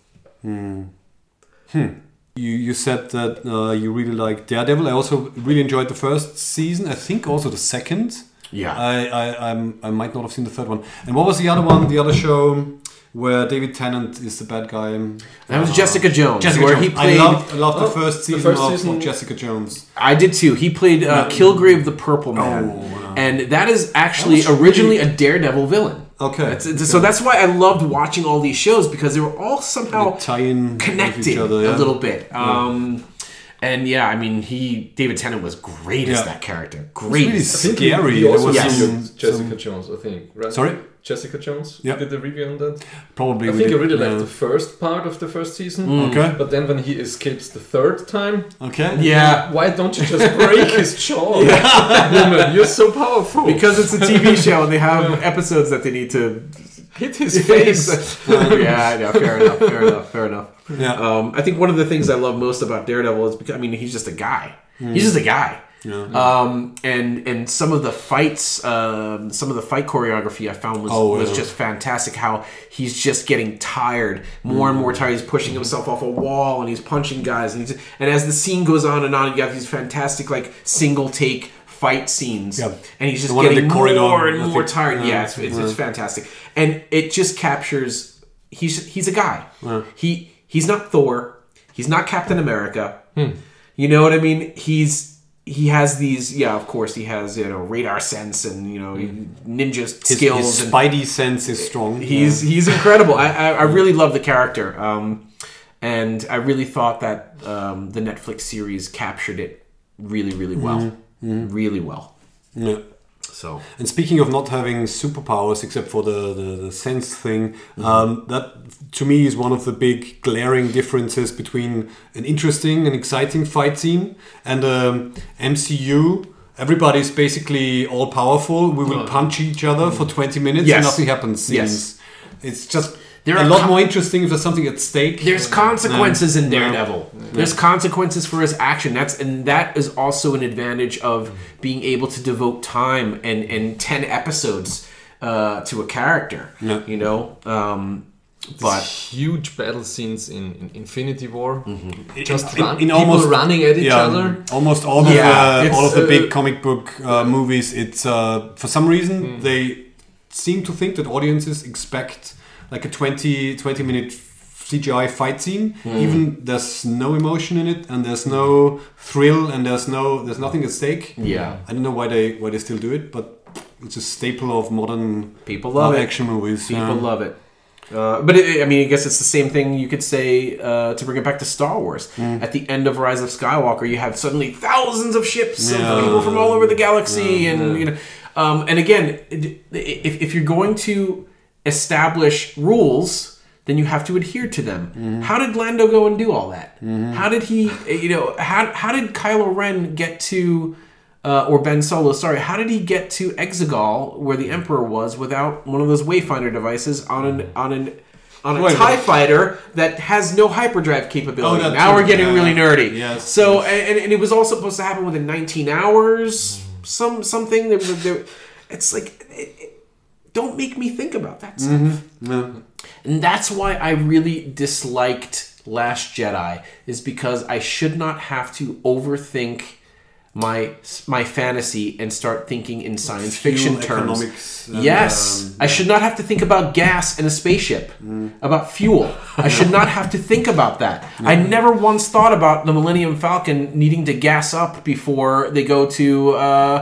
[SPEAKER 2] Yeah.
[SPEAKER 1] You said that you really like Daredevil. I also really enjoyed the first season. I think also the second.
[SPEAKER 4] Yeah.
[SPEAKER 1] I might not have seen the third one. And what was the other one? The other show where David Tennant is the bad guy.
[SPEAKER 4] That was Jessica Jones.
[SPEAKER 1] Jessica
[SPEAKER 4] where
[SPEAKER 1] Jones.
[SPEAKER 4] he played.
[SPEAKER 1] I loved the first season,
[SPEAKER 2] first
[SPEAKER 1] of Jessica Jones.
[SPEAKER 4] I did too. He played Kilgrave the Purple Man,
[SPEAKER 1] wow.
[SPEAKER 4] and that is actually
[SPEAKER 1] That was
[SPEAKER 4] originally a Daredevil villain.
[SPEAKER 1] Okay.
[SPEAKER 4] So that's why I loved watching all these shows, because they were all somehow
[SPEAKER 1] They tie in with
[SPEAKER 4] connected
[SPEAKER 1] each other, yeah.
[SPEAKER 4] a little bit. And yeah, I mean, David Tennant was great as that character. Great.
[SPEAKER 1] really
[SPEAKER 2] I think
[SPEAKER 1] scary.
[SPEAKER 2] He also
[SPEAKER 1] There was
[SPEAKER 2] reviewed
[SPEAKER 1] some-
[SPEAKER 2] Jessica Jones, I think. Right?
[SPEAKER 1] Sorry?
[SPEAKER 2] Jessica Jones?
[SPEAKER 1] Yeah.
[SPEAKER 2] Did the review on that?
[SPEAKER 1] Probably.
[SPEAKER 2] I
[SPEAKER 1] we
[SPEAKER 2] think I
[SPEAKER 1] did,
[SPEAKER 2] really
[SPEAKER 1] yeah.
[SPEAKER 2] liked the first part of the first season.
[SPEAKER 1] Okay.
[SPEAKER 2] But then when he escapes the third time,
[SPEAKER 1] Okay.
[SPEAKER 4] Yeah.
[SPEAKER 2] why don't you just break his jaw? Woman, you're so powerful.
[SPEAKER 4] Because it's a TV show and they have episodes that they need to
[SPEAKER 2] hit his face.
[SPEAKER 4] yeah, fair enough.
[SPEAKER 1] Yeah.
[SPEAKER 4] I think one of the things I love most about Daredevil is because, I mean, he's just a guy. He's just a guy.
[SPEAKER 1] Yeah.
[SPEAKER 4] And some of the fights, some of the fight choreography I found was just fantastic. How he's just getting tired, more and more tired. He's pushing himself off a wall and he's punching guys, and as the scene goes on, you have these fantastic like single take fight scenes, and he's just getting more and more tired. Yeah, it's fantastic, and it just captures. He's a guy. He's not Thor. He's not Captain America. You know what I mean? He has these, of course, he has, radar sense and, ninja skills.
[SPEAKER 1] His spidey sense is strong.
[SPEAKER 4] He's incredible. I really love the character. And I really thought that the Netflix series captured it really, really well. Really well.
[SPEAKER 1] Yeah.
[SPEAKER 4] So.
[SPEAKER 1] And speaking of not having superpowers, except for the sense thing, that to me is one of the big glaring differences between an interesting and exciting fight scene and MCU. Everybody's basically all powerful. We will punch each other for 20 minutes and nothing happens. Scenes. It's just a lot more interesting if there's something at stake.
[SPEAKER 4] There's consequences in Daredevil. There's consequences for his action. That is also an advantage of being able to devote time and 10 episodes to a character. But
[SPEAKER 2] huge battle scenes in Infinity War, just
[SPEAKER 1] in
[SPEAKER 2] people
[SPEAKER 1] almost
[SPEAKER 2] running at each other.
[SPEAKER 1] Almost all of the big comic book movies. It's for some reason they seem to think that audiences expect like a 20 minute CGI fight scene. Even there's no emotion in it, and there's no thrill, and there's nothing at stake.
[SPEAKER 4] Yeah,
[SPEAKER 1] I don't know why they still do it, but it's a staple of modern
[SPEAKER 4] people love
[SPEAKER 1] action movies.
[SPEAKER 4] People love it. But I guess it's the same thing you could say to bring it back to Star Wars. At the end of Rise of Skywalker, you have suddenly thousands of ships of people from all over the galaxy, and and again, if you're going to establish rules, then you have to adhere to them. How did Lando go and do all that? How did he, how did Kylo Ren get to, or Ben Solo, sorry, how did he get to Exegol, where the Emperor was, without one of those Wayfinder devices on a TIE fighter that has no hyperdrive capability? Now we're getting really nerdy.
[SPEAKER 1] Yes,
[SPEAKER 4] so, and it was all supposed to happen within 19 hours, something. It's like, don't make me think about that stuff. And that's why I really disliked Last Jedi, is because I should not have to overthink my fantasy and start thinking in science fiction terms. Yes. I should not have to think about gas in a spaceship, about fuel. I should not have to think about that. I never once thought about the Millennium Falcon needing to gas up before they go to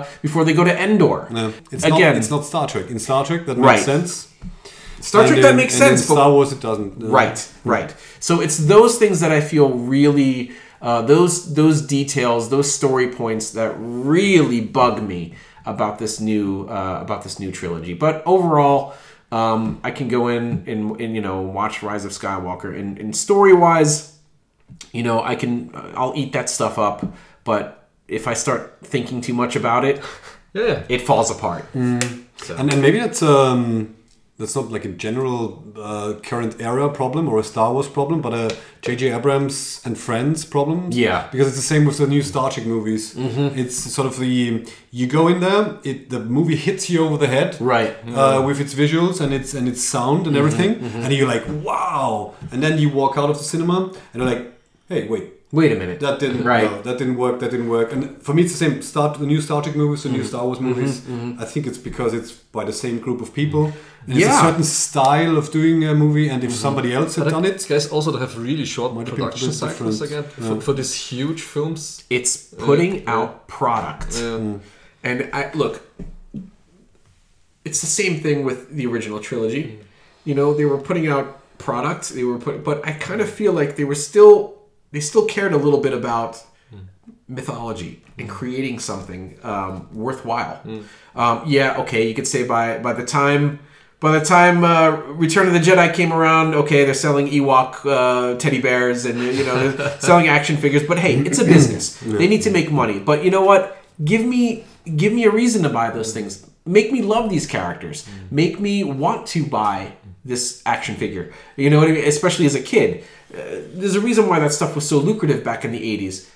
[SPEAKER 4] Endor.
[SPEAKER 1] No. It's not Star Trek. In Star Trek, that makes sense.
[SPEAKER 4] Star Trek, that makes sense.
[SPEAKER 1] In Star Wars, it doesn't.
[SPEAKER 4] Right. So it's those things that I feel really, those details, those story points that really bug me about this new trilogy. But overall, I can go in and watch Rise of Skywalker, and story wise, I'll eat that stuff up. But if I start thinking too much about it, it falls apart.
[SPEAKER 1] So. And maybe that's not like a general current era problem or a Star Wars problem, but a J.J. Abrams and Friends problem.
[SPEAKER 4] Yeah.
[SPEAKER 1] Because it's the same with the new Star Trek movies. It's sort of you go in there, the movie hits you over the head.
[SPEAKER 4] Right.
[SPEAKER 1] With its visuals and its sound and everything. And you're like, wow. And then you walk out of the cinema and you're like, hey, wait
[SPEAKER 4] a minute.
[SPEAKER 1] That didn't that didn't work. And for me, it's the same. The new Star Trek movies, the new Star Wars movies. I think it's because it's by the same group of people. And it's a certain style of doing a movie, and if somebody else had done it,
[SPEAKER 2] guys also have really short production cycles again for these huge films.
[SPEAKER 4] It's putting out product, and look. It's the same thing with the original trilogy. They were putting out product. But I kind of feel like they still cared a little bit about mythology and creating something worthwhile. You could say by the time Return of the Jedi came around, they're selling Ewok teddy bears and they're selling action figures. But hey, it's a business. They need to make money. But you know what? Give me a reason to buy those things. Make me love these characters. Make me want to buy this action figure. You know what I mean? Especially as a kid. There's a reason why that stuff was so lucrative back in the 80s.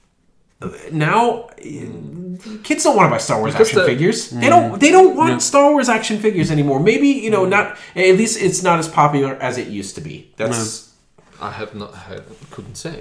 [SPEAKER 4] Now, kids don't want to buy Star Wars action figures. They don't want Star Wars action figures anymore. Maybe, not, at least it's not as popular as it used to be.
[SPEAKER 2] I couldn't say.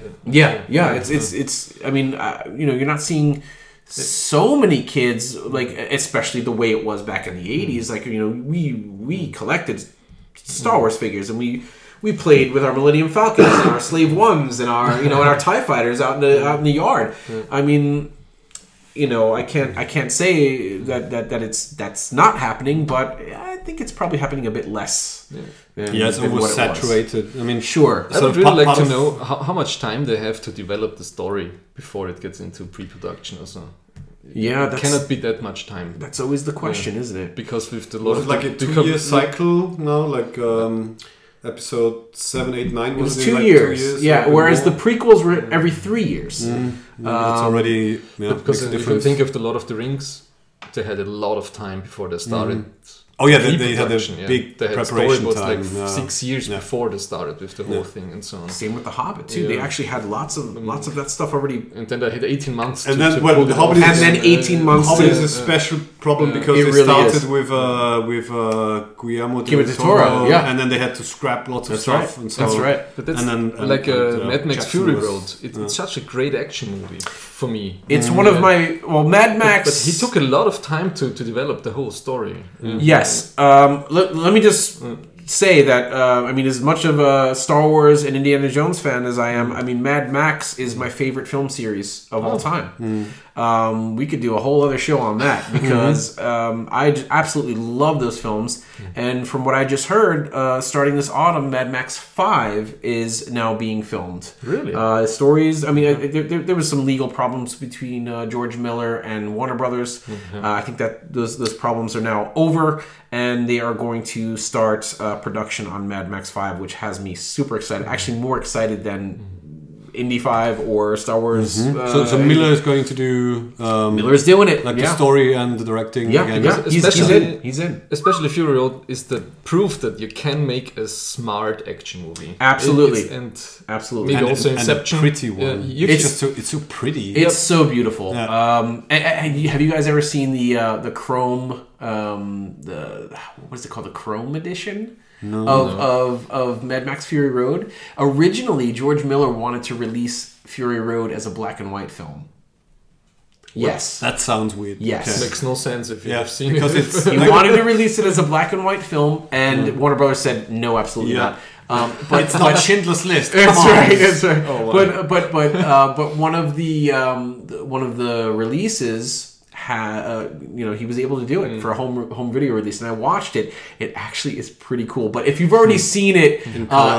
[SPEAKER 4] It's you're not seeing so many kids, like, especially the way it was back in the 80s. Like, we collected Star Wars figures, and we played with our Millennium Falcons and our Slave Ones and our and our TIE fighters out in the yard. I mean, I can't say that's not happening, but I think it's probably happening a bit less.
[SPEAKER 1] It's oversaturated. I mean,
[SPEAKER 4] sure.
[SPEAKER 2] I would really like to know how much time they have to develop the story before it gets into pre-production or so.
[SPEAKER 4] Yeah,
[SPEAKER 2] it cannot be that much time.
[SPEAKER 4] That's always the question, isn't it?
[SPEAKER 2] Because with the lot of
[SPEAKER 1] like a 2-year cycle now, like episode 7, 8, 9
[SPEAKER 4] was 2 years. Yeah, whereas the prequels were every 3 years.
[SPEAKER 1] It's already
[SPEAKER 2] because if you think of the Lord of the Rings, they had a lot of time before they started.
[SPEAKER 1] Oh yeah, they had a big preparation time.
[SPEAKER 2] Like 6 years before they started with the whole thing and so on.
[SPEAKER 4] Same with The Hobbit too. They actually had lots of that stuff already.
[SPEAKER 2] And then they had 18 months.
[SPEAKER 1] And then The Hobbit
[SPEAKER 4] and then 18 months.
[SPEAKER 1] Hobbit is a special problem because they started with Guillermo del Toro, and then they had to scrap lots of stuff. And so,
[SPEAKER 4] that's right.
[SPEAKER 2] But that's Mad Max Fury Road. It's such a great action movie for me.
[SPEAKER 4] It's one of my Mad Max.
[SPEAKER 2] But he took a lot of time to develop the whole story.
[SPEAKER 4] Yes. Let me just say that as much of a Star Wars and Indiana Jones fan as I am, Mad Max is my favorite film series of all time. we could do a whole other show on that because I absolutely love those films. And from what I just heard, starting this autumn, Mad Max 5 is now being filmed.
[SPEAKER 2] Really?
[SPEAKER 4] Stories. I mean, there was some legal problems between George Miller and Warner Brothers. I think that those problems are now over, and they are going to start production on Mad Max 5, which has me super excited. Actually, more excited than Indy 5 or Star Wars.
[SPEAKER 1] So Miller is going to do...
[SPEAKER 4] Miller's doing it.
[SPEAKER 1] Like the story and the directing.
[SPEAKER 4] Yeah,
[SPEAKER 1] again.
[SPEAKER 4] yeah. He's in.
[SPEAKER 2] Especially Fury Road is the proof that you can make a smart action movie.
[SPEAKER 4] Absolutely.
[SPEAKER 2] Absolutely. Maybe also Inception.
[SPEAKER 1] And a pretty one. It's so pretty.
[SPEAKER 4] It's so beautiful.
[SPEAKER 1] Yeah.
[SPEAKER 4] And have you guys ever seen the Chrome... what is it called? The Chrome edition? Of Mad Max Fury Road. Originally, George Miller wanted to release Fury Road as a black and white film. Yes.
[SPEAKER 1] That sounds weird.
[SPEAKER 4] Yes.
[SPEAKER 2] It makes no sense if you've seen
[SPEAKER 1] because
[SPEAKER 2] it.
[SPEAKER 4] He wanted to release it as a black and white film, and Warner Brothers said, no, absolutely not.
[SPEAKER 1] But it's not Schindler's List.
[SPEAKER 4] That's right.
[SPEAKER 2] Oh, wow.
[SPEAKER 4] But one of the releases... he was able to do it for a home video release, and I watched it. It actually is pretty cool. But if you've already seen it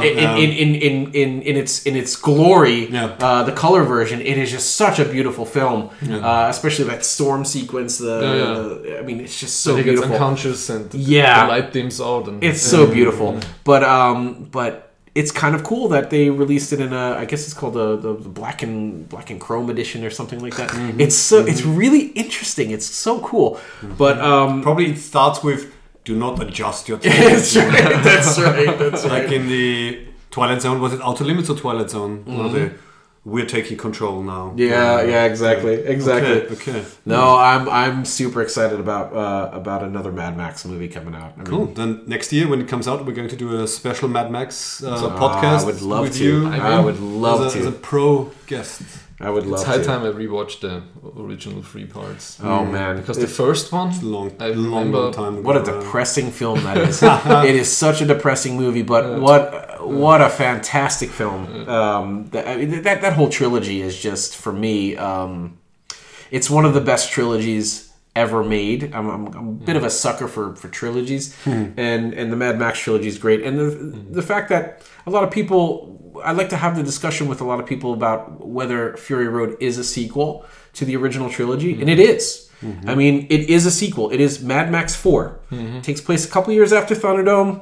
[SPEAKER 4] in its glory, the color version, it is just such a beautiful film. Especially that storm sequence. I mean, it's just so beautiful.
[SPEAKER 2] He gets unconscious and the light dims out. And,
[SPEAKER 4] it's so beautiful. But it's kind of cool that they released it in I guess it's called the black and chrome edition or something like that. It's really interesting. It's so cool. But
[SPEAKER 1] probably it starts with do not adjust your television.
[SPEAKER 4] That's right.
[SPEAKER 1] Like in the Twilight Zone, was it Outer Limits or Twilight Zone? We're taking control now.
[SPEAKER 4] Yeah, exactly.
[SPEAKER 1] Okay.
[SPEAKER 4] No, I'm super excited about another Mad Max movie coming out.
[SPEAKER 1] Cool. Then next year when it comes out, we're going to do a special Mad Max podcast.
[SPEAKER 4] I would love
[SPEAKER 1] with
[SPEAKER 4] to.
[SPEAKER 1] You.
[SPEAKER 4] I would love to.
[SPEAKER 1] As a pro guest.
[SPEAKER 4] I would love
[SPEAKER 2] to.
[SPEAKER 4] It's
[SPEAKER 2] high time I rewatched the original 3 parts.
[SPEAKER 4] Oh man,
[SPEAKER 2] because the first one,
[SPEAKER 1] long time ago.
[SPEAKER 4] What a depressing film that is. It is such a depressing movie, but what a fantastic film. That whole trilogy is just, for me, it's one of the best trilogies ever made. I'm a bit of a sucker for trilogies, and the Mad Max trilogy is great. And the fact that a lot of people, I like to have the discussion with a lot of people about whether Fury Road is a sequel to the original trilogy, and it is. I mean, it is a sequel. It is Mad Max 4. It takes place a couple years after Thunderdome.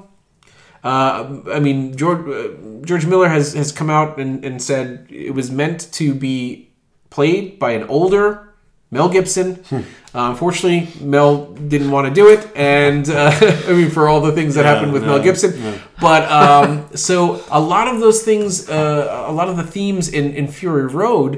[SPEAKER 4] I mean, George Miller has come out and said it was meant to be played by an older Mel Gibson. Unfortunately, Mel didn't want to do it, and I mean, for all the things that happened with Mel Gibson. Yeah. But so a lot of those things, a lot of the themes in Fury Road,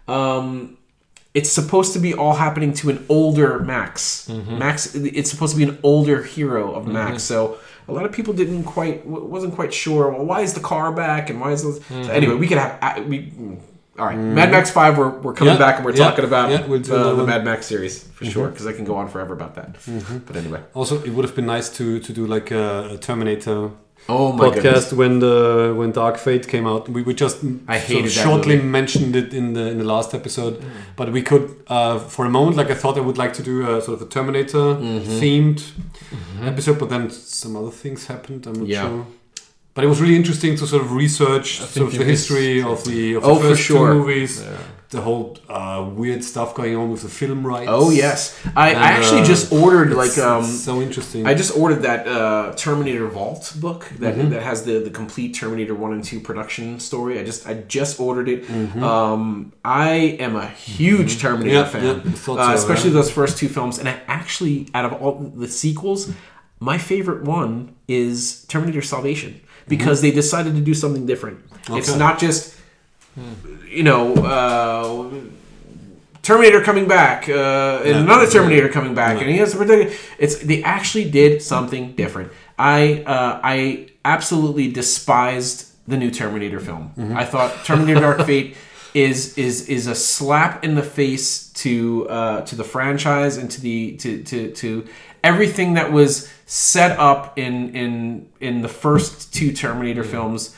[SPEAKER 4] it's supposed to be all happening to an older Max. Max, it's supposed to be an older hero of Max. So a lot of people wasn't quite sure. Well, why is the car back, and why is this? So anyway, we could have all right, Mad Max 5, we're coming back and we're talking about the Mad Max series for sure, because I can go on forever about that. But anyway.
[SPEAKER 1] Also, it would have been nice to do like a Terminator
[SPEAKER 4] podcast
[SPEAKER 1] when Dark Fate came out. We just shortly mentioned it in the last episode, but we could for a moment, like I thought I would like to do a sort of a Terminator themed episode, but then some other things happened. I'm not sure. But it was really interesting to sort of research sort of the history of the first two movies, the whole weird stuff going on with the film rights.
[SPEAKER 4] Oh yes, I actually just ordered
[SPEAKER 1] so interesting.
[SPEAKER 4] I just ordered that Terminator Vault book that has the complete Terminator 1 and 2 production story. I just ordered it. I am a huge Terminator fan, especially those first 2 films. And I actually, out of all the sequels, my favorite one is Terminator Salvation. Because they decided to do something different. Okay. It's not just, Terminator coming back, and another Terminator coming back, and he has to protect it. They actually did something different. I absolutely despised the new Terminator film. I thought Terminator Dark Fate is a slap in the face to the franchise and to everything that was set up in the first 2 Terminator films.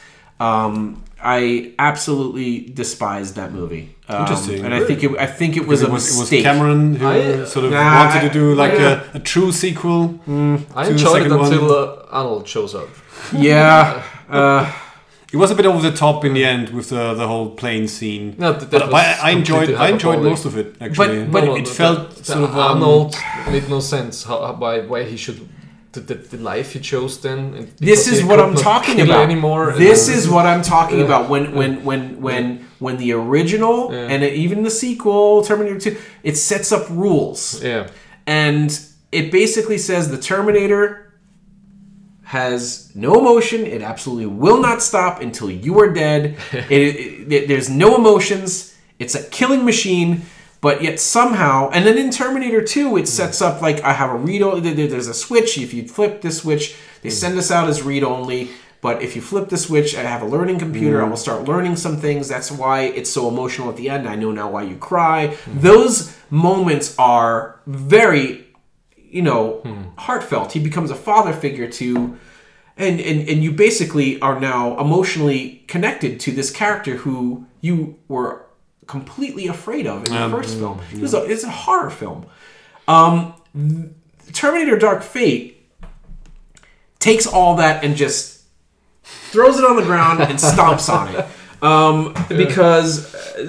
[SPEAKER 4] I absolutely despised that movie.
[SPEAKER 1] Interesting.
[SPEAKER 4] And I think it was a mistake.
[SPEAKER 1] It was Cameron who wanted to do a true sequel.
[SPEAKER 2] I enjoyed it until Arnold shows up.
[SPEAKER 4] Yeah.
[SPEAKER 1] It was a bit over the top in the end with the whole plane scene.
[SPEAKER 2] No,
[SPEAKER 1] but I enjoyed most of it actually. But it felt sort of
[SPEAKER 2] Arnold made no sense. Why he should the life he chose then.
[SPEAKER 4] This is what I'm talking about. Anymore. This is what I'm talking about. When the original and even the sequel Terminator 2, it sets up rules.
[SPEAKER 2] Yeah.
[SPEAKER 4] And it basically says the Terminator has no emotion. It absolutely will not stop until you are dead. There's no emotions. It's a killing machine. But yet somehow, and then in Terminator 2, it sets up like I have a read. There's a switch. If you flip this switch, they send us out as read only. But if you flip the switch, I have a learning computer. I will start learning some things. That's why it's so emotional at the end. I know now why you cry. Those moments are very, heartfelt. He becomes a father figure to, and you basically are now emotionally connected to this character who you were completely afraid of in the first film. It's a horror film. Terminator Dark Fate takes all that and just throws it on the ground and stomps on it. Because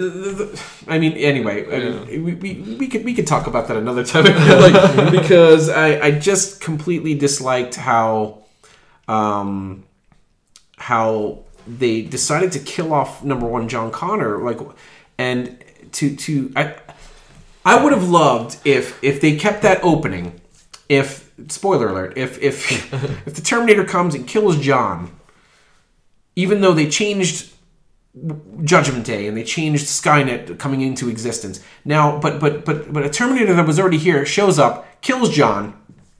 [SPEAKER 4] we could talk about that another time. Because I just completely disliked how they decided to kill off number one John Connor, and I would have loved if they kept that opening. If spoiler alert, if the Terminator comes and kills John, even though they changed Judgment Day and they changed Skynet coming into existence. Now, but a Terminator that was already here shows up, kills John.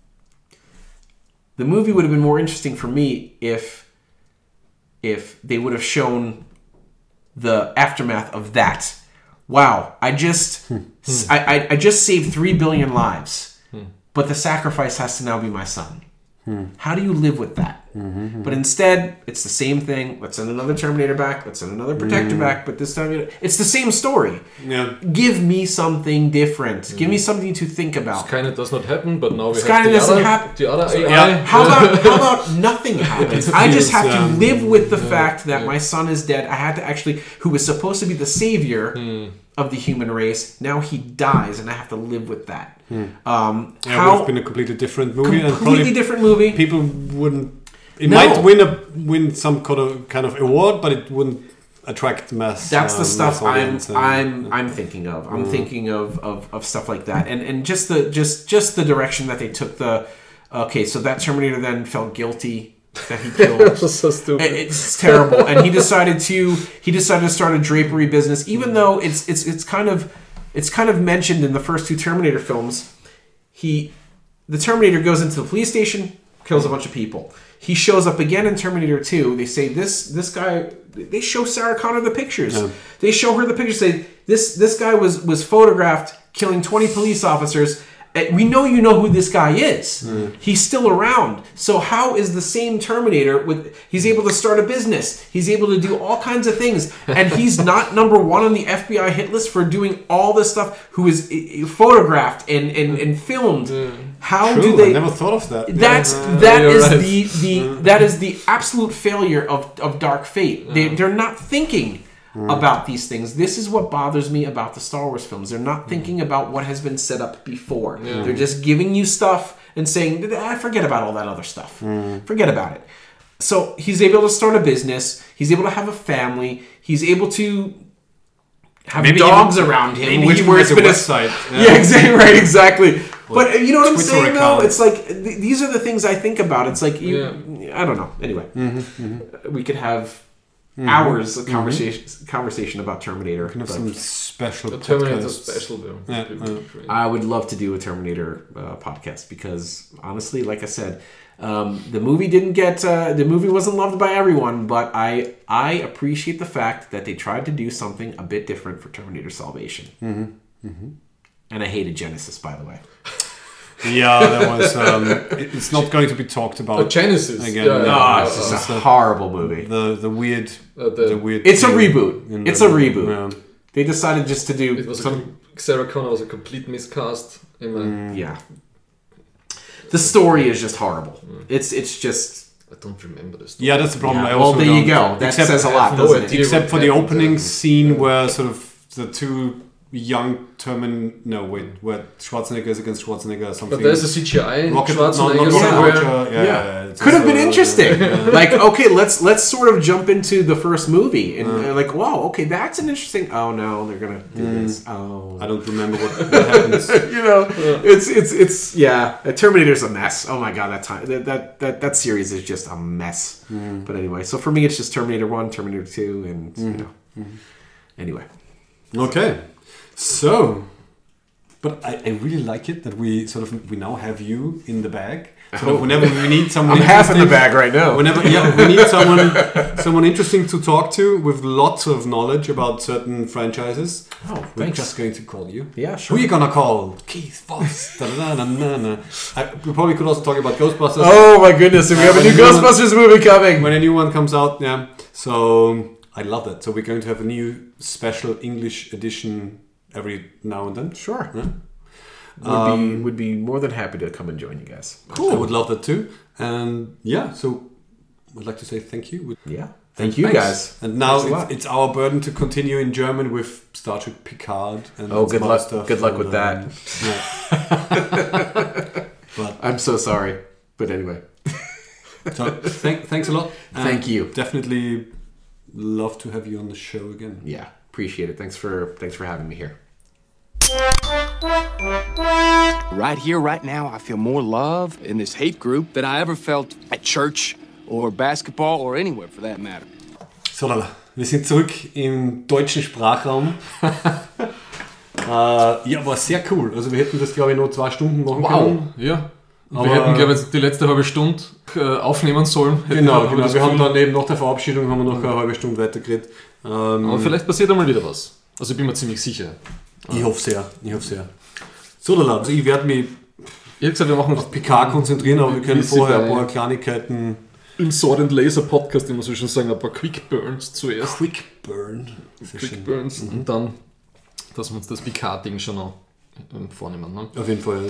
[SPEAKER 4] The movie would have been more interesting for me if they would have shown the aftermath of that. Wow, I just saved 3 billion lives, but the sacrifice has to now be my son. How do you live with that? But instead, it's the same thing. Let's send another Terminator back. Let's send another Protector back. But this time, it's the same story.
[SPEAKER 1] Yeah.
[SPEAKER 4] Give me something different. Give me something to think about.
[SPEAKER 2] Skynet does not happen, but now we
[SPEAKER 4] Skynet doesn't happen.
[SPEAKER 2] The other AI.
[SPEAKER 4] Yeah. How about nothing happens? I just have to live with the fact that my son is dead. I had to actually, who was supposed to be the savior of the human race, now he dies, and I have to live with that.
[SPEAKER 1] It would have been a completely different movie.
[SPEAKER 4] Completely different movie.
[SPEAKER 1] People wouldn't. It might win some kind of award, but it wouldn't attract mass.
[SPEAKER 4] That's the stuff I'm thinking of. I'm thinking of stuff like that, and just the direction that they took. So that Terminator then felt guilty that he killed.
[SPEAKER 2] That was so stupid.
[SPEAKER 4] It's terrible, and he decided to start a drapery business, even though it's kind of mentioned in the first two Terminator films. The Terminator goes into the police station, kills a bunch of people. He shows up again in Terminator 2. They say this guy. They show Sarah Connor the pictures. Yeah. They show her the pictures. Say this guy was photographed killing 20 police officers. We know you know who this guy is. He's still around. So how is the same Terminator he's able to start a business. He's able to do all kinds of things. And he's not number one on the FBI hit list for doing all this stuff, who is photographed and filmed. How
[SPEAKER 1] True,
[SPEAKER 4] do they?
[SPEAKER 1] I never thought of that.
[SPEAKER 4] That is the absolute failure of Dark Fate. They're not thinking about these things. This is what bothers me about the Star Wars films. They're not thinking about what has been set up before. They're just giving you stuff and saying, forget about all that other stuff. Forget about it. So he's able to start a business. He's able to have a family. He's able to have dogs around him,
[SPEAKER 1] where it's been a website.
[SPEAKER 4] Exactly. But you know what I'm saying, though? It's like, these are the things I think about. It's like, I don't know. Anyway, we could have hours of conversation about Terminator.
[SPEAKER 1] Kind of some special
[SPEAKER 2] Terminator special, though.
[SPEAKER 4] I would love to do a Terminator podcast because, honestly, like I said, the movie the movie wasn't loved by everyone, but I appreciate the fact that they tried to do something a bit different for Terminator Salvation. And I hated Genesis, by the way.
[SPEAKER 1] Yeah, that was. It's not going to be talked about
[SPEAKER 2] Genesis.
[SPEAKER 1] again.
[SPEAKER 4] It's just a horrible movie.
[SPEAKER 1] The weird.
[SPEAKER 2] The
[SPEAKER 1] weird.
[SPEAKER 4] It's a
[SPEAKER 1] thing
[SPEAKER 4] reboot.
[SPEAKER 1] in
[SPEAKER 4] It's
[SPEAKER 1] the-
[SPEAKER 4] a reboot.
[SPEAKER 1] Yeah.
[SPEAKER 4] They decided just to do
[SPEAKER 2] It was
[SPEAKER 4] some.
[SPEAKER 2] Sarah Connor was a complete miscast.
[SPEAKER 4] Yeah. The story is just horrible. It's just.
[SPEAKER 2] I don't remember this.
[SPEAKER 1] Yeah, that's the problem.
[SPEAKER 4] Yeah,
[SPEAKER 1] I
[SPEAKER 4] well,
[SPEAKER 1] also
[SPEAKER 4] there you
[SPEAKER 1] don't-
[SPEAKER 4] go. That
[SPEAKER 1] except-
[SPEAKER 4] says a lot,
[SPEAKER 2] no
[SPEAKER 4] doesn't it?
[SPEAKER 2] idea.
[SPEAKER 1] Except for
[SPEAKER 2] what
[SPEAKER 1] the
[SPEAKER 2] happened
[SPEAKER 1] opening
[SPEAKER 2] there.
[SPEAKER 1] scene where sort of the two young where Schwarzenegger is against Schwarzenegger or something.
[SPEAKER 2] But there's a CGI.
[SPEAKER 1] Rocket,
[SPEAKER 2] Schwarzenegger
[SPEAKER 1] not
[SPEAKER 2] somewhere.
[SPEAKER 1] Rocket, it's
[SPEAKER 4] Could have been
[SPEAKER 1] also-
[SPEAKER 4] interesting. Like, okay, let's sort of jump into the first movie and like, wow, okay, that's an interesting. Oh no, they're gonna do this. Oh,
[SPEAKER 1] I don't remember what happens.
[SPEAKER 4] you know, it's yeah. Terminator's a mess. Oh my god, that series is just a mess. But anyway, so for me, it's just Terminator 1, Terminator 2, and you know. Anyway,
[SPEAKER 1] Okay, so, but I really like it that we now have you in the bag. So whenever we need someone,
[SPEAKER 4] I'm half in the
[SPEAKER 1] interesting-
[SPEAKER 4] bag right now.
[SPEAKER 1] Whenever we need someone interesting to talk to with lots of knowledge about certain franchises.
[SPEAKER 4] Oh,
[SPEAKER 1] We're
[SPEAKER 4] thanks.
[SPEAKER 1] just going to call you.
[SPEAKER 4] Yeah, sure.
[SPEAKER 1] Who are you gonna call? Keith Voss. Da-da-da-da-da-da. We probably could also talk about Ghostbusters.
[SPEAKER 4] Oh my goodness, we have a new Ghostbusters movie coming.
[SPEAKER 1] When a new one comes out, yeah. So I love that. So we're going to have a new special English edition every now and then.
[SPEAKER 4] Sure.
[SPEAKER 1] Yeah.
[SPEAKER 4] Would be more than happy to come and join you guys.
[SPEAKER 1] Cool. I would love that too. And yeah, so I'd like to say thank you.
[SPEAKER 4] Yeah. Thank you
[SPEAKER 1] Thanks.
[SPEAKER 4] guys.
[SPEAKER 1] And now
[SPEAKER 4] Thanks a lot.
[SPEAKER 1] it's our burden to continue in German with Star Trek Picard. And
[SPEAKER 4] Oh,
[SPEAKER 1] some
[SPEAKER 4] good
[SPEAKER 1] other
[SPEAKER 4] luck.
[SPEAKER 1] stuff.
[SPEAKER 4] Good luck
[SPEAKER 1] And,
[SPEAKER 4] with that.
[SPEAKER 1] Yeah.
[SPEAKER 4] I'm so sorry, but anyway.
[SPEAKER 1] So thanks a lot. And
[SPEAKER 4] Thank you.
[SPEAKER 1] Definitely love to have you on the show again.
[SPEAKER 4] Yeah, appreciate it. Thanks for having me here.
[SPEAKER 5] Right here, right now, I feel more love in this hate group than I ever felt at church or basketball or anywhere for that matter.
[SPEAKER 1] So, Lala, wir sind zurück im deutschen Sprachraum. Ja, war sehr cool. Also wir hätten das, glaube ich, noch 2 Stunden machen können.
[SPEAKER 2] Ja.
[SPEAKER 1] Aber-
[SPEAKER 2] Wir hätten, glaube ich, die letzte halbe Stunde aufnehmen sollen.
[SPEAKER 1] Genau.
[SPEAKER 2] das
[SPEAKER 1] Wir haben
[SPEAKER 2] Gefühl.
[SPEAKER 1] dann eben nach der Verabschiedung haben wir noch eine halbe Stunde weitergeredet.
[SPEAKER 2] Aber vielleicht passiert einmal wieder was. Also ich bin mir ziemlich sicher.
[SPEAKER 1] Ich hoffe sehr. So, Lala, also ich werde mich
[SPEAKER 2] Ich hätte gesagt, wir machen
[SPEAKER 1] auf Picard konzentrieren, aber wir können
[SPEAKER 2] Wie sie
[SPEAKER 1] vorher
[SPEAKER 2] bei-
[SPEAKER 1] ein paar Kleinigkeiten...
[SPEAKER 2] im Sword and Laser Podcast, immer so schon sagen, ein paar Quick Burns zuerst.
[SPEAKER 1] Quick Burn. Sehr schön.
[SPEAKER 2] Quick Burns und dann, dass wir uns das Picard-Ding schon noch vornehmen. Ne?
[SPEAKER 1] Auf jeden Fall.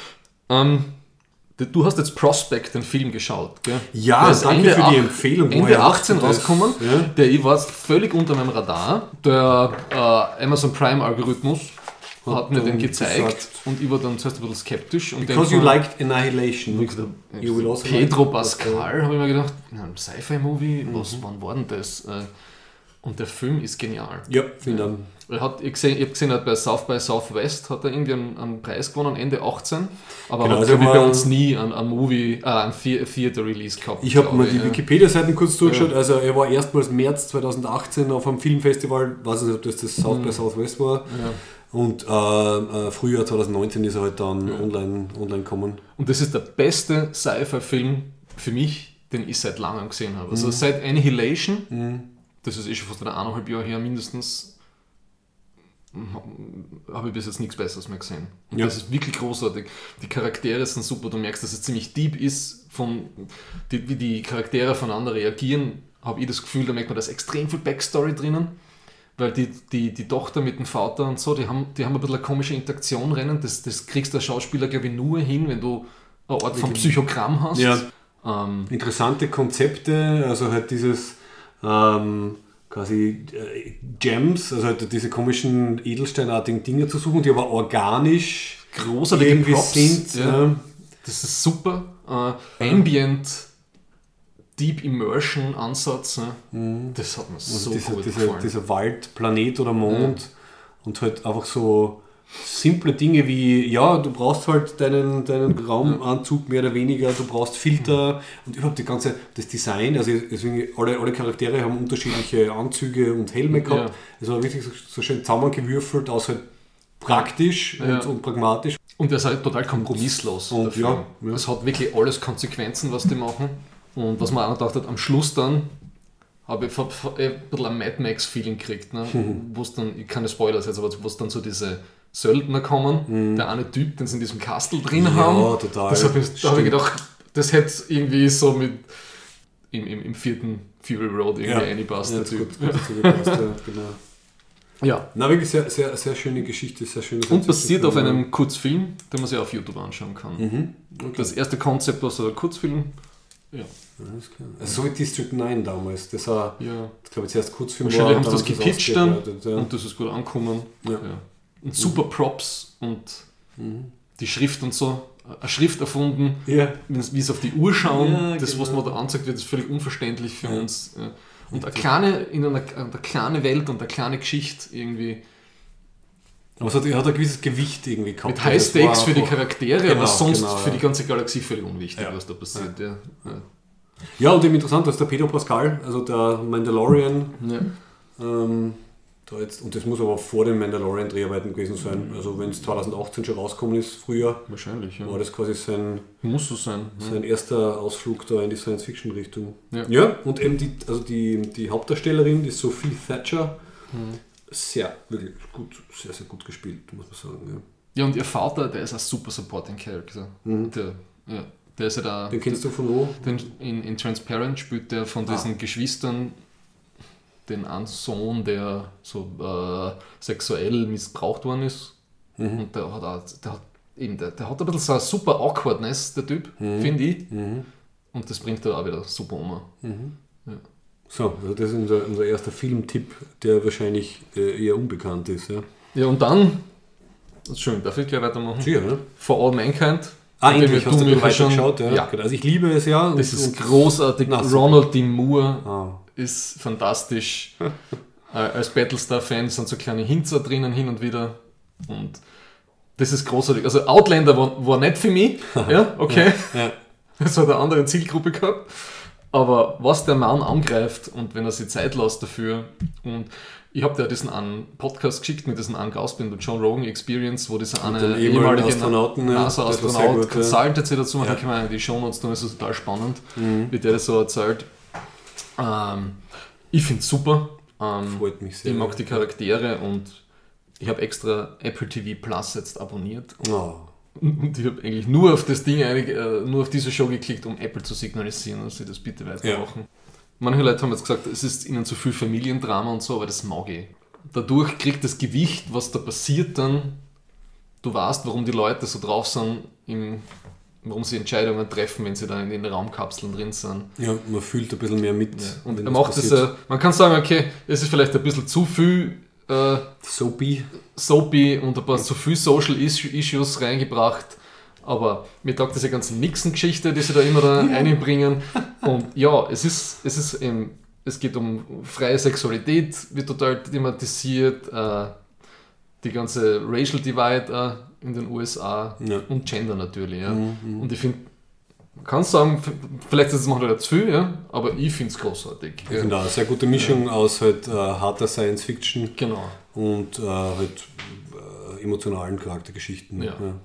[SPEAKER 2] Du hast jetzt Prospect, den Film, geschaut, gell?
[SPEAKER 1] Ja,
[SPEAKER 2] Der ist
[SPEAKER 1] danke für die
[SPEAKER 2] ach-
[SPEAKER 1] Empfehlung.
[SPEAKER 2] Ende
[SPEAKER 1] Woher
[SPEAKER 2] 18
[SPEAKER 1] hast du das?
[SPEAKER 2] rausgekommen.
[SPEAKER 1] Ja.
[SPEAKER 2] Der war völlig unter meinem Radar. Der Amazon Prime-Algorithmus hat mir den gezeigt
[SPEAKER 1] gesagt.
[SPEAKER 2] und ich war dann zuerst ein bisschen skeptisch. Und
[SPEAKER 1] Because
[SPEAKER 2] den
[SPEAKER 1] you
[SPEAKER 2] von
[SPEAKER 1] liked Annihilation. You will also
[SPEAKER 2] Pedro
[SPEAKER 1] like-
[SPEAKER 2] Pascal, habe ich mir gedacht, ein Sci-Fi-Movie, wann war denn das? Und der Film ist genial.
[SPEAKER 1] Ja, vielen Dank.
[SPEAKER 2] Ich habe gesehen, bei South by Southwest hat er irgendwie einen Preis gewonnen, Ende 18, aber
[SPEAKER 1] Genau,
[SPEAKER 2] hat
[SPEAKER 1] also
[SPEAKER 2] glaub ich,
[SPEAKER 1] war-
[SPEAKER 2] bei uns nie ein Theater-Release gehabt.
[SPEAKER 1] Ich habe
[SPEAKER 2] glaub
[SPEAKER 1] mir die
[SPEAKER 2] ja.
[SPEAKER 1] Wikipedia-Seiten kurz durchgeschaut. Also er war erstmals März 2018 auf einem Filmfestival. Ich weiß nicht, ob das South by Southwest war.
[SPEAKER 2] Ja.
[SPEAKER 1] Und Frühjahr 2019 ist er halt dann online gekommen.
[SPEAKER 2] Und das ist der beste Sci-Fi-Film für mich, den ich seit langem gesehen habe. Also seit Annihilation, das ist schon fast 1,5 Jahre her mindestens, habe ich bis jetzt nichts Besseres mehr gesehen. Und
[SPEAKER 1] Ja.
[SPEAKER 2] das ist wirklich großartig. Die Charaktere sind super, du merkst, dass es ziemlich deep ist, wie die Charaktere voneinander reagieren, habe ich das Gefühl, da merkt man, da ist extrem viel Backstory drinnen, weil die Tochter mit dem Vater und so, die haben ein bisschen eine komische Interaktion rennen, das kriegst du als Schauspieler, glaube ich, nur hin, wenn du eine Art von Psychogramm hast.
[SPEAKER 1] Ja. Interessante Konzepte, also halt dieses quasi Gems, also halt diese komischen edelsteinartigen Dinge zu suchen, die aber organisch
[SPEAKER 2] Großartige
[SPEAKER 1] irgendwie
[SPEAKER 2] Props,
[SPEAKER 1] sind.
[SPEAKER 2] ja. Das ist super. Ambient, Deep Immersion Ansatz, ne? Das hat mir
[SPEAKER 1] Also
[SPEAKER 2] so gut gefallen.
[SPEAKER 1] dieser Wald, Planet oder Mond und halt einfach so simple Dinge wie, ja, du brauchst halt deinen Raumanzug mehr oder weniger, du brauchst Filter und überhaupt das Design, also deswegen alle Charaktere haben unterschiedliche Anzüge und Helme gehabt.
[SPEAKER 2] Ja.
[SPEAKER 1] Es war wirklich so schön zusammengewürfelt, aus halt praktisch und pragmatisch.
[SPEAKER 2] Und der ist halt total kompromisslos.
[SPEAKER 1] Und
[SPEAKER 2] der Film.
[SPEAKER 1] ja.
[SPEAKER 2] Es hat wirklich alles Konsequenzen, was die machen. Und was man auch gedacht hat, am Schluss dann habe ich ein bisschen ein Mad Max-Feeling gekriegt, ne? Wo es dann, keine Spoilers jetzt, aber wo es dann so diese Söldner kommen. Der eine Typ, den sie in diesem Kastel drin haben.
[SPEAKER 1] Ja, total.
[SPEAKER 2] Da habe ich gedacht, das hätte irgendwie so mit im 4. Fury Road irgendwie reingepasst.
[SPEAKER 1] Ja,
[SPEAKER 2] der Typ.
[SPEAKER 1] gut dazu gepasst, ja, genau.
[SPEAKER 2] Ja.
[SPEAKER 1] Na, wirklich sehr, sehr, sehr schöne Geschichte, sehr schönes
[SPEAKER 2] Und basiert auf einem Kurzfilm, den man sich auf YouTube anschauen kann.
[SPEAKER 1] Okay.
[SPEAKER 2] Das erste Konzept war so ein Kurzfilm. Ja.
[SPEAKER 1] Alles klar. Also so wie District 9 damals. Das war, ich glaube, zuerst Kurzfilm
[SPEAKER 2] wahrscheinlich haben sie
[SPEAKER 1] und
[SPEAKER 2] das gepitcht dann
[SPEAKER 1] ja.
[SPEAKER 2] und das ist gut angekommen.
[SPEAKER 1] Ja.
[SPEAKER 2] Ja. Und super Props und die Schrift und so. Eine Schrift erfunden, wie es auf die Uhr schauen. Das, was man da anzeigt wird, ist völlig unverständlich für uns. Ja. Und eine kleine Welt und eine kleine Geschichte irgendwie.
[SPEAKER 1] Aber es hat ein gewisses Gewicht irgendwie gehabt.
[SPEAKER 2] Mit High Stakes für die Charaktere, aber sonst für
[SPEAKER 1] ja.
[SPEAKER 2] die ganze Galaxie völlig unwichtig, was da passiert. Ja.
[SPEAKER 1] Ja, und eben interessant, dass der Pedro Pascal, also der Mandalorian, da jetzt, und das muss aber vor den Mandalorian-Dreharbeiten gewesen sein, also wenn es 2018 schon rausgekommen ist, früher,
[SPEAKER 2] wahrscheinlich,
[SPEAKER 1] war das quasi sein erster Ausflug da in die Science-Fiction-Richtung. Ja, und eben die Hauptdarstellerin, die Sophie Thatcher, sehr, wirklich gut, sehr, sehr gut gespielt, muss man sagen.
[SPEAKER 2] Ja, und ihr Vater, der ist ein super Supporting Character. Der ist ja da.
[SPEAKER 1] Den kennst du von wo?
[SPEAKER 2] In Transparent spielt der von diesen Geschwistern den einen Sohn, der so sexuell missbraucht worden ist. Und der hat ein bisschen so eine super Awkwardness, der Typ, finde ich. Und das bringt er auch wieder super um. Ja.
[SPEAKER 1] So, also das ist unser erster Filmtipp, der wahrscheinlich eher unbekannt ist. Ja,
[SPEAKER 2] und dann, schön, darf ich gleich weitermachen?
[SPEAKER 1] Sicher, ne?
[SPEAKER 2] For All Mankind.
[SPEAKER 1] Endlich hast du weitergeschaut. Ja. Also ich liebe es ja.
[SPEAKER 2] Das ist großartig. Ronald D. Moore ist fantastisch. Als Battlestar-Fan sind so kleine Hinzer drinnen hin und wieder. Und das ist großartig. Also Outlander war nicht für mich. Ja, okay.
[SPEAKER 1] Ja.
[SPEAKER 2] Das hat eine andere Zielgruppe gehabt. Aber was der Mann angreift und wenn er sich Zeit lässt dafür, und ich habe dir diesen einen Podcast geschickt mit diesem einen Gast, mit der John Rogan Experience, wo dieser eine ehemalige NASA-Astronaut Consultant sich dazu macht, kann man in die Shownotes tun, das ist total spannend, wie der das so erzählt. Ich finde es super.
[SPEAKER 1] Freut mich sehr.
[SPEAKER 2] Ich mag die Charaktere und ich habe extra Apple TV Plus jetzt abonniert. Und ich habe eigentlich nur auf das Ding, nur auf diese Show geklickt, um Apple zu signalisieren, dass sie das bitte weitermachen. Manche Leute haben jetzt gesagt, es ist ihnen zu viel Familiendrama und so, aber das mag ich. Dadurch kriegt das Gewicht, was da passiert dann, du weißt, warum die Leute so drauf sind, warum sie Entscheidungen treffen, wenn sie dann in den Raumkapseln drin sind.
[SPEAKER 1] Ja, man fühlt ein bisschen mehr mit.
[SPEAKER 2] Ja. Und er macht das, man kann sagen, okay, es ist vielleicht ein bisschen zu viel Soapy und ein paar zu viel Social Issues reingebracht, aber mir taugt diese ganze Nixon-Geschichte, die sie da immer einbringen. Und ja, es geht um freie Sexualität, wird total thematisiert, die ganze Racial Divide in den USA und Gender natürlich. Ja. Und ich finde, man kann sagen, vielleicht ist es manchmal zu viel, ja, aber ich finde es großartig.
[SPEAKER 1] Ich finde auch eine sehr gute Mischung aus halt harter Science-Fiction und halt emotionalen Charaktergeschichten.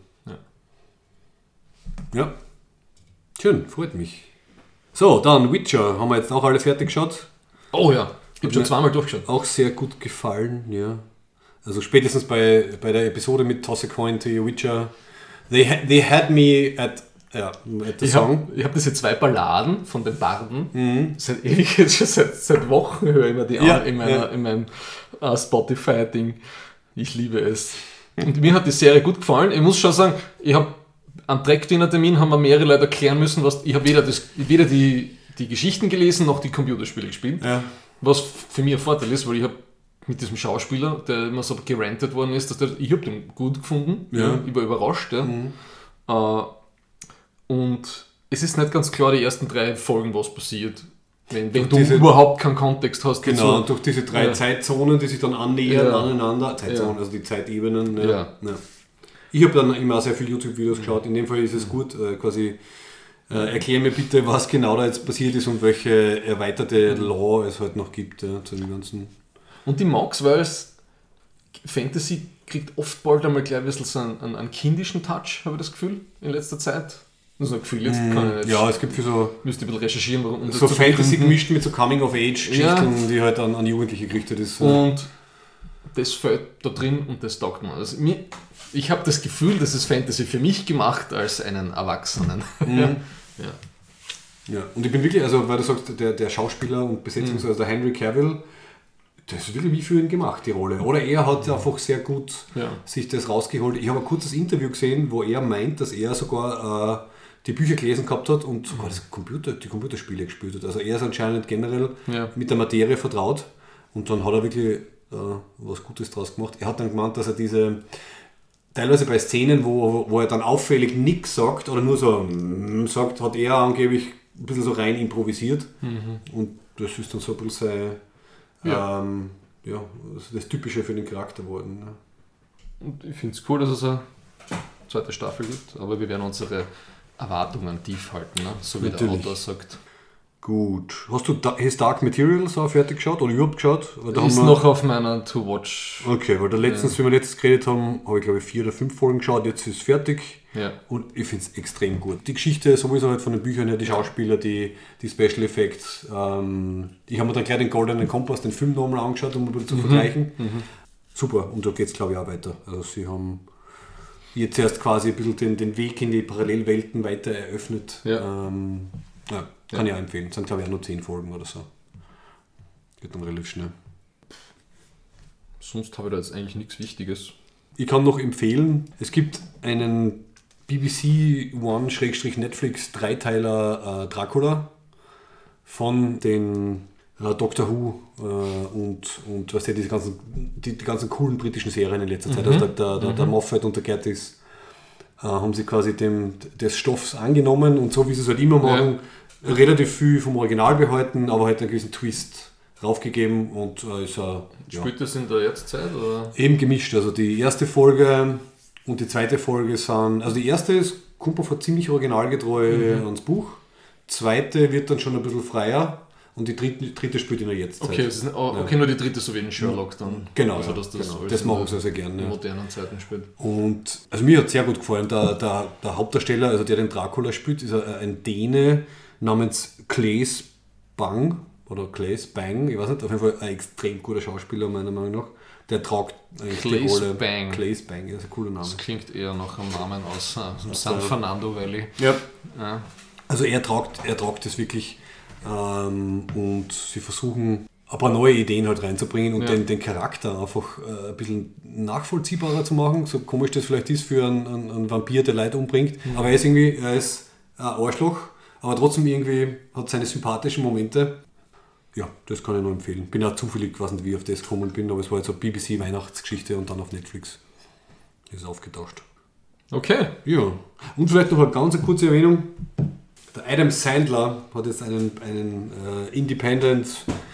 [SPEAKER 1] Ja. Schön, freut mich. So, dann Witcher, haben wir jetzt auch alle fertig geschaut.
[SPEAKER 2] Oh ja, ich habe schon zweimal durchgeschaut.
[SPEAKER 1] Auch sehr gut gefallen, ja. Also spätestens bei der Episode mit Toss a Coin to your Witcher, they had me at the song.
[SPEAKER 2] Ich habe diese 2 Balladen von den Barden seit ewig, seit Wochen höre ich mir die an in meinem Spotify-Ding. Ich liebe es. Und mir hat die Serie gut gefallen. Ich muss schon sagen, ich habe am Track-Dinner-Termin haben wir mehrere Leute erklären müssen, ich habe weder die Geschichten gelesen, noch die Computerspiele gespielt. Ja. Was für mich ein Vorteil ist, weil ich habe mit diesem Schauspieler, der immer so gerantet worden ist, ich habe den gut gefunden. Ja. Ich war überrascht. Ja. Und es ist nicht ganz klar, die ersten 3 Folgen, was passiert. Wenn du überhaupt keinen Kontext hast.
[SPEAKER 1] Genau, durch diese 3 Zeitzonen, die sich dann annähern aneinander. Zeitzonen, also die Zeitebenen. Ja. Ich habe dann immer sehr viele YouTube-Videos geschaut. In dem Fall ist es gut, quasi erklär mir bitte, was genau da jetzt passiert ist und welche erweiterte Law es halt noch gibt zu dem Ganzen.
[SPEAKER 2] Und die mag's, weil es Fantasy kriegt oft bald einmal gleich ein bisschen so einen kindischen Touch, habe ich das Gefühl, in letzter Zeit. Das ist ein Gefühl, jetzt kann ich nicht.
[SPEAKER 1] Ja, es gibt für so.
[SPEAKER 2] Müsste ein bisschen recherchieren, warum.
[SPEAKER 1] So Fantasy gemischt mit so Coming-of-Age-Geschichten, die halt an Jugendliche gerichtet ist.
[SPEAKER 2] Und das fällt da drin und das taugt mir. Also ich habe das Gefühl, das ist Fantasy für mich gemacht als einen Erwachsenen.
[SPEAKER 1] Ja, und ich bin wirklich, also weil du sagst, der Schauspieler und Besetzung, also der Henry Cavill, das ist wirklich wie für ihn gemacht, die Rolle. Oder er hat einfach sehr gut sich das rausgeholt. Ich habe ein kurzes Interview gesehen, wo er meint, dass er sogar die Bücher gelesen gehabt hat und sogar die Computerspiele gespielt hat. Also er ist anscheinend generell mit der Materie vertraut und dann hat er wirklich was Gutes draus gemacht. Er hat dann gemeint, dass er diese, teilweise bei Szenen, wo er dann auffällig nichts sagt oder nur so sagt, hat er angeblich ein bisschen so rein improvisiert. Und das ist dann so ein bisschen das Typische für den Charakter geworden. Ja.
[SPEAKER 2] Und ich finde es cool, dass es eine zweite Staffel gibt, aber wir werden unsere Erwartungen tief halten, ne? So wie
[SPEAKER 1] Natürlich.
[SPEAKER 2] der Autor sagt.
[SPEAKER 1] Gut. Hast du His Dark Materials auch fertig geschaut oder überhaupt geschaut? Da
[SPEAKER 2] ist noch auf meiner To-Watch.
[SPEAKER 1] Okay, weil wie wir letztens geredet haben, habe ich glaube ich 4 oder 5 Folgen geschaut, jetzt ist es fertig.
[SPEAKER 2] Ja.
[SPEAKER 1] Und ich finde es extrem gut. Die Geschichte sowieso halt von den Büchern her, die Schauspieler, die Special Effects. Ich habe mir dann gleich den Goldenen Kompass, den Film nochmal angeschaut, um ein bisschen zu vergleichen. Super, und da geht es glaube ich auch weiter. Also sie haben jetzt erst quasi ein bisschen den Weg in die Parallelwelten weiter eröffnet. Kann ich auch empfehlen. Es sind glaube ich auch nur 10 Folgen oder so. Geht dann relativ schnell.
[SPEAKER 2] Sonst habe ich da jetzt eigentlich nichts Wichtiges.
[SPEAKER 1] Ich kann noch empfehlen, es gibt einen BBC One/Netflix Dreiteiler Dracula von den Doctor Who und was die ganzen coolen britischen Serien in letzter Zeit. Also der Moffat und der Gatiss haben sie quasi des Stoffs angenommen und so wie sie es halt immer machen, relativ viel vom Original behalten, aber halt einen gewissen Twist raufgegeben und ist
[SPEAKER 2] Spielt das in der Jetztzeit? Oder?
[SPEAKER 1] Eben gemischt. Also die erste Folge und die zweite Folge sind, also die erste kommt man ziemlich originalgetreu ans Buch, zweite wird dann schon ein bisschen freier und die dritte spielt in der Jetztzeit.
[SPEAKER 2] Okay, nur die dritte, so wie in Sherlock dann.
[SPEAKER 1] Genau,
[SPEAKER 2] also, dass
[SPEAKER 1] das machen sie sehr gerne.
[SPEAKER 2] In modernen Zeiten spielt.
[SPEAKER 1] Und also mir hat sehr gut gefallen, der Hauptdarsteller, also der den Dracula spielt, ist ein Däne namens Claes Bang, oder Claes Bang, ich weiß nicht, auf jeden Fall ein extrem guter Schauspieler meiner Meinung nach. Der tragt eigentlich die Rolle. Claes Bang, das ist ein cooler Name.
[SPEAKER 2] Das klingt eher nach einem Namen aus dem San Fernando Valley.
[SPEAKER 1] Ja. Also er tragt das wirklich und sie versuchen ein paar neue Ideen halt reinzubringen und den Charakter einfach ein bisschen nachvollziehbarer zu machen, so komisch das vielleicht ist für einen Vampir, der Leute umbringt, aber er ist ein Arschloch, aber trotzdem irgendwie hat seine sympathischen Momente. Ja, das kann ich nur empfehlen. Bin auch zufällig, ich weiß nicht, wie ich auf das gekommen bin, aber es war jetzt eine BBC-Weihnachtsgeschichte und dann auf Netflix ist es aufgetaucht.
[SPEAKER 2] Okay.
[SPEAKER 1] Ja, und vielleicht noch eine ganz kurze Erwähnung. Der Adam Sandler hat jetzt einen Independent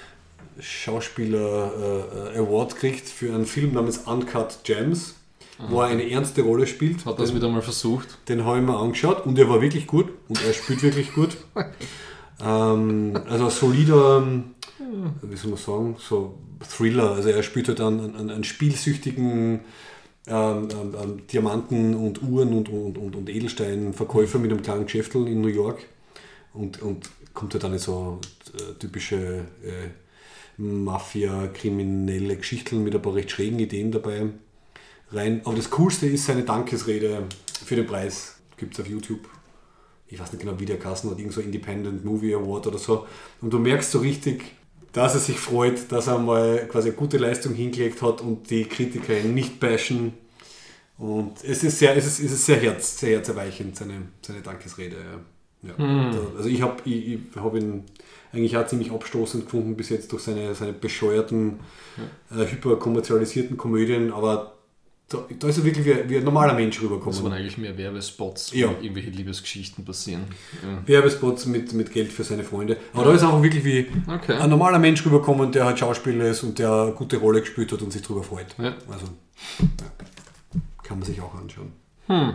[SPEAKER 1] Schauspieler Award gekriegt für einen Film namens Uncut Gems, wo er eine ernste Rolle spielt.
[SPEAKER 2] Hat das wieder mal versucht?
[SPEAKER 1] Den habe ich mir angeschaut und er war wirklich gut und er spielt wirklich gut. Also ein solider, wie soll man sagen, so Thriller. Also er spielt halt einen spielsüchtigen Diamanten und Uhren und Edelsteinverkäufer mit einem kleinen Geschäftel in New York und kommt halt dann in so typische Mafia-kriminelle Geschichten mit ein paar recht schrägen Ideen dabei rein. Aber das Coolste ist seine Dankesrede für den Preis. Gibt es auf YouTube. Ich weiß nicht genau, wie der Kassen hat, irgend so Independent Movie Award oder so. Und du merkst so richtig, dass er sich freut, dass er mal quasi eine gute Leistung hingelegt hat und die Kritiker ihn nicht bashen. Und es ist sehr herzerweichend, seine Dankesrede. Ja. Also ich habe ihn eigentlich auch ziemlich abstoßend gefunden bis jetzt durch seine bescheuerten, hyperkommerzialisierten Komödien, aber da ist er wirklich wie ein normaler Mensch rübergekommen.
[SPEAKER 2] Das waren eigentlich mehr Werbespots, wo irgendwelche Liebesgeschichten passieren. Ja.
[SPEAKER 1] Werbespots mit Geld für seine Freunde. Aber da ist er auch wirklich wie ein normaler Mensch rübergekommen, der halt Schauspieler ist und der eine gute Rolle gespielt hat und sich darüber freut. Ja. Also kann man sich auch anschauen. Ja.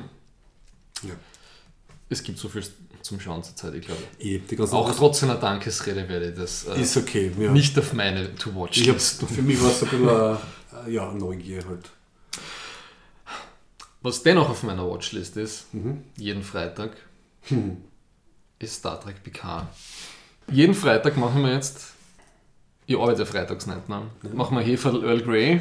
[SPEAKER 2] Es gibt so viel zum Schauen zur Zeit, ich glaube.
[SPEAKER 1] Auch
[SPEAKER 2] trotz einer Dankesrede werde ich das
[SPEAKER 1] ist okay,
[SPEAKER 2] nicht auf meine To-Watch-List.
[SPEAKER 1] Für mich war es ein bisschen eine Neugier halt.
[SPEAKER 2] Was dennoch auf meiner Watchlist ist, jeden Freitag, ist Star Trek Picard. Jeden Freitag machen wir jetzt Ich arbeite freitags nicht. Ne? Machen wir Hefe Earl Grey.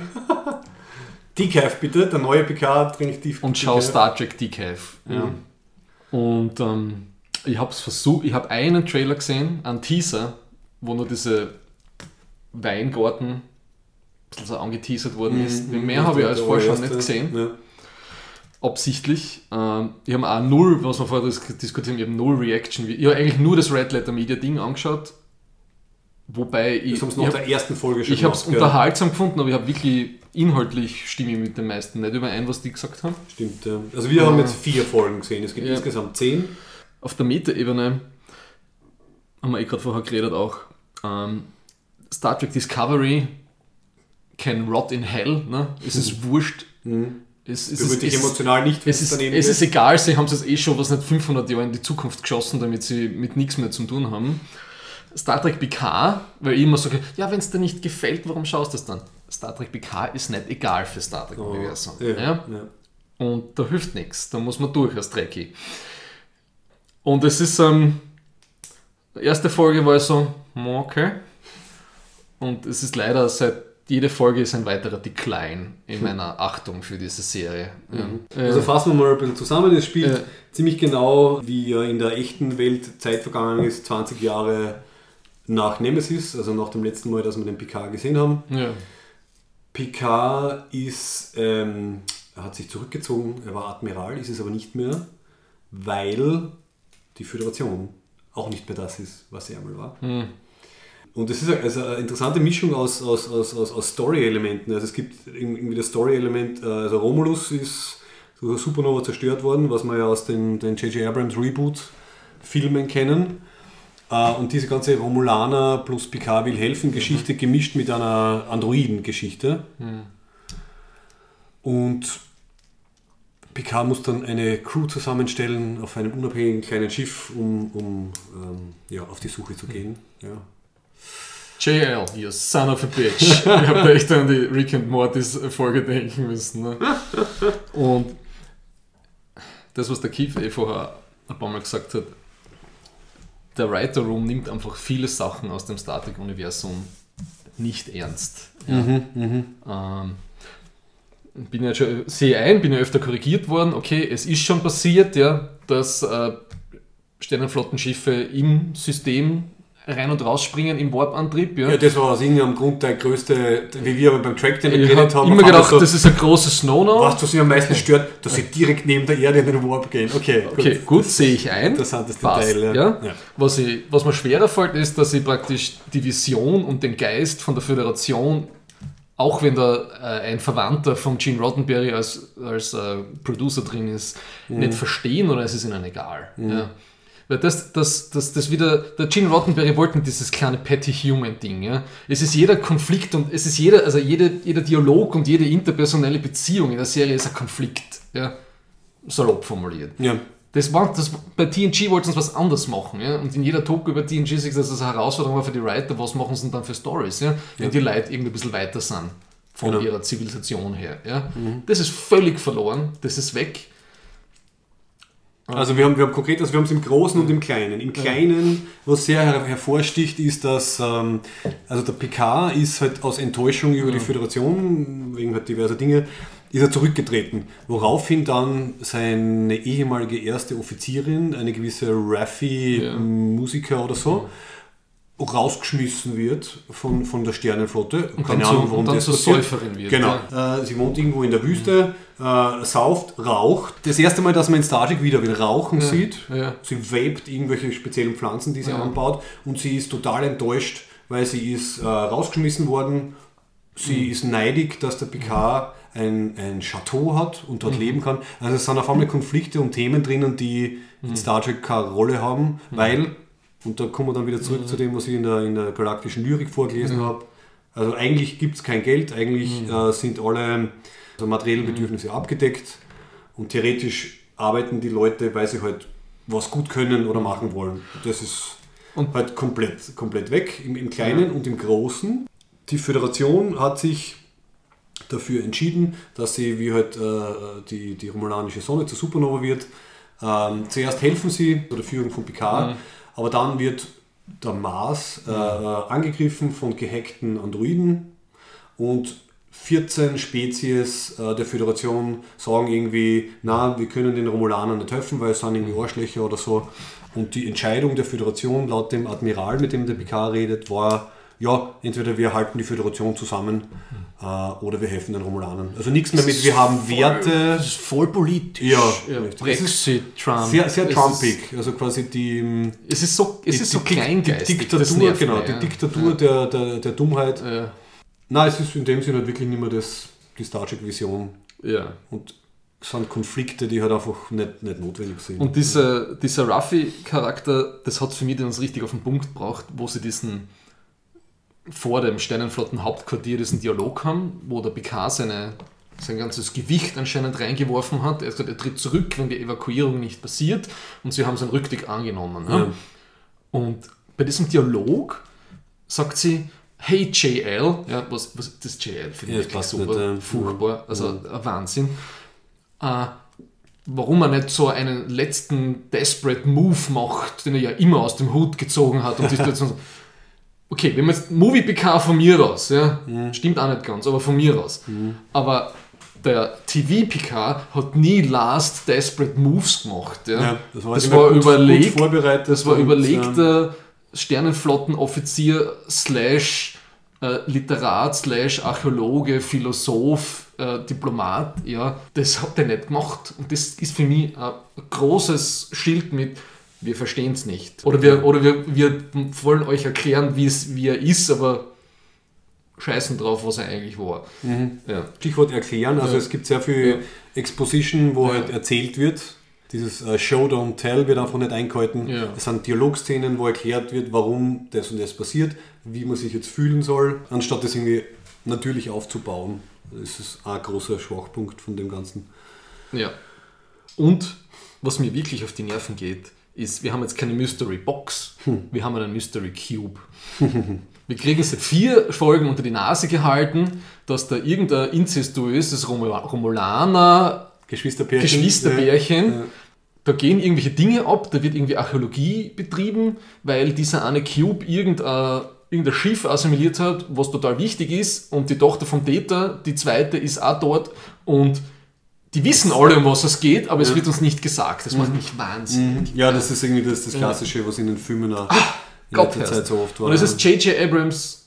[SPEAKER 1] Decaf bitte, der neue Picard trinkt Decaf.
[SPEAKER 2] Und schau Star Trek Decaf. Ja. Und ich habe versucht, ich habe einen Trailer gesehen, einen Teaser, wo nur diese Weingarten so angeteasert worden ist. Mehr habe ich als vorher schon nicht gesehen. Ja. Absichtlich. Ich habe auch null, was wir vorher diskutieren, ich habe null Reaction. Ich habe eigentlich nur das Red Letter Media Ding angeschaut. Wobei ich.
[SPEAKER 1] Das haben sie nach der ersten Folge schon
[SPEAKER 2] Ich habe es unterhaltsam gefunden, aber ich habe wirklich inhaltlich stimme ich mit den meisten nicht überein, was die gesagt haben.
[SPEAKER 1] Stimmt, ja. Also wir haben jetzt 4 Folgen gesehen, es gibt insgesamt 10.
[SPEAKER 2] Auf der Meta-Ebene haben wir gerade vorher geredet auch. Star Trek Discovery can rot in hell. Ne? Es ist wurscht. Es ist
[SPEAKER 1] emotional nicht.
[SPEAKER 2] Es ist egal, sie haben es jetzt schon was nicht 500 Jahre in die Zukunft geschossen, damit sie mit nichts mehr zu tun haben. Star Trek Picard, weil ich immer sage, ja, wenn es dir nicht gefällt, warum schaust du es dann? Star Trek Picard ist nicht egal für Star Trek Universum. Ja. Und da hilft nichts, da muss man durch als Trekkie. Und es ist, die erste Folge war so, okay. Und es ist leider jede Folge ist ein weiterer Decline in meiner Achtung für diese Serie. Ja.
[SPEAKER 1] Also fassen wir mal ein bisschen zusammen. Es spielt ziemlich genau, wie in der echten Welt Zeit vergangen ist, 20 Jahre nach Nemesis, also nach dem letzten Mal, dass wir den Picard gesehen haben. Ja. Picard hat sich zurückgezogen, er war Admiral, ist es aber nicht mehr, weil die Föderation auch nicht mehr das ist, was sie einmal war. Und es ist also eine interessante Mischung aus Story-Elementen. Also es gibt irgendwie das Story-Element, also Romulus ist durch Supernova zerstört worden, was wir ja aus den J.J. Abrams Reboot-Filmen kennen. Und diese ganze Romulaner plus Picard will helfen Geschichte gemischt mit einer Androiden-Geschichte. Und Picard muss dann eine Crew zusammenstellen auf einem unabhängigen kleinen Schiff, um auf die Suche zu gehen. Ja.
[SPEAKER 2] JL, you son of a bitch. Ich habe da echt an die Rick and Mortys Folge denken müssen. Ne? Und das, was der Keith vorher ein paar Mal gesagt hat, der Writer Room nimmt einfach viele Sachen aus dem Star Trek Universum nicht ernst. Ja. Bin ja öfter korrigiert worden, okay, es ist schon passiert, ja, dass Sternenflottenschiffe im System rein und rausspringen im Warp-Antrieb. Ja,
[SPEAKER 1] das war aus irgendeinem Grund der größte, wie wir aber beim Track
[SPEAKER 2] geredet haben. Ich habe immer gedacht, das ist ein großes No-No.
[SPEAKER 1] Was sie am meisten stört, dass sie direkt neben der Erde in den Warp gehen. Okay,
[SPEAKER 2] gut, sehe ich ein.
[SPEAKER 1] Interessantes Detail.
[SPEAKER 2] Ja. Was mir schwerer fällt, ist, dass sie praktisch die Vision und den Geist von der Föderation, auch wenn da ein Verwandter von Gene Roddenberry als Producer drin ist, nicht verstehen oder es ist ihnen egal. Ja. Weil das wieder, der Gene Roddenberry wollte dieses kleine Petty Human Ding. Ja? Es ist jeder Konflikt und es ist jeder Dialog und jede interpersonelle Beziehung in der Serie ist ein Konflikt. Ja? Salopp formuliert. Ja. Bei TNG wollten sie was anderes machen. Ja? Und in jeder Talk über TNG sagt, dass das eine Herausforderung war für die Writer, was machen sie denn dann für Stories, ja? Wenn die Leute irgendwie ein bisschen weiter sind von ihrer Zivilisation her. Ja? Das ist völlig verloren, das ist weg.
[SPEAKER 1] Also wir haben konkret, wir haben es im Großen und im Kleinen. Im Kleinen, was sehr hervorsticht, ist, dass also der Picard ist halt aus Enttäuschung über die Föderation, wegen halt diverser Dinge, ist er zurückgetreten. Woraufhin dann seine ehemalige erste Offizierin, eine gewisse Raffi Musiker oder so, rausgeschmissen wird von der Sternenflotte.
[SPEAKER 2] Keine Ahnung, warum das passiert. Säuferin wird.
[SPEAKER 1] Genau. Ja. Sie wohnt irgendwo in der Wüste, sauft, raucht. Das erste Mal, dass man in Star Trek wieder Rauchen sieht. Ja. Sie vapet irgendwelche speziellen Pflanzen, die sie anbaut. Und sie ist total enttäuscht, weil sie ist rausgeschmissen worden. Sie ist neidig, dass der Picard ein Chateau hat und dort leben kann. Also es sind auf einmal Konflikte und Themen drinnen, die in Star Trek keine Rolle haben, weil... Und da kommen wir dann wieder zurück zu dem, was ich in der galaktischen Lyrik vorgelesen habe. Also eigentlich gibt es kein Geld, eigentlich sind alle materiellen Bedürfnisse abgedeckt und theoretisch arbeiten die Leute, weil sie halt was gut können oder machen wollen. Das ist halt komplett weg im Kleinen und im Großen. Die Föderation hat sich dafür entschieden, dass sie wie halt die romulanische Sonne zur Supernova wird. Zuerst helfen sie bei der Führung von Picard, aber dann wird der Mars angegriffen von gehackten Androiden und 14 Spezies der Föderation sagen irgendwie, na, wir können den Romulanern nicht helfen, weil es sind irgendwie Arschlöcher oder so. Und die Entscheidung der Föderation laut dem Admiral, mit dem der Picard redet, war, ja, entweder wir halten die Föderation zusammen oder wir helfen den Romulanern. Also nichts mehr mit, wir haben Werte.
[SPEAKER 2] Das ist voll politisch.
[SPEAKER 1] Ja,
[SPEAKER 2] Brexit, Trump.
[SPEAKER 1] Sehr, sehr Trumpig. Also quasi die...
[SPEAKER 2] Es ist so kleingeistig.
[SPEAKER 1] Die Diktatur, genau, die Diktatur der Dummheit. Ja. Nein, es ist in dem Sinne halt wirklich nicht mehr die Star Trek-Vision.
[SPEAKER 2] Ja.
[SPEAKER 1] Und es sind Konflikte, die halt einfach nicht notwendig sind.
[SPEAKER 2] Und dieser Raffi-Charakter, das hat für mich dann richtig auf den Punkt gebracht, wo sie diesen vor dem Sternenflotten-Hauptquartier diesen Dialog haben, wo der Picard sein ganzes Gewicht anscheinend reingeworfen hat. Er hat gesagt, er tritt zurück, wenn die Evakuierung nicht passiert, und sie haben seinen Rücktritt angenommen. Ja. Und bei diesem Dialog sagt sie, hey JL, ja, was das JL finde ich wirklich super, furchtbar, also ein Wahnsinn. Warum er nicht so einen letzten Desperate Move macht, den er ja immer aus dem Hut gezogen hat. Und okay, wenn man jetzt Movie PK von mir aus, ja, stimmt auch nicht ganz, aber von mir aus. Aber der TV PK hat nie Last Desperate Moves gemacht. Ja. Ja, das war überlegt, vorbereitet. Das war überlegter Sternenflottenoffizier / Literat / Archäologe, Philosoph, Diplomat, ja, das hat er nicht gemacht. Und das ist für mich ein großes Schild mit, wir verstehen es nicht. Oder wir wollen euch erklären, wie er ist, aber scheißen drauf, was er eigentlich war. Ja. Stichwort erklären, also es gibt sehr viel Exposition, wo halt erzählt wird. Dieses Show, Don't Tell wird einfach nicht eingehalten. Ja. Es sind Dialogszenen, wo erklärt wird, warum das und das passiert, wie man sich jetzt fühlen soll, anstatt das irgendwie natürlich aufzubauen. Das ist ein großer Schwachpunkt von dem Ganzen. Ja. Und was mir wirklich auf die Nerven geht, ist, wir haben jetzt keine Mystery Box, wir haben einen Mystery Cube. Wir kriegen seit 4 Folgen unter die Nase gehalten, dass da irgendein inzestuöses Romulaner Geschwisterbärchen. Ja. Da gehen irgendwelche Dinge ab, da wird irgendwie Archäologie betrieben, weil dieser eine Cube irgendein Schiff assimiliert hat, was total wichtig ist, und die Tochter vom Data, die zweite, ist auch dort, und die wissen alle, um was es geht, aber es wird uns nicht gesagt. Das macht mich wahnsinnig. Ja, das ist irgendwie das Klassische, was in den Filmen auch in letzter Zeit so oft war. Und es ist J.J. Abrams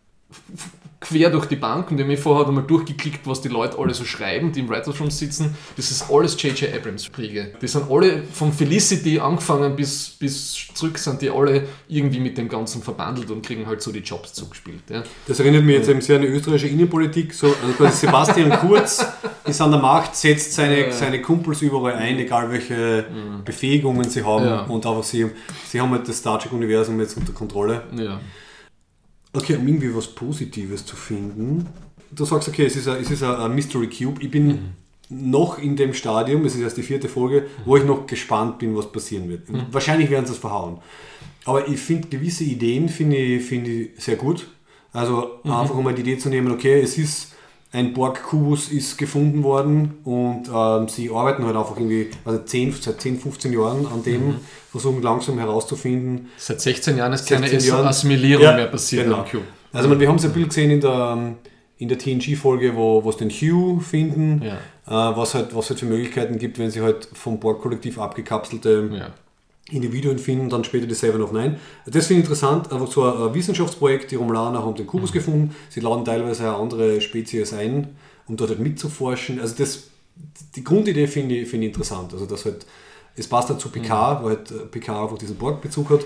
[SPEAKER 2] quer durch die Bank, und ich habe mir vorher einmal durchgeklickt, was die Leute alle so schreiben, die im Writers Room sitzen. Das ist alles J.J. Abrams Kriege. Die sind alle von Felicity angefangen bis zurück, sind die alle irgendwie mit dem Ganzen verbandelt und kriegen halt so die Jobs zugespielt. Ja. Das erinnert mich jetzt eben sehr an die österreichische Innenpolitik. So, also quasi Sebastian Kurz ist an der Macht, setzt seine Kumpels überall ein, egal welche Befähigungen sie haben, und einfach sie haben halt das Star Trek-Universum jetzt unter Kontrolle. Ja. Okay, um irgendwie was Positives zu finden. Du sagst, okay, es ist ein Mystery Cube. Ich bin noch in dem Stadium, es ist erst die 4. Folge, wo ich noch gespannt bin, was passieren wird. Wahrscheinlich werden sie es verhauen. Aber ich finde, gewisse Ideen finde ich sehr gut. Also einfach mal die Idee zu nehmen, okay, es ist ein Borg-Kubus ist gefunden worden, und sie arbeiten halt einfach irgendwie seit 10, 15 Jahren an dem, versuchen langsam herauszufinden. Seit 16 Jahren ist keine Assimilierung mehr passiert. Genau. Also wir haben es ein Bild gesehen in der TNG-Folge, wo es den Hugh finden, was halt für Möglichkeiten gibt, wenn sie halt vom Borg-Kollektiv abgekapselte Individuen finden, dann später die 7 of 9. Das finde ich interessant, einfach so ein Wissenschaftsprojekt, die Romulaner haben den Kubus gefunden, sie laden teilweise auch andere Spezies ein, um dort halt mitzuforschen. Also die Grundidee finde ich interessant, also das halt, es passt halt zu Picard, weil halt Picard einfach diesen Borg-Bezug hat.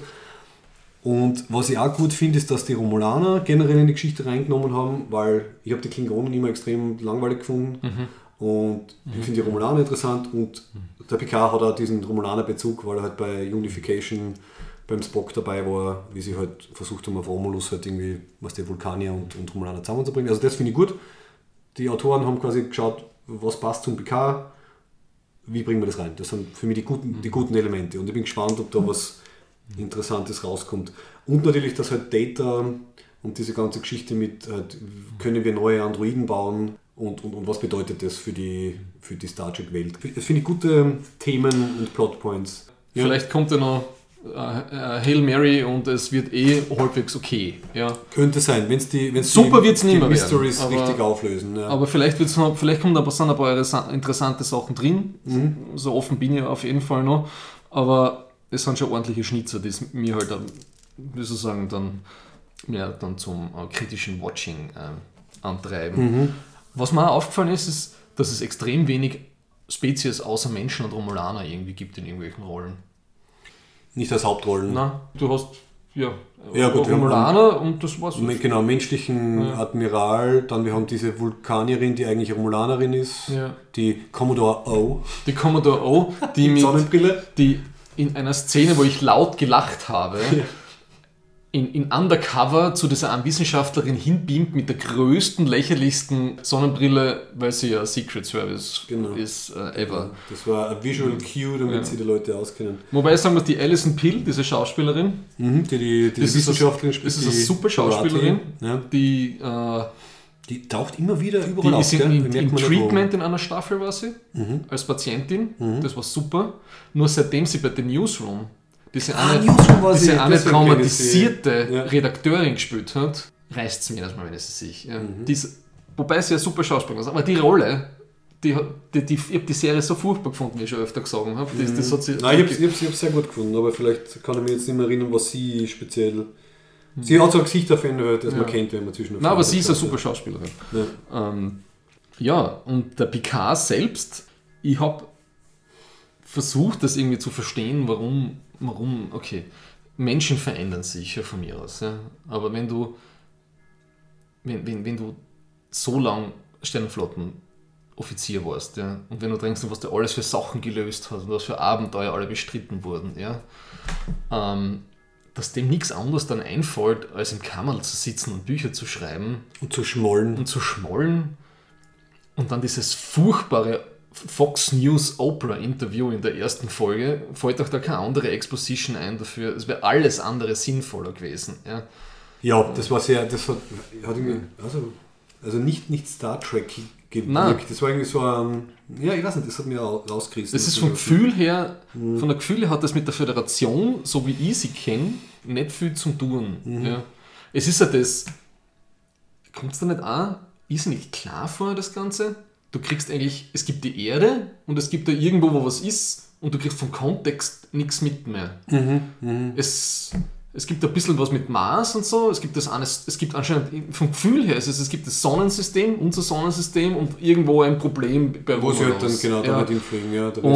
[SPEAKER 2] Und was ich auch gut finde, ist, dass die Romulaner generell in die Geschichte reingenommen haben, weil ich habe die Klingonen immer extrem langweilig gefunden. Und ich finde die Romulaner interessant, und der Picard hat auch diesen Romulaner-Bezug, weil er halt bei Unification beim Spock dabei war, wie sie halt versucht haben, auf Romulus halt irgendwie, was die Vulkanier und Romulaner zusammenzubringen. Also das finde ich gut. Die Autoren haben quasi geschaut, was passt zum Picard, wie bringen wir das rein. Das sind für mich die guten Elemente, und ich bin gespannt, ob da was Interessantes rauskommt. Und natürlich, dass halt Data und diese ganze Geschichte mit, können wir neue Androiden bauen, und was bedeutet das für die Star Trek-Welt. Das finde ich gute Themen und Plotpoints. Ja. Vielleicht kommt ja noch Hail Mary und es wird halbwegs okay. Ja.
[SPEAKER 1] Könnte sein, wenn
[SPEAKER 2] super wird's nicht mehr
[SPEAKER 1] Mysteries
[SPEAKER 2] werden,
[SPEAKER 1] richtig auflösen. Ja.
[SPEAKER 2] Aber vielleicht kommen da ein paar interessante Sachen drin. So offen bin ich auf jeden Fall noch. Aber es sind schon ordentliche Schnitzer, die es mir halt, wie soll ich sagen, dann zum kritischen Watching antreiben. Was mir auch aufgefallen ist, dass es extrem wenig Spezies außer Menschen und Romulaner irgendwie gibt in irgendwelchen Rollen.
[SPEAKER 1] Nicht als Hauptrollen.
[SPEAKER 2] Nein, du hast
[SPEAKER 1] gut,
[SPEAKER 2] Romulaner und das war's.
[SPEAKER 1] Genau, menschlichen Admiral, dann wir haben diese Vulkanierin, die eigentlich Romulanerin ist, die Commodore O.
[SPEAKER 2] Die Commodore O, die mit
[SPEAKER 1] Sonnenbrille.
[SPEAKER 2] Die in einer Szene, wo ich laut gelacht habe, in Undercover zu dieser Wissenschaftlerin hinbeamt mit der größten, lächerlichsten Sonnenbrille, weil sie ja Secret Service ist ever.
[SPEAKER 1] Das war ein Visual Cue, damit sie die Leute auskennen.
[SPEAKER 2] Wobei ich sagen muss, die Alison Pill, diese Schauspielerin,
[SPEAKER 1] die Wissenschaftlerin spielt.
[SPEAKER 2] Das ist eine super Schauspielerin,
[SPEAKER 1] die taucht immer wieder überall auf.
[SPEAKER 2] Die ist im Treatment in einer Staffel, war sie, als Patientin. Das war super. Nur seitdem sie bei The Newsroom diese eine traumatisierte Redakteurin gespielt hat, reißt es mir das mal, wenn es sich. Wobei sie ja super Schauspielerin ist. Aber die Rolle, ich habe die Serie so furchtbar gefunden, wie ich schon öfter gesagt habe. Das hat sie
[SPEAKER 1] ich habe es sehr gut gefunden, aber vielleicht kann ich mich jetzt nicht mehr erinnern, was sie speziell... Sie hat so ein Gesicht verändert, das man kennt, wenn man zwischen...
[SPEAKER 2] Nein, aber sie ist eine super Schauspielerin. Und der Picard selbst, ich habe versucht, das irgendwie zu verstehen, warum Menschen verändern sich ja von mir aus. Ja. Aber wenn du so lang Sternenflottenoffizier warst, ja, und wenn du denkst, was du alles für Sachen gelöst hast und was für Abenteuer alle bestritten wurden, ja, dass dem nichts anderes dann einfällt, als im Kammerl zu sitzen und Bücher zu schreiben.
[SPEAKER 1] Und zu schmollen.
[SPEAKER 2] Und dann dieses furchtbare Fox News Oprah Interview in der ersten Folge, fällt auch da keine andere Exposition ein dafür. Es wäre alles andere sinnvoller gewesen.
[SPEAKER 1] Ja, das war sehr, das hat irgendwie, also nicht Star Trek gewirkt. Das war irgendwie so ein, ich weiß nicht, das hat mir rausgerissen.
[SPEAKER 2] Das ist vom Gefühl her, von der Gefühl hat das mit der Föderation, so wie ich sie kenne, nicht viel zu tun. Ja. Es ist ja das, kommt es da nicht an, ist nicht klar vor, das Ganze? Du kriegst eigentlich, es gibt die Erde und es gibt da irgendwo, wo was ist und du kriegst vom Kontext nichts mit mehr. Es gibt ein bisschen was mit Mars und so, es gibt anscheinend vom Gefühl her, es gibt das Sonnensystem, unser Sonnensystem und irgendwo ein Problem bei
[SPEAKER 1] wo sie halt dann genau damit hinfliegen,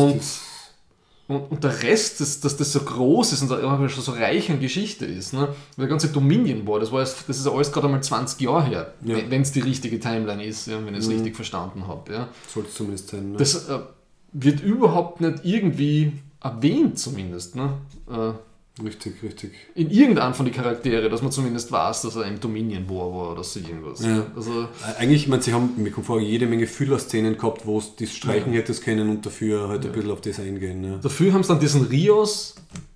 [SPEAKER 2] und der Rest, dass das so groß ist und schon so reich an Geschichte ist, ne? Der ganze Dominion War, das ist alles gerade einmal 20 Jahre her, wenn es die richtige Timeline ist, wenn ich es richtig verstanden habe. Ja.
[SPEAKER 1] Soll es zumindest sein. Ne?
[SPEAKER 2] Das wird überhaupt nicht irgendwie erwähnt, zumindest. Ne?
[SPEAKER 1] Richtig.
[SPEAKER 2] In irgendeinem von den Charaktere, dass man zumindest weiß, dass er im Dominion war oder so irgendwas.
[SPEAKER 1] Ja. Also, eigentlich, sie haben, mir kommt vor, jede Menge Füllerszenen gehabt, wo es das Streichen hättest können und dafür halt ein bisschen auf das eingehen. Ne?
[SPEAKER 2] Dafür haben sie dann diesen Rios,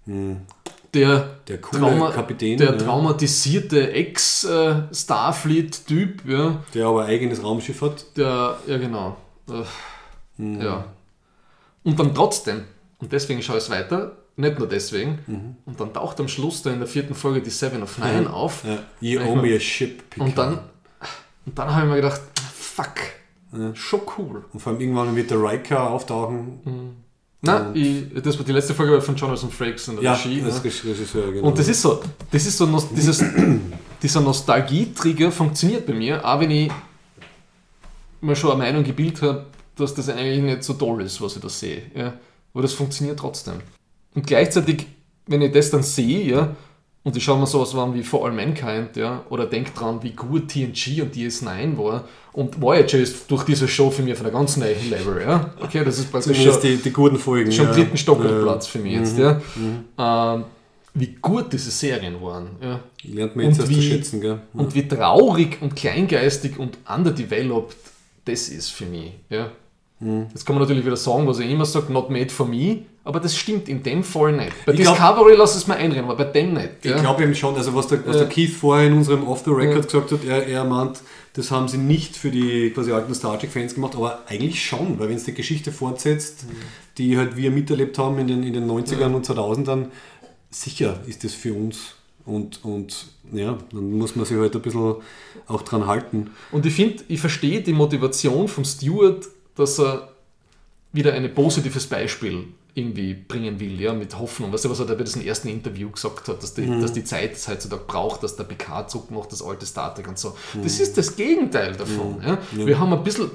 [SPEAKER 2] der
[SPEAKER 1] coole Kapitän,
[SPEAKER 2] der traumatisierte Ex-Starfleet-Typ,
[SPEAKER 1] der aber ein eigenes Raumschiff hat.
[SPEAKER 2] Ja, genau. Ja. Und dann trotzdem, und deswegen schaue ich es weiter, nicht nur deswegen. Und dann taucht am Schluss da in der 4. Folge die Seven of Nine auf.
[SPEAKER 1] Ja. You owe me a ship, Picard.
[SPEAKER 2] Und dann habe ich mir gedacht, fuck, schon cool.
[SPEAKER 1] Und vor allem irgendwann wird der Riker auftauchen.
[SPEAKER 2] Nein, das war die letzte Folge von Jonathan Frakes in der Regie.
[SPEAKER 1] Das Regisseur, genau.
[SPEAKER 2] Und das ist so dieser Nostalgie-Trigger funktioniert bei mir, auch wenn ich mir schon eine Meinung gebildet habe, dass das eigentlich nicht so toll ist, was ich da sehe. Ja. Aber das funktioniert trotzdem. Und gleichzeitig, wenn ich das dann sehe, und ich schaue mir sowas an wie For All Mankind, oder denke dran, wie gut TNG und DS9 war, und Voyager ist durch diese Show für mich von einem ganz neuen Level, Okay, das ist praktisch
[SPEAKER 1] schon die guten Folgen.
[SPEAKER 2] Schon am 3. Stockholm-Platz für mich jetzt, wie gut diese Serien waren,
[SPEAKER 1] Lernt man jetzt erst zu schätzen, gell?
[SPEAKER 2] Und wie traurig und kleingeistig und underdeveloped das ist für mich, Jetzt kann man natürlich wieder sagen, was ich immer sage, not made for me, aber das stimmt in dem Fall nicht. Bei Discovery lass es mir einreden, aber bei dem nicht.
[SPEAKER 1] Ich glaube eben schon, also was der Keith vorher in unserem Off the Record gesagt hat, er meint, das haben sie nicht für die quasi alten Star Trek-Fans gemacht, aber eigentlich schon, weil wenn es die Geschichte fortsetzt, die halt wir miterlebt haben in den 90ern und 2000ern, sicher ist das für uns. Und ja, dann muss man sich halt ein bisschen auch dran halten.
[SPEAKER 2] Und ich verstehe die Motivation von Stewart, dass er wieder ein positives Beispiel irgendwie bringen will, ja, mit Hoffnung. Weißt du, was er da bei diesem ersten Interview gesagt hat, dass die Zeit es heutzutage braucht, dass der Picard zurückmacht, das alte Star Trek und so. Das ist das Gegenteil davon. Ja. Wir haben ein bisschen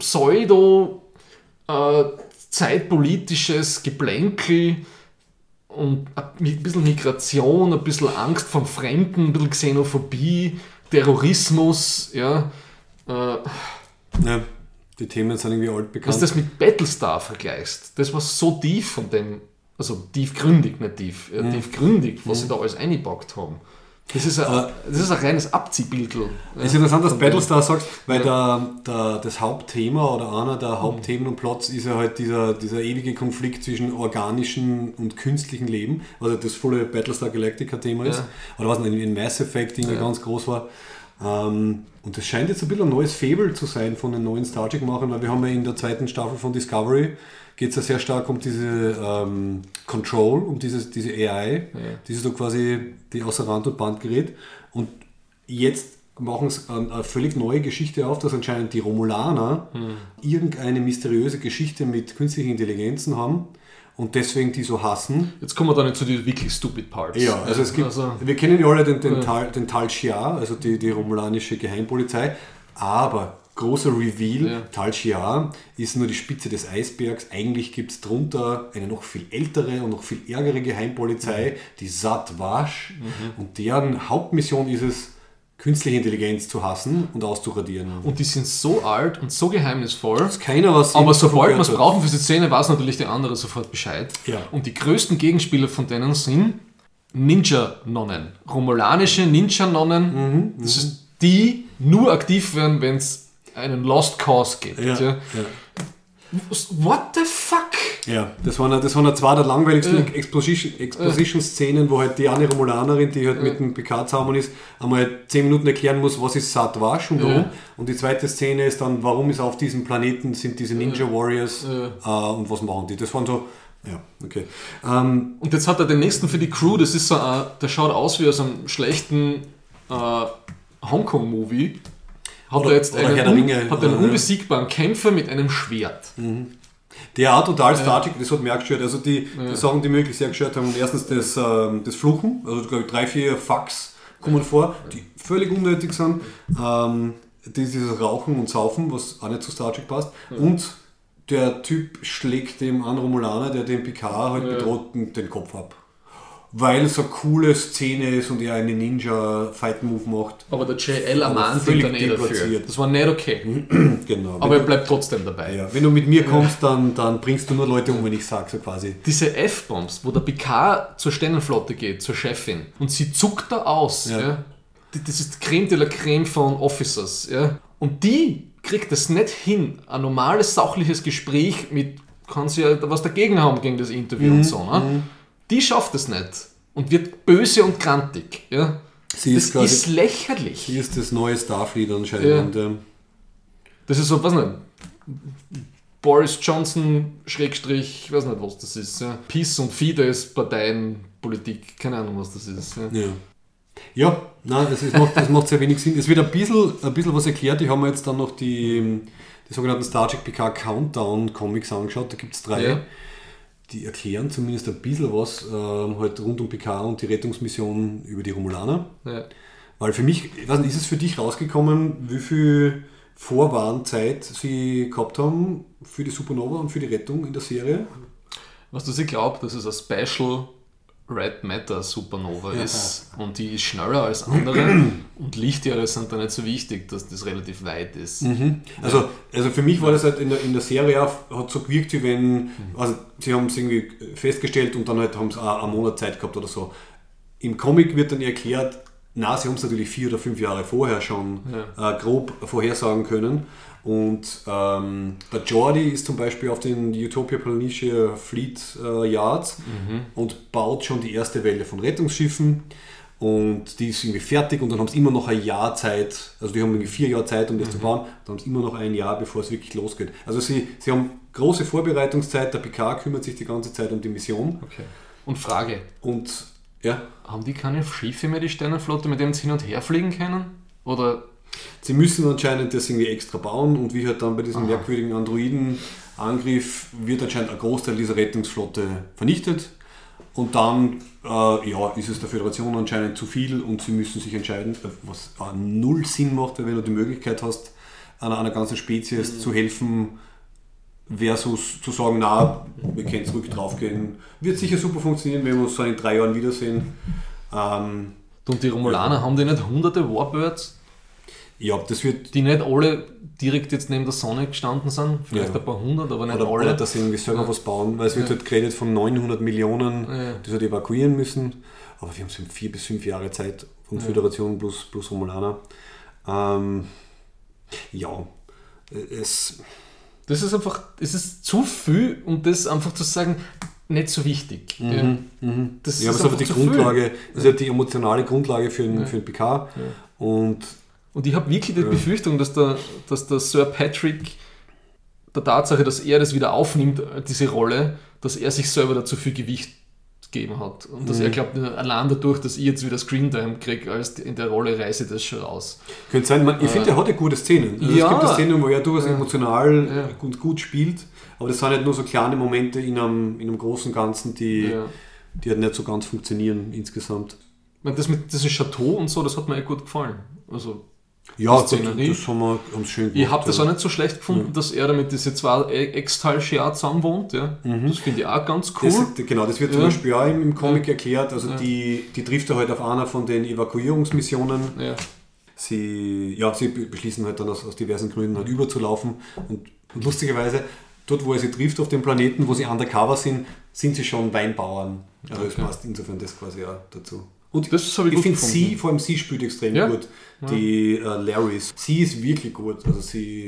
[SPEAKER 2] zeitpolitisches Geplänkel und ein bisschen Migration, ein bisschen Angst vom Fremden, ein bisschen Xenophobie, Terrorismus, ja.
[SPEAKER 1] Ja, die Themen sind irgendwie altbekannt.
[SPEAKER 2] Was du das mit Battlestar vergleichst, das war so tief von dem, also tiefgründig, nicht tief, tiefgründig, was sie da alles eingepackt haben. Das ist ein reines Abziehbildel.
[SPEAKER 1] Es ist interessant, dass Battlestar sagst, weil das Hauptthema oder einer der Hauptthemen und Plots ist ja halt dieser ewige Konflikt zwischen organischem und künstlichem Leben, was ja das volle Battlestar Galactica-Thema ist. Oder was in Mass Effect ganz groß war. Und das scheint jetzt ein bisschen ein neues Fable zu sein von den neuen Star Trek-Machern, weil wir haben ja in der zweiten Staffel von Discovery geht es ja sehr stark um diese Control, um diese AI, die so quasi die außer Rand und Band gerät. Und jetzt machen sie eine völlig neue Geschichte auf, dass anscheinend die Romulaner irgendeine mysteriöse Geschichte mit künstlichen Intelligenzen haben und deswegen die so hassen.
[SPEAKER 2] Jetzt kommen wir dann zu den wirklich stupid Parts.
[SPEAKER 1] Ja, also es gibt, wir kennen ja alle den Tal Shiar, also die romulanische Geheimpolizei, aber großer Reveal, Tal Shiar ist nur die Spitze des Eisbergs. Eigentlich gibt es drunter eine noch viel ältere und noch viel ärgere Geheimpolizei, die Zat Vash. Und deren Hauptmission ist es, künstliche Intelligenz zu hassen und auszuradieren.
[SPEAKER 2] Und die sind so alt und so geheimnisvoll,
[SPEAKER 1] dass keiner was
[SPEAKER 2] aber sobald wir es brauchen für die Szene, weiß natürlich der andere sofort Bescheid.
[SPEAKER 1] Ja.
[SPEAKER 2] Und die größten Gegenspieler von denen sind Ninja-Nonnen. Romulanische Ninja-Nonnen. Das ist die nur aktiv werden, wenn es einen Lost Cause gibt. Ja. What the fuck?
[SPEAKER 1] Ja, das waren zwei der langweiligsten Exposition-Szenen, wo halt die eine Romulanerin, die halt mit dem Picard zusammen ist, einmal 10 Minuten erklären muss, was ist Zat Vash und warum. Und die zweite Szene ist dann, warum ist auf diesem Planeten sind diese Ninja Warriors und was machen die. Das waren so, ja, okay.
[SPEAKER 2] Und jetzt hat er den nächsten für die Crew, das ist so, der schaut aus wie aus einem schlechten Hongkong-Movie. Hat er jetzt einen unbesiegbaren Kämpfer mit einem Schwert.
[SPEAKER 1] Der auch total Star Trek, das hat mich auch gestört. Also die Sachen, die mich wirklich sehr gestört haben, erstens das Fluchen, also glaube ich 3-4 Fucks kommen vor, die völlig unnötig sind. Dieses Rauchen und Saufen, was auch nicht zu Star Trek passt. Und der Typ schlägt dem anderen Romulaner, der den Picard halt bedroht, den Kopf ab. Weil es eine coole Szene ist und er einen Ninja-Fight-Move macht.
[SPEAKER 2] Aber der JL ermahnt ihn dann dafür. Das war nicht okay.
[SPEAKER 1] Genau.
[SPEAKER 2] Aber er bleibt trotzdem dabei.
[SPEAKER 1] Ja. Wenn du mit mir kommst, dann bringst du nur Leute um, wenn ich sage, so quasi.
[SPEAKER 2] Diese F-Bombs, wo der Picard zur Sternenflotte geht, zur Chefin, und sie zuckt da aus. Ja. Das ist die Creme de la Creme von Officers. Ja. Und die kriegt es nicht hin, ein normales, sachliches Gespräch mit, kann sie ja was dagegen haben gegen das Interview und so. Ne? Die schafft es nicht und wird böse und grantig. Ja? Das ist lächerlich.
[SPEAKER 1] Sie ist das neue Starfleet anscheinend. Ja.
[SPEAKER 2] Das ist so, weiß nicht, Boris Johnson, Schrägstrich, weiß nicht, was das ist. Ja? Peace und Fidesz, Parteienpolitik, keine Ahnung, was das ist.
[SPEAKER 1] Ja, nein, das macht sehr wenig Sinn. Es wird ein bisschen was erklärt. Ich habe mir jetzt dann noch die sogenannten Star Trek Picard Countdown Comics angeschaut. Da gibt es 3. Ja. Die erklären zumindest ein bisschen was halt rund um Picard und die Rettungsmission über die Romulaner. Ja. Weil für mich, ich weiß nicht, ist es für dich rausgekommen, wie viel Vorwarnzeit sie gehabt haben für die Supernova und für die Rettung in der Serie?
[SPEAKER 2] Was du, ich glaube, dass es ein Special Red Matter Supernova ist und die ist schneller als andere und Lichtjahre sind da nicht so wichtig, dass das relativ weit ist.
[SPEAKER 1] Also für mich war das halt in der Serie hat so gewirkt, wie wenn, also sie haben es irgendwie festgestellt und dann halt haben sie einen Monat Zeit gehabt oder so. Im Comic wird dann erklärt, na, sie haben es natürlich 4 oder 5 Jahre vorher schon grob vorhersagen können. Und der Geordi ist zum Beispiel auf den Utopia Planitia Fleet Yards und baut schon die erste Welle von Rettungsschiffen und die ist irgendwie fertig und dann haben sie immer noch ein Jahr Zeit, also die haben irgendwie 4 Jahre Zeit, um das zu bauen, dann haben sie immer noch ein Jahr, bevor es wirklich losgeht. Also sie haben große Vorbereitungszeit, der Picard kümmert sich die ganze Zeit um die Mission.
[SPEAKER 2] Okay. Und Frage.
[SPEAKER 1] Und Ja.
[SPEAKER 2] Haben die keine Schiffe mehr, die Sternenflotte, mit denen sie hin und her fliegen können? Oder...
[SPEAKER 1] Sie müssen anscheinend das irgendwie extra bauen und wie halt dann bei diesem merkwürdigen Androidenangriff wird anscheinend ein Großteil dieser Rettungsflotte vernichtet und dann ist es der Föderation anscheinend zu viel und sie müssen sich entscheiden, was null Sinn macht, weil wenn du die Möglichkeit hast, einer ganzen Spezies zu helfen, versus zu sagen, na, wir können zurück draufgehen. Wird sicher super funktionieren, wenn wir uns so in 3 Jahren wiedersehen.
[SPEAKER 2] Und die Romulaner, haben die nicht hunderte Warbirds?
[SPEAKER 1] Ja, das wird...
[SPEAKER 2] Die nicht alle direkt jetzt neben der Sonne gestanden sind, vielleicht ein paar hundert, aber nicht alle.
[SPEAKER 1] Oder dass sie irgendwie selber was bauen, weil es wird halt geredet von 900 Millionen, die halt evakuieren müssen. Aber wir haben so 4 bis 5 Jahre Zeit von Föderation plus Romulaner.
[SPEAKER 2] Das ist einfach, es ist zu viel, um das einfach zu sagen, nicht so wichtig. Das
[SPEAKER 1] ist aber die Grundlage, das ist ja die emotionale Grundlage für den Picard. Ja.
[SPEAKER 2] Und ich habe wirklich die Befürchtung, dass der Sir Patrick der Tatsache, dass er das wieder aufnimmt, diese Rolle, dass er sich selber dazu viel Gewicht gegeben hat. Und dass er glaubt, allein dadurch, dass ich jetzt wieder Screentime kriege, als in der Rolle reiße ich das schon raus.
[SPEAKER 1] Könnte sein, ich finde, er hat ja gute Szenen. Also es gibt eine Szene, wo er durchaus emotional und gut spielt, aber das sind halt nur so kleine Momente in einem großen Ganzen, die halt nicht so ganz funktionieren insgesamt.
[SPEAKER 2] Ich meine, das mit diesem Chateau und so, das hat mir gut gefallen. Also
[SPEAKER 1] ja, das haben wir schön gemacht.
[SPEAKER 2] Ich habe das auch nicht so schlecht gefunden, dass er damit diese 2 Ex-Tal'Shia zusammen wohnt. Ja. Das finde ich auch ganz cool.
[SPEAKER 1] Das wird zum Beispiel auch im Comic erklärt. Also die trifft er halt auf einer von den Evakuierungsmissionen. Ja. Sie beschließen halt dann aus diversen Gründen halt überzulaufen. Und lustigerweise, dort wo er sie trifft auf dem Planeten, wo sie undercover sind sie schon Weinbauern. Also das passt insofern das quasi auch dazu. Und das ich finde vor allem sie spielt extrem gut. Die Laris. Sie ist wirklich gut. Also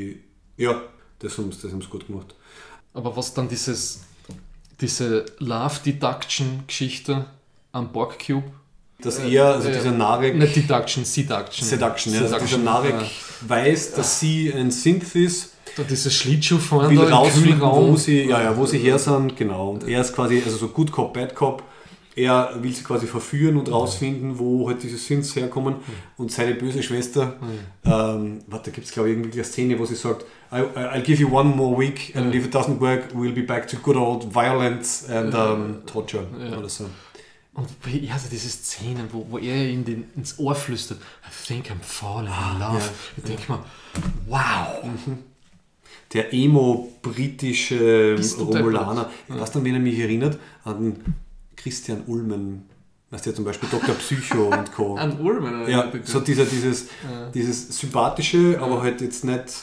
[SPEAKER 1] das haben sie gut gemacht.
[SPEAKER 2] Aber was dann diese Love-Deduction-Geschichte am Borg-Cube?
[SPEAKER 1] Dass dieser Narek...
[SPEAKER 2] Nicht Deduction, Seduction.
[SPEAKER 1] Seduction, ja. Dass dieser Narek weiß, dass sie ein Synth ist.
[SPEAKER 2] Da dieses Schlittschuhfahren
[SPEAKER 1] will rausfinden, wo sie her sind. Genau. Und er ist quasi so Good Cop, Bad Cop. Er will sie quasi verführen und rausfinden, wo halt diese Synths herkommen. Und seine böse Schwester, da gibt es glaube ich irgendwie eine Szene, wo sie sagt, I'll give you one more week and if it doesn't work, we'll be back to good old violence and torture. Oder so.
[SPEAKER 2] Und also diese Szenen, wo er ihm ins Ohr flüstert, I think I'm falling in love. Ja. Ich denke mal, wow.
[SPEAKER 1] Der emo-britische Romulaner. Weißt du, wen er mich erinnert? An Christian Ulmen, weißt du ja zum Beispiel Dr. Psycho und Co.
[SPEAKER 2] An Ulmen?
[SPEAKER 1] Ja, so dieses sympathische, aber halt jetzt nicht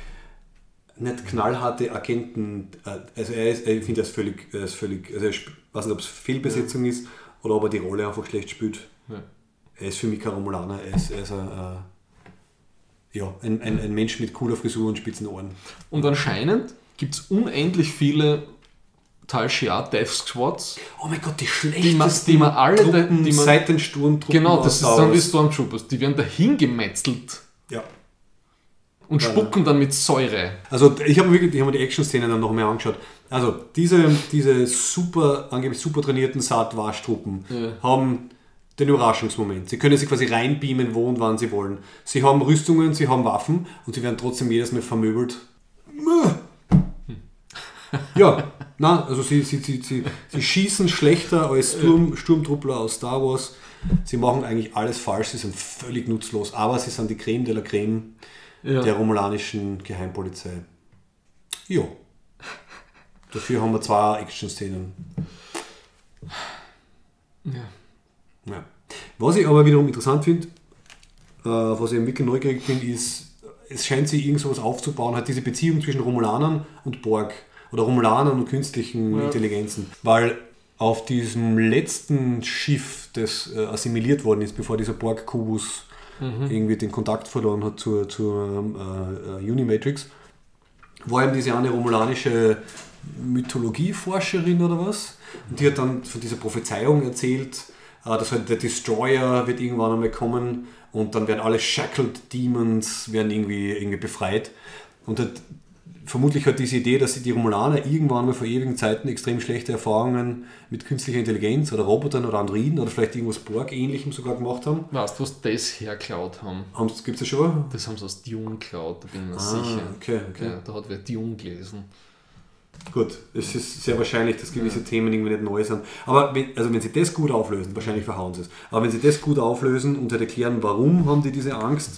[SPEAKER 1] knallharte Agenten. Also ich finde, er ist völlig, also ich weiß nicht, ob es Fehlbesetzung ist oder ob er die Rolle einfach schlecht spielt. Ja. Er ist für mich kein Romulaner, er ist ein Mensch mit cooler Frisur und spitzen Ohren.
[SPEAKER 2] Und anscheinend gibt es unendlich viele Tal'Shia Death Squads.
[SPEAKER 1] Oh mein Gott, die schlechtesten
[SPEAKER 2] die man alle
[SPEAKER 1] Truppen seit den Sturmtruppen.
[SPEAKER 2] Genau, das ist dann die Stormtroopers. Die werden dahin gemetzelt.
[SPEAKER 1] Ja.
[SPEAKER 2] Und spucken dann mit Säure.
[SPEAKER 1] Also ich habe mir die Action-Szenen dann noch mehr angeschaut. Also diese angeblich super trainierten Saat-Wasch-Truppen haben den Überraschungsmoment. Sie können sich quasi reinbeamen, wo und wann sie wollen. Sie haben Rüstungen, sie haben Waffen und sie werden trotzdem jedes Mal vermöbelt. Ja, also sie schießen schlechter als Sturmtruppler aus Star Wars. Sie machen eigentlich alles falsch, sie sind völlig nutzlos, aber sie sind die Creme de la Creme der romulanischen Geheimpolizei. Ja. Dafür haben wir 2 Action-Szenen. Ja. Was ich aber wiederum interessant finde, was ich wirklich neugierig bin, ist, es scheint sich irgend sowas aufzubauen, halt diese Beziehung zwischen Romulanern und Borg oder Romulanern und künstlichen Intelligenzen. Weil auf diesem letzten Schiff, das assimiliert worden ist, bevor dieser Borg-Kubus irgendwie den Kontakt verloren hat zur Unimatrix, war eben diese eine romulanische Mythologieforscherin oder was. Und die hat dann von dieser Prophezeiung erzählt, dass halt der Destroyer wird irgendwann einmal kommen und dann werden alle Shackled Demons werden irgendwie befreit. Und halt vermutlich halt diese Idee, dass die Romulaner irgendwann mal vor ewigen Zeiten extrem schlechte Erfahrungen mit künstlicher Intelligenz oder Robotern oder Androiden oder vielleicht irgendwas Borg-ähnlichem sogar gemacht haben.
[SPEAKER 2] Weißt du, was das hergeklaut haben?
[SPEAKER 1] Gibt es das schon?
[SPEAKER 2] Das haben sie aus Dune geklaut, da bin ich mir sicher.
[SPEAKER 1] Okay.
[SPEAKER 2] Ja, da hat wer Dune gelesen.
[SPEAKER 1] Gut, es ist sehr wahrscheinlich, dass gewisse Themen irgendwie nicht neu sind. Aber wenn sie das gut auflösen, wahrscheinlich verhauen sie es, aber wenn sie das gut auflösen und halt erklären, warum haben die diese Angst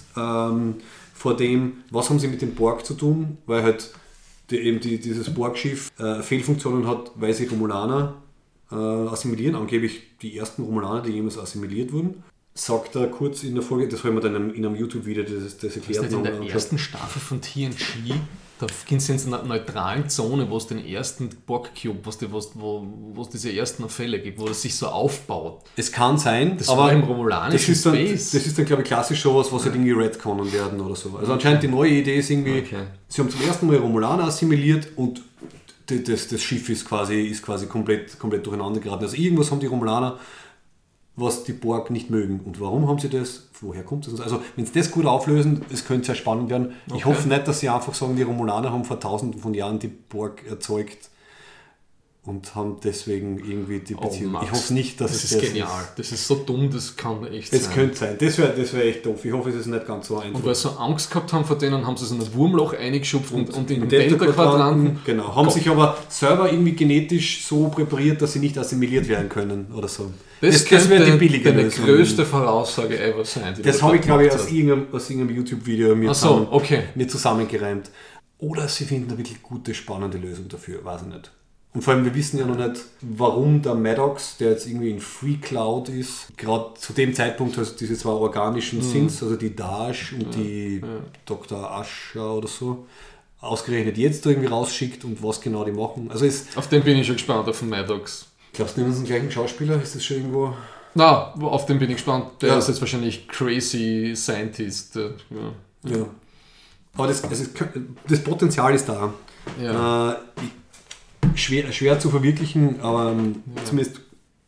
[SPEAKER 1] vor dem, was haben sie mit dem Borg zu tun, weil halt dieses Borg-Schiff Fehlfunktionen hat, weil sie Romulaner assimilieren, angeblich die ersten Romulaner, die jemals assimiliert wurden. Sagt er kurz in der Folge, das haben wir dann in einem YouTube-Video das erklärt.
[SPEAKER 2] Ist nicht in der ersten Staffel von TNG, da gehen sie in einer neutralen Zone, wo es den ersten Borg-Cube, wo es diese ersten Fälle gibt, wo es sich so aufbaut.
[SPEAKER 1] Es kann sein,
[SPEAKER 2] das
[SPEAKER 1] aber
[SPEAKER 2] war im romulanischen Space.
[SPEAKER 1] Das ist dann, glaube ich, klassisch sowas, was halt irgendwie retconnen werden oder so. Also anscheinend die neue Idee ist irgendwie, sie haben zum ersten Mal Romulaner assimiliert und das Schiff ist quasi komplett durcheinander geraten. Also irgendwas haben die Romulaner, was die Borg nicht mögen. Und warum haben sie das? Woher kommt das? Also wenn sie das gut auflösen, es könnte sehr spannend werden. Ich hoffe nicht, dass sie einfach sagen, die Romulaner haben vor tausenden von Jahren die Borg erzeugt und haben deswegen irgendwie die Beziehung.
[SPEAKER 2] Max,
[SPEAKER 1] ich hoffe nicht, dass
[SPEAKER 2] das ist genial. Das ist so dumm, das kann echt sein.
[SPEAKER 1] Es könnte sein. Das wäre echt doof. Ich hoffe, es ist nicht ganz so einfach.
[SPEAKER 2] Und weil sie so Angst gehabt haben vor denen, haben sie so ein Wurmloch eingeschupft und in den Delta-Quadranten.
[SPEAKER 1] Genau. Haben sich aber selber irgendwie genetisch so präpariert, dass sie nicht assimiliert werden können oder so.
[SPEAKER 2] Das wäre die billige Lösung. Die größte Voraussage ever sein.
[SPEAKER 1] Das habe ich, glaube ich, aus irgendeinem YouTube-Video mir zusammengereimt. Oder sie finden eine wirklich gute, spannende Lösung dafür. Weiß ich nicht. Und vor allem, wir wissen ja noch nicht, warum der Maddox, der jetzt irgendwie in Free Cloud ist, gerade zu dem Zeitpunkt halt diese zwei organischen Synths, also die Dash und die Dr. Asher oder so, ausgerechnet jetzt irgendwie rausschickt und was genau die machen. Also
[SPEAKER 2] auf den bin ich schon gespannt, auf den Maddox.
[SPEAKER 1] Glaubst du, nehmen sie den gleichen Schauspieler? Ist das schon irgendwo...
[SPEAKER 2] Na, auf den bin ich gespannt. Der ist jetzt wahrscheinlich Crazy Scientist.
[SPEAKER 1] Ja. Aber das Potenzial ist da.
[SPEAKER 2] Ja.
[SPEAKER 1] Schwer zu verwirklichen, aber zumindest,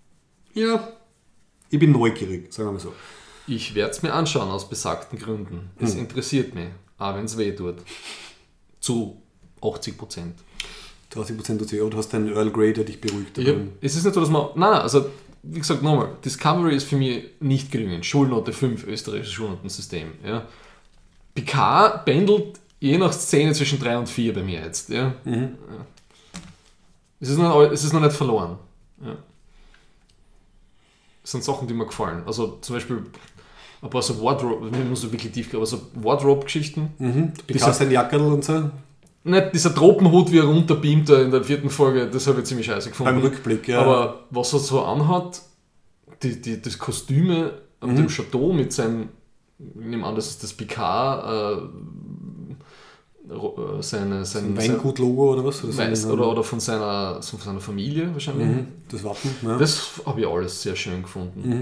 [SPEAKER 1] ich bin neugierig, sagen wir mal so.
[SPEAKER 2] Ich werde es mir anschauen aus besagten Gründen. Es interessiert mich, auch wenn es weh tut. Zu 80%.
[SPEAKER 1] 80% tut weh, aber du hast deinen Earl Grey, der dich beruhigt.
[SPEAKER 2] Es ist nicht so, dass man... Nein, also wie gesagt, nochmal, Discovery ist für mich nicht gelungen. Schulnote 5, österreichisches Schulnotensystem. Ja. Picard pendelt je nach Szene zwischen 3 und 4 bei mir jetzt. Ja. Ja. Es ist noch nicht verloren. Ja. Das sind Sachen, die mir gefallen. Also zum Beispiel ein paar so Wardrobe, ich muss so wirklich tief gehen, aber so Wardrobe-Geschichten.
[SPEAKER 1] Dieser sein Jackerl und so.
[SPEAKER 2] Nicht dieser Tropenhut, wie er runterbeamt in der 4. Folge, das habe ich ziemlich scheiße gefunden.
[SPEAKER 1] Beim Rückblick, ja.
[SPEAKER 2] Aber was er so anhat, das Kostüme an dem Chateau mit seinem, ich nehme an, das ist das Picard, sein
[SPEAKER 1] Weingut-Logo oder was?
[SPEAKER 2] Oder von seiner Familie wahrscheinlich.
[SPEAKER 1] Das Wappen. Ja.
[SPEAKER 2] Das habe ich alles sehr schön gefunden.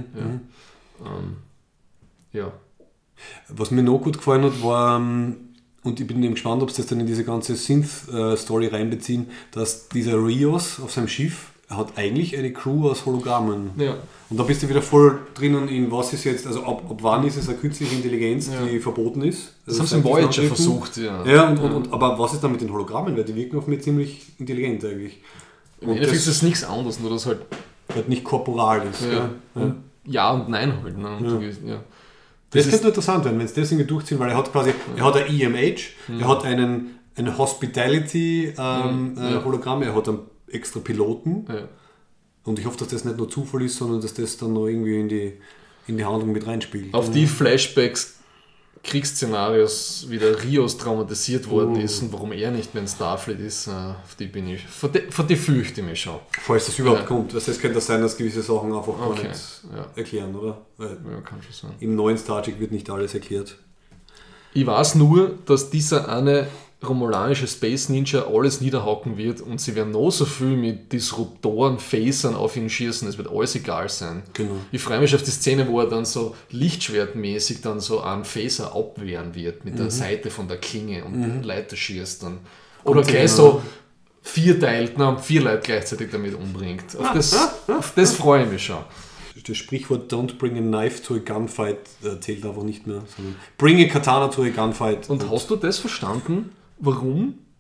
[SPEAKER 2] Ja.
[SPEAKER 1] Was mir noch gut gefallen hat, war, und ich bin eben gespannt, ob sie das dann in diese ganze Synth-Story reinbeziehen, dass dieser Rios auf seinem Schiff hat eigentlich eine Crew aus Hologrammen.
[SPEAKER 2] Ja.
[SPEAKER 1] Und da bist du wieder voll drinnen in was ist jetzt, also ab wann ist es eine künstliche Intelligenz, die verboten ist.
[SPEAKER 2] Das haben sie im Voyager versucht,
[SPEAKER 1] aber was ist dann mit den Hologrammen? Weil die wirken auf mich ziemlich intelligent eigentlich.
[SPEAKER 2] Im Endeffekt ist es nichts anderes, nur dass halt
[SPEAKER 1] nicht korporal ist.
[SPEAKER 2] Ja und nein halt. Ne?
[SPEAKER 1] Ja. Das könnte interessant werden, wenn sie das irgendwie durchziehen, weil er hat quasi, er hat ein EMH, er hat einen Hospitality-Hologramm, er hat einen extra Piloten. Ja. Und ich hoffe, dass das nicht nur Zufall ist, sondern dass das dann noch irgendwie in die Handlung mit reinspielt.
[SPEAKER 2] Auf die Flashbacks, Kriegsszenarios, wie der Rios traumatisiert worden ist und warum er nicht mehr in Starfleet ist, auf die bin ich, vor die fürchte ich mich schon.
[SPEAKER 1] Falls das überhaupt kommt. Also es könnte sein, dass gewisse Sachen einfach gar nicht erklären, oder? Weil
[SPEAKER 2] kann schon sein.
[SPEAKER 1] Im neuen Star Trek wird nicht alles erklärt.
[SPEAKER 2] Ich weiß nur, dass dieser eine romulanische Space Ninja alles niederhaken wird und sie werden noch so viel mit Disruptoren, Phasern auf ihn schießen, es wird alles egal sein.
[SPEAKER 1] Genau.
[SPEAKER 2] Ich freue mich auf die Szene, wo er dann so lichtschwertmäßig dann so einen Phaser abwehren wird mit der Seite von der Klinge und Leute schießt dann. Oder gleich so 4 Leute gleichzeitig damit umbringt. Auf das freue ich mich schon.
[SPEAKER 1] Das Sprichwort Don't bring a knife to a gunfight zählt einfach nicht mehr, sondern bring a katana to a gunfight.
[SPEAKER 2] Und hast du das verstanden, warum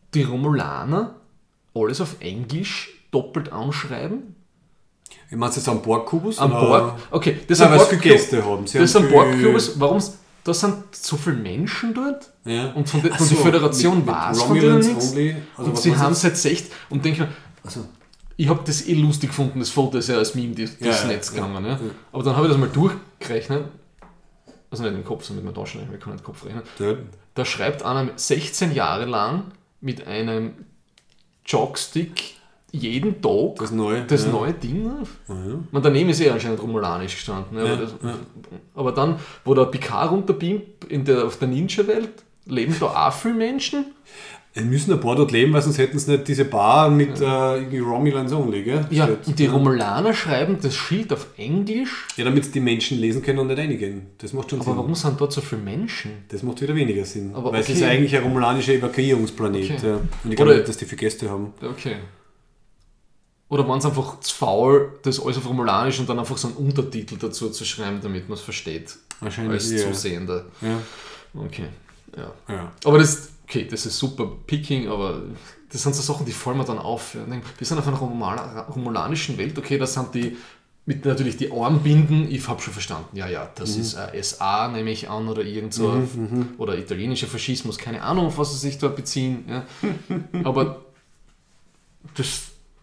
[SPEAKER 2] die Romulaner alles auf Englisch doppelt anschreiben?
[SPEAKER 1] Ich meine, jetzt am Borg-Kubus?
[SPEAKER 2] Am Borg? Okay, das
[SPEAKER 1] Nein,
[SPEAKER 2] ist
[SPEAKER 1] weil sie viele Gäste haben.
[SPEAKER 2] Das ist ein Borg-Kubus. Warum? Da sind so viele Menschen dort
[SPEAKER 1] Ja.
[SPEAKER 2] und von der Föderation weiß von denen nichts.
[SPEAKER 1] Also
[SPEAKER 2] und sie haben es jetzt echt und denke mir, ich habe das lustig gefunden, das Foto ist ja als Meme durchs Netz gegangen. Ja. Aber dann habe ich das mal durchgerechnet, also nicht im Kopf, sondern mit meinem Taschenrechner, ich kann nicht im Kopf rechnen.
[SPEAKER 1] Ja.
[SPEAKER 2] Da schreibt einer 16 Jahre lang mit einem Jockstick jeden Tag
[SPEAKER 1] Das neue
[SPEAKER 2] Ding auf. Man, daneben ist anscheinend romulanisch gestanden. Ja, aber dann, wo der Picard runterbeamt auf der Ninja-Welt, leben da auch viele Menschen.
[SPEAKER 1] Es müssen ein paar dort leben, weil sonst hätten sie nicht diese Bar mit irgendwie Romulans only, gell?
[SPEAKER 2] Ja,
[SPEAKER 1] Steht.
[SPEAKER 2] und die Romulaner schreiben das Schild auf Englisch.
[SPEAKER 1] Ja, damit sie die Menschen lesen können und nicht reingehen. Das macht schon
[SPEAKER 2] Aber
[SPEAKER 1] Sinn.
[SPEAKER 2] warum sind dort so viele Menschen?
[SPEAKER 1] Das macht wieder weniger Sinn.
[SPEAKER 2] Aber
[SPEAKER 1] weil es ist eigentlich ein romulanischer Evakuierungsplanet.
[SPEAKER 2] Okay.
[SPEAKER 1] Ja. Und ich glaube
[SPEAKER 2] Oder-
[SPEAKER 1] nicht, dass die viele Gäste haben.
[SPEAKER 2] Okay. Oder waren es einfach zu faul, das alles auf Romulanisch und dann einfach so einen Untertitel dazu zu schreiben, damit man es versteht.
[SPEAKER 1] Wahrscheinlich,
[SPEAKER 2] Als
[SPEAKER 1] ja.
[SPEAKER 2] Zusehender.
[SPEAKER 1] Ja.
[SPEAKER 2] Okay, ja.
[SPEAKER 1] Ja.
[SPEAKER 2] Aber das ist super Picking, aber das sind so Sachen, die fallen mir dann auf. Ja. Wir sind auf einer romulanischen Welt, okay, das sind die, mit natürlich die Armbinden, ich habe schon verstanden, das ist SA, nehme ich an, oder irgend so, oder italienischer Faschismus, keine Ahnung, auf was sie sich da beziehen. Ja. Aber das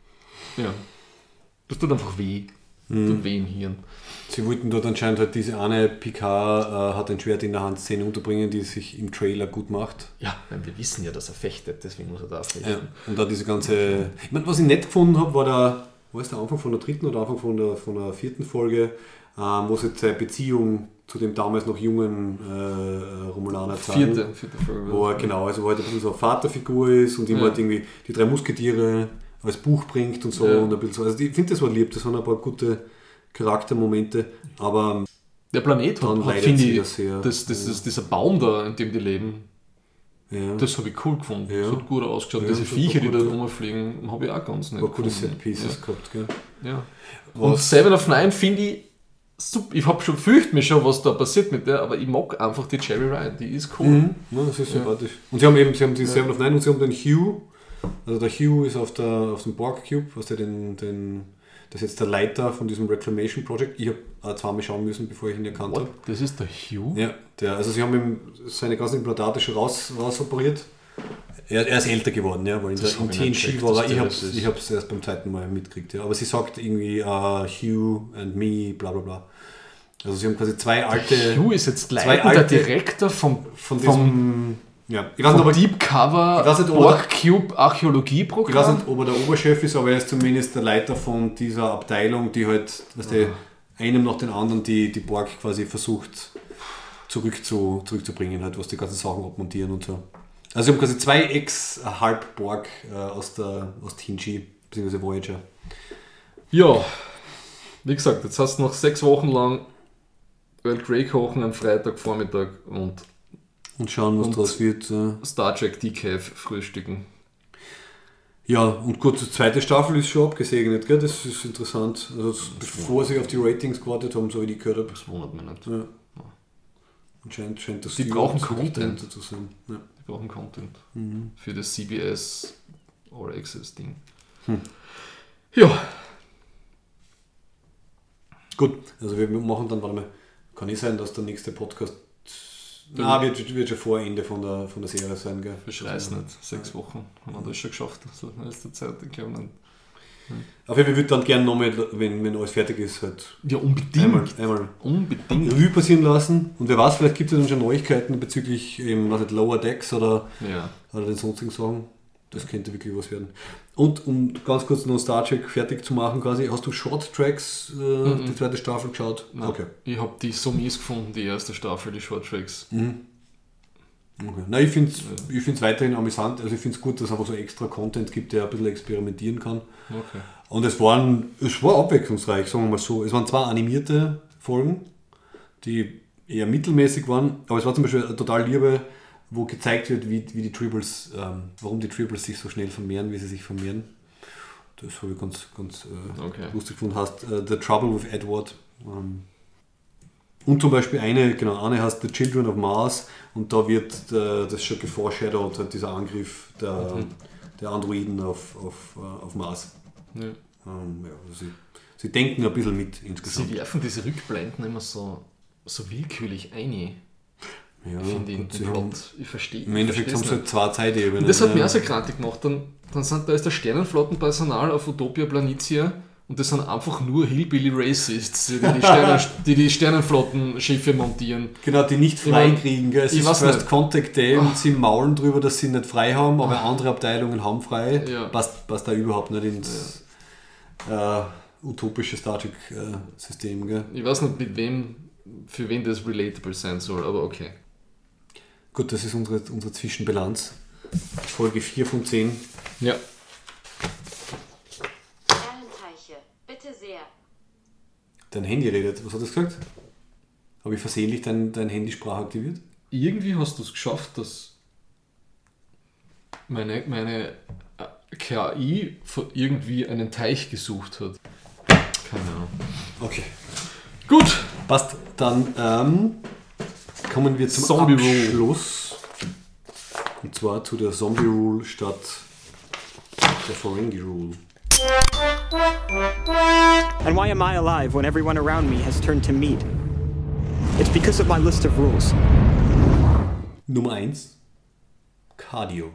[SPEAKER 2] tut einfach weh. Tut weh im Hirn.
[SPEAKER 1] Sie wollten dort anscheinend halt diese eine Picard hat ein Schwert in der Hand Szene unterbringen, die sich im Trailer gut macht.
[SPEAKER 2] Ja, weil wir wissen ja, dass er fechtet, deswegen muss er da fechten.
[SPEAKER 1] Ja. Und da diese ganze... Ich meine, was ich nett gefunden habe, war der Anfang von der 3. oder Anfang von der 4. Folge, wo sie seine Beziehung zu dem damals noch jungen Romulaner zeigen.
[SPEAKER 2] Vierte Folge.
[SPEAKER 1] Wo er, genau, also wo halt ein bisschen so eine Vaterfigur ist und ihm halt irgendwie die 3 Musketiere als Buch bringt und so.
[SPEAKER 2] Ja.
[SPEAKER 1] Und ein bisschen so. Also ich finde, das war lieb, das waren ein paar gute Charaktermomente, aber
[SPEAKER 2] Der Planet
[SPEAKER 1] dann
[SPEAKER 2] hat
[SPEAKER 1] leidet
[SPEAKER 2] finde
[SPEAKER 1] sie
[SPEAKER 2] ich,
[SPEAKER 1] das sehr.
[SPEAKER 2] dieser Baum da, in dem die leben,
[SPEAKER 1] ja,
[SPEAKER 2] das habe ich cool gefunden.
[SPEAKER 1] Ja.
[SPEAKER 2] Das hat gut ausgeschaut.
[SPEAKER 1] Ja,
[SPEAKER 2] Diese
[SPEAKER 1] das
[SPEAKER 2] Viecher, die
[SPEAKER 1] war
[SPEAKER 2] da
[SPEAKER 1] gut, ja.
[SPEAKER 2] rumfliegen, habe ich auch ganz nett
[SPEAKER 1] ein paar gute
[SPEAKER 2] gefunden.
[SPEAKER 1] Set-Pieces gehabt. Gell?
[SPEAKER 2] Ja. Und Seven of Nine finde ich super. Ich fürchte mich schon, was da passiert mit der, aber ich mag einfach die Jerry Ryan, die ist cool.
[SPEAKER 1] Ja, das ist sympathisch. Und sie haben die Seven of Nine und sie haben den Hugh. Also der Hugh ist auf dem Borg Cube, was der das ist jetzt der Leiter von diesem Reclamation Project. Ich habe zweimal schauen müssen, bevor ich ihn erkannt habe.
[SPEAKER 2] Das ist der Hugh?
[SPEAKER 1] Ja, also sie haben ihm seine ganzen Implantate schon raus operiert. Er ist älter geworden, ja, weil in
[SPEAKER 2] Das hab ich
[SPEAKER 1] TNG
[SPEAKER 2] nicht checkt,
[SPEAKER 1] war
[SPEAKER 2] dass
[SPEAKER 1] er,
[SPEAKER 2] der das ist.
[SPEAKER 1] ich habe es erst beim zweiten Mal mitgekriegt. Ja. Aber sie sagt irgendwie Hugh and me, bla bla bla. Also sie haben quasi zwei alte...
[SPEAKER 2] Hugh ist jetzt
[SPEAKER 1] zwei
[SPEAKER 2] leitender
[SPEAKER 1] alte-
[SPEAKER 2] Direktor
[SPEAKER 1] von diesem... Ja, ich weiß nicht,
[SPEAKER 2] vom
[SPEAKER 1] ob er-
[SPEAKER 2] Deep Cover
[SPEAKER 1] ich weiß nicht, ob er-
[SPEAKER 2] Borg Cube
[SPEAKER 1] Ich weiß
[SPEAKER 2] Archäologieprogramm.
[SPEAKER 1] nicht, ob er der Oberchef ist, aber er ist zumindest der Leiter von dieser Abteilung, die halt, einem nach den anderen die Borg quasi versucht zurückzubringen, halt, was die ganzen Sachen abmontieren und so. Also sie haben quasi 2 Ex-Halb-Borg aus TNG, bzw. Voyager.
[SPEAKER 2] Ja, wie gesagt, jetzt hast du noch 6 Wochen lang Earl Grey kochen am Freitagvormittag und
[SPEAKER 1] Und schauen, was
[SPEAKER 2] Und-
[SPEAKER 1] draus wird.
[SPEAKER 2] Star Trek Decaf frühstücken.
[SPEAKER 1] Ja, und gut, die zweite Staffel ist schon abgesegnet, gell? Das ist interessant. Also bevor sie auf die Ratings gewartet haben, so wie ich gehört habe.
[SPEAKER 2] Das wundert mich nicht.
[SPEAKER 1] Ja. Und scheint das
[SPEAKER 2] Die brauchen Content.
[SPEAKER 1] dahinter zu sein. Ja.
[SPEAKER 2] Die brauchen Content für das CBS All Access Ding. Ja,
[SPEAKER 1] Gut, also wir machen dann, warte mal, kann nicht sein, dass der nächste Podcast wird schon vor Ende von der Serie sein, gell?
[SPEAKER 2] beschreiß nicht. 6 Wochen haben wir das schon geschafft. So in letzter Zeit. Ich glaube nicht.
[SPEAKER 1] Auf jeden Fall würde ich dann gerne nochmal, wenn alles fertig ist, halt
[SPEAKER 2] Ja, unbedingt.
[SPEAKER 1] einmal
[SPEAKER 2] Unbedingt.
[SPEAKER 1] Revue passieren lassen. Und wer weiß, vielleicht gibt es ja dann schon Neuigkeiten bezüglich Lower Decks oder
[SPEAKER 2] Ja.
[SPEAKER 1] den sonstigen Sachen. Das könnte wirklich was werden. Und um ganz kurz noch Star Trek fertig zu machen, quasi, hast du Short Tracks, die zweite Staffel geschaut?
[SPEAKER 2] Nein,
[SPEAKER 1] Okay.
[SPEAKER 2] Ich habe die so mies gefunden, die erste Staffel, die Short Tracks.
[SPEAKER 1] Okay. Nein, ich finde es weiterhin amüsant. Also ich finde es gut, dass es einfach so extra Content gibt, der ein bisschen experimentieren kann.
[SPEAKER 2] Okay.
[SPEAKER 1] Und es war abwechslungsreich, sagen wir mal so. Es waren 2 animierte Folgen, die eher mittelmäßig waren, aber es war zum Beispiel eine total Liebe, wo gezeigt wird, wie die Tribbles, warum die Tribbles sich so schnell vermehren, wie sie sich vermehren. Das habe ich ganz
[SPEAKER 2] Okay.
[SPEAKER 1] lustig gefunden. Heißt The Trouble with Edward. Und zum Beispiel eine heißt The Children of Mars und da wird das schon geforeshadowed, halt dieser Angriff der Androiden auf Mars.
[SPEAKER 2] Ja.
[SPEAKER 1] Also sie denken ein bisschen mit insgesamt.
[SPEAKER 2] Sie werfen diese Rückblenden immer so willkürlich ein.
[SPEAKER 1] Ja,
[SPEAKER 2] Finde ich den Plot. Ich verstehe.
[SPEAKER 1] Im Endeffekt haben sie halt 2 Zeitebenen.
[SPEAKER 2] Und das hat mir auch so grantig gemacht. Da ist der Sternenflottenpersonal auf Utopia Planitia und das sind einfach nur Hillbilly Racists, die die Sternenflottenschiffe montieren.
[SPEAKER 1] Genau, die nicht frei kriegen. Gell? Es ist First
[SPEAKER 2] nicht.
[SPEAKER 1] Contact Day und sie maulen drüber, dass sie nicht frei haben, aber andere Abteilungen haben frei.
[SPEAKER 2] Ja.
[SPEAKER 1] Passt da überhaupt nicht ins utopische Star Trek-System. Gell?
[SPEAKER 2] Ich weiß nicht, für wen das relatable sein soll, aber okay.
[SPEAKER 1] Gut, das ist unsere Zwischenbilanz. Folge 4 von 10.
[SPEAKER 2] Ja.
[SPEAKER 6] Perlenteiche, bitte sehr.
[SPEAKER 1] Dein Handy redet. Was hat das gesagt? Habe ich versehentlich dein Handysprache aktiviert?
[SPEAKER 2] Irgendwie hast du es geschafft, dass meine KI irgendwie einen Teich gesucht hat. Keine Ahnung.
[SPEAKER 1] Okay.
[SPEAKER 2] Gut.
[SPEAKER 1] Passt. Dann kommen wir zum
[SPEAKER 2] Zombie
[SPEAKER 1] Abschluss. Und zwar zu der Zombie Rule statt der Ferengi Rule.
[SPEAKER 7] And why am I alive when everyone around me has turned to meat? It's because of my list of rules.
[SPEAKER 1] Nummer 1. Cardio.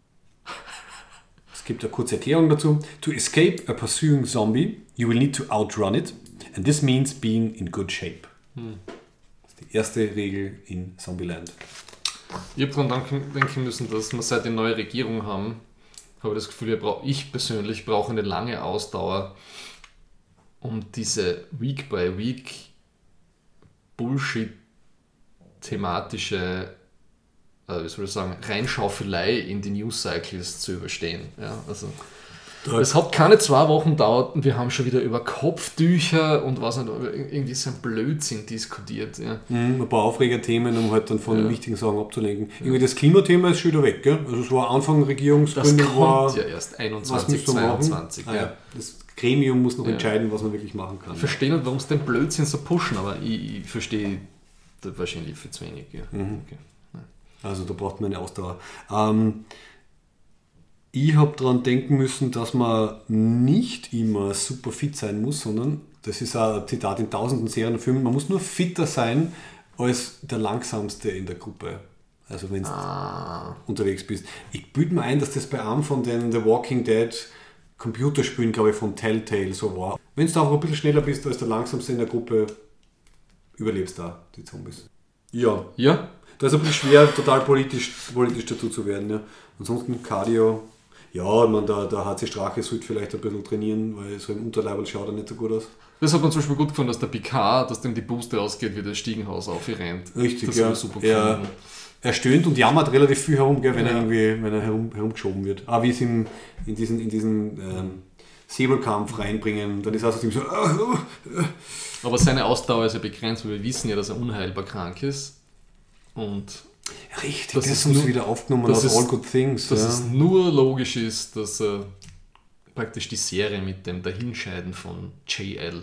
[SPEAKER 1] Es gibt eine kurze Erklärung dazu. To escape a pursuing zombie, you will need to outrun it. And this means being in good shape. Das ist die erste Regel in Zombieland.
[SPEAKER 2] Ich habe daran denken müssen, dass wir seit die neue Regierung haben, habe ich das Gefühl, ich persönlich brauche eine lange Ausdauer, um diese Week-by-Week Bullshit-thematische Reinschaufelei in die News-Cycles zu überstehen. Ja, also es hat keine 2 Wochen gedauert und wir haben schon wieder über Kopftücher und was nicht, irgendwie so ein Blödsinn diskutiert. Ja.
[SPEAKER 1] Ein paar Aufregerthemen, um halt dann von wichtigen Sachen abzulenken. Irgendwie das Klimathema ist schon wieder weg, gell? Also es war Anfang Regierungsgründung.
[SPEAKER 2] Das kommt ja erst 21, 22.
[SPEAKER 1] Das Gremium muss noch entscheiden, was man wirklich machen kann.
[SPEAKER 2] Ich verstehe nicht, warum sie den Blödsinn so pushen, aber ich verstehe das wahrscheinlich viel zu wenig. Ja. Okay.
[SPEAKER 1] Also da braucht man eine Ausdauer. Ich habe daran denken müssen, dass man nicht immer super fit sein muss, sondern, das ist ein Zitat in tausenden Serien und Filmen, man muss nur fitter sein als der Langsamste in der Gruppe. Also wenn du unterwegs bist. Ich bilde mir ein, dass das bei einem von den The Walking Dead Computerspielen, glaube ich, von Telltale so war. Wenn du auch ein bisschen schneller bist als der Langsamste in der Gruppe, überlebst du da die Zombies. Ja. Da ist ein bisschen schwer, total politisch dazu zu werden. Ja. Ansonsten Cardio. Ja, der HC Strache sollte vielleicht ein bisschen trainieren, weil so im Unterleibel schaut er nicht so gut aus.
[SPEAKER 2] Das hat man zum Beispiel gut gefunden, dass der Picard, dass dem die Puste ausgeht, wie das Stiegenhaus aufrennt.
[SPEAKER 1] Richtig,
[SPEAKER 2] das
[SPEAKER 1] ja.
[SPEAKER 2] Super gefunden.
[SPEAKER 1] Er stöhnt und jammert relativ viel herum, gell, wenn er herumgeschoben wird. Aber wie es ihm in diesen Säbelkampf reinbringen, dann ist er so
[SPEAKER 2] Aber seine Ausdauer ist ja begrenzt, weil wir wissen ja, dass er unheilbar krank ist. Und
[SPEAKER 1] richtig, das ist uns wieder aufgenommen aus All Good Things.
[SPEAKER 2] Dass es nur logisch ist, dass praktisch die Serie mit dem Dahinscheiden von JL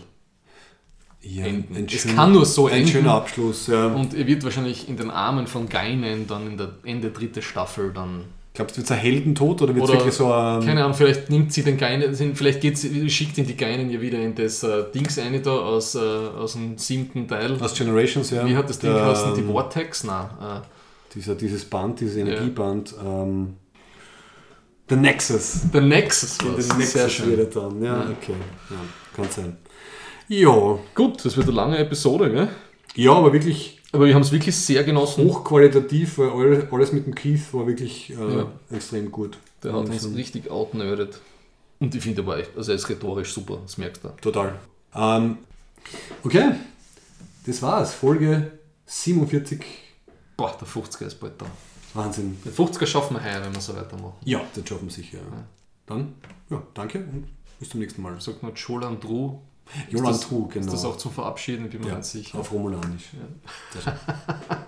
[SPEAKER 2] enden. Kann nur so enden.
[SPEAKER 1] Ein schöner Abschluss, ja.
[SPEAKER 2] Und er wird wahrscheinlich in den Armen von Guinan dann in der Ende 3. Staffel dann...
[SPEAKER 1] Glaubst du, wird es ein Heldentod oder wird es wirklich so ein...
[SPEAKER 2] Keine Ahnung, vielleicht nimmt sie den Guinan, vielleicht schickt ihn die Guinan ja wieder in das Dings rein da aus dem 7. Teil.
[SPEAKER 1] Aus Generations, ja.
[SPEAKER 2] Wie hat das Ding geheißen? Die Vortex? Nein.
[SPEAKER 1] Dieses Band, dieses Energieband. The Nexus.
[SPEAKER 2] The Nexus war
[SPEAKER 1] es. Sehr schön. Dann. Ja, okay. Ja, kann sein. Ja.
[SPEAKER 2] Gut, das wird eine lange Episode, gell?
[SPEAKER 1] Ja, aber wirklich...
[SPEAKER 2] Aber wir haben es wirklich sehr genossen.
[SPEAKER 1] Hochqualitativ, weil alles mit dem Keith war wirklich extrem gut.
[SPEAKER 2] Der hat uns richtig outnerdet. Und ich finde dabei, also er ist rhetorisch super, das merkst du.
[SPEAKER 1] Total. Okay, das war's. Folge 47.
[SPEAKER 2] Boah, der 50er ist bald da.
[SPEAKER 1] Wahnsinn.
[SPEAKER 2] Den 50er schaffen wir heuer, wenn wir so weitermachen.
[SPEAKER 1] Ja, das schaffen wir sicher. Ja. Dann, danke und bis zum nächsten Mal.
[SPEAKER 2] Sagt man Jolan Tru.
[SPEAKER 1] Jolan Tru, genau.
[SPEAKER 2] Ist das auch zum Verabschieden, bin mir ganz sicher.
[SPEAKER 1] Auf Romulanisch.
[SPEAKER 2] Ja.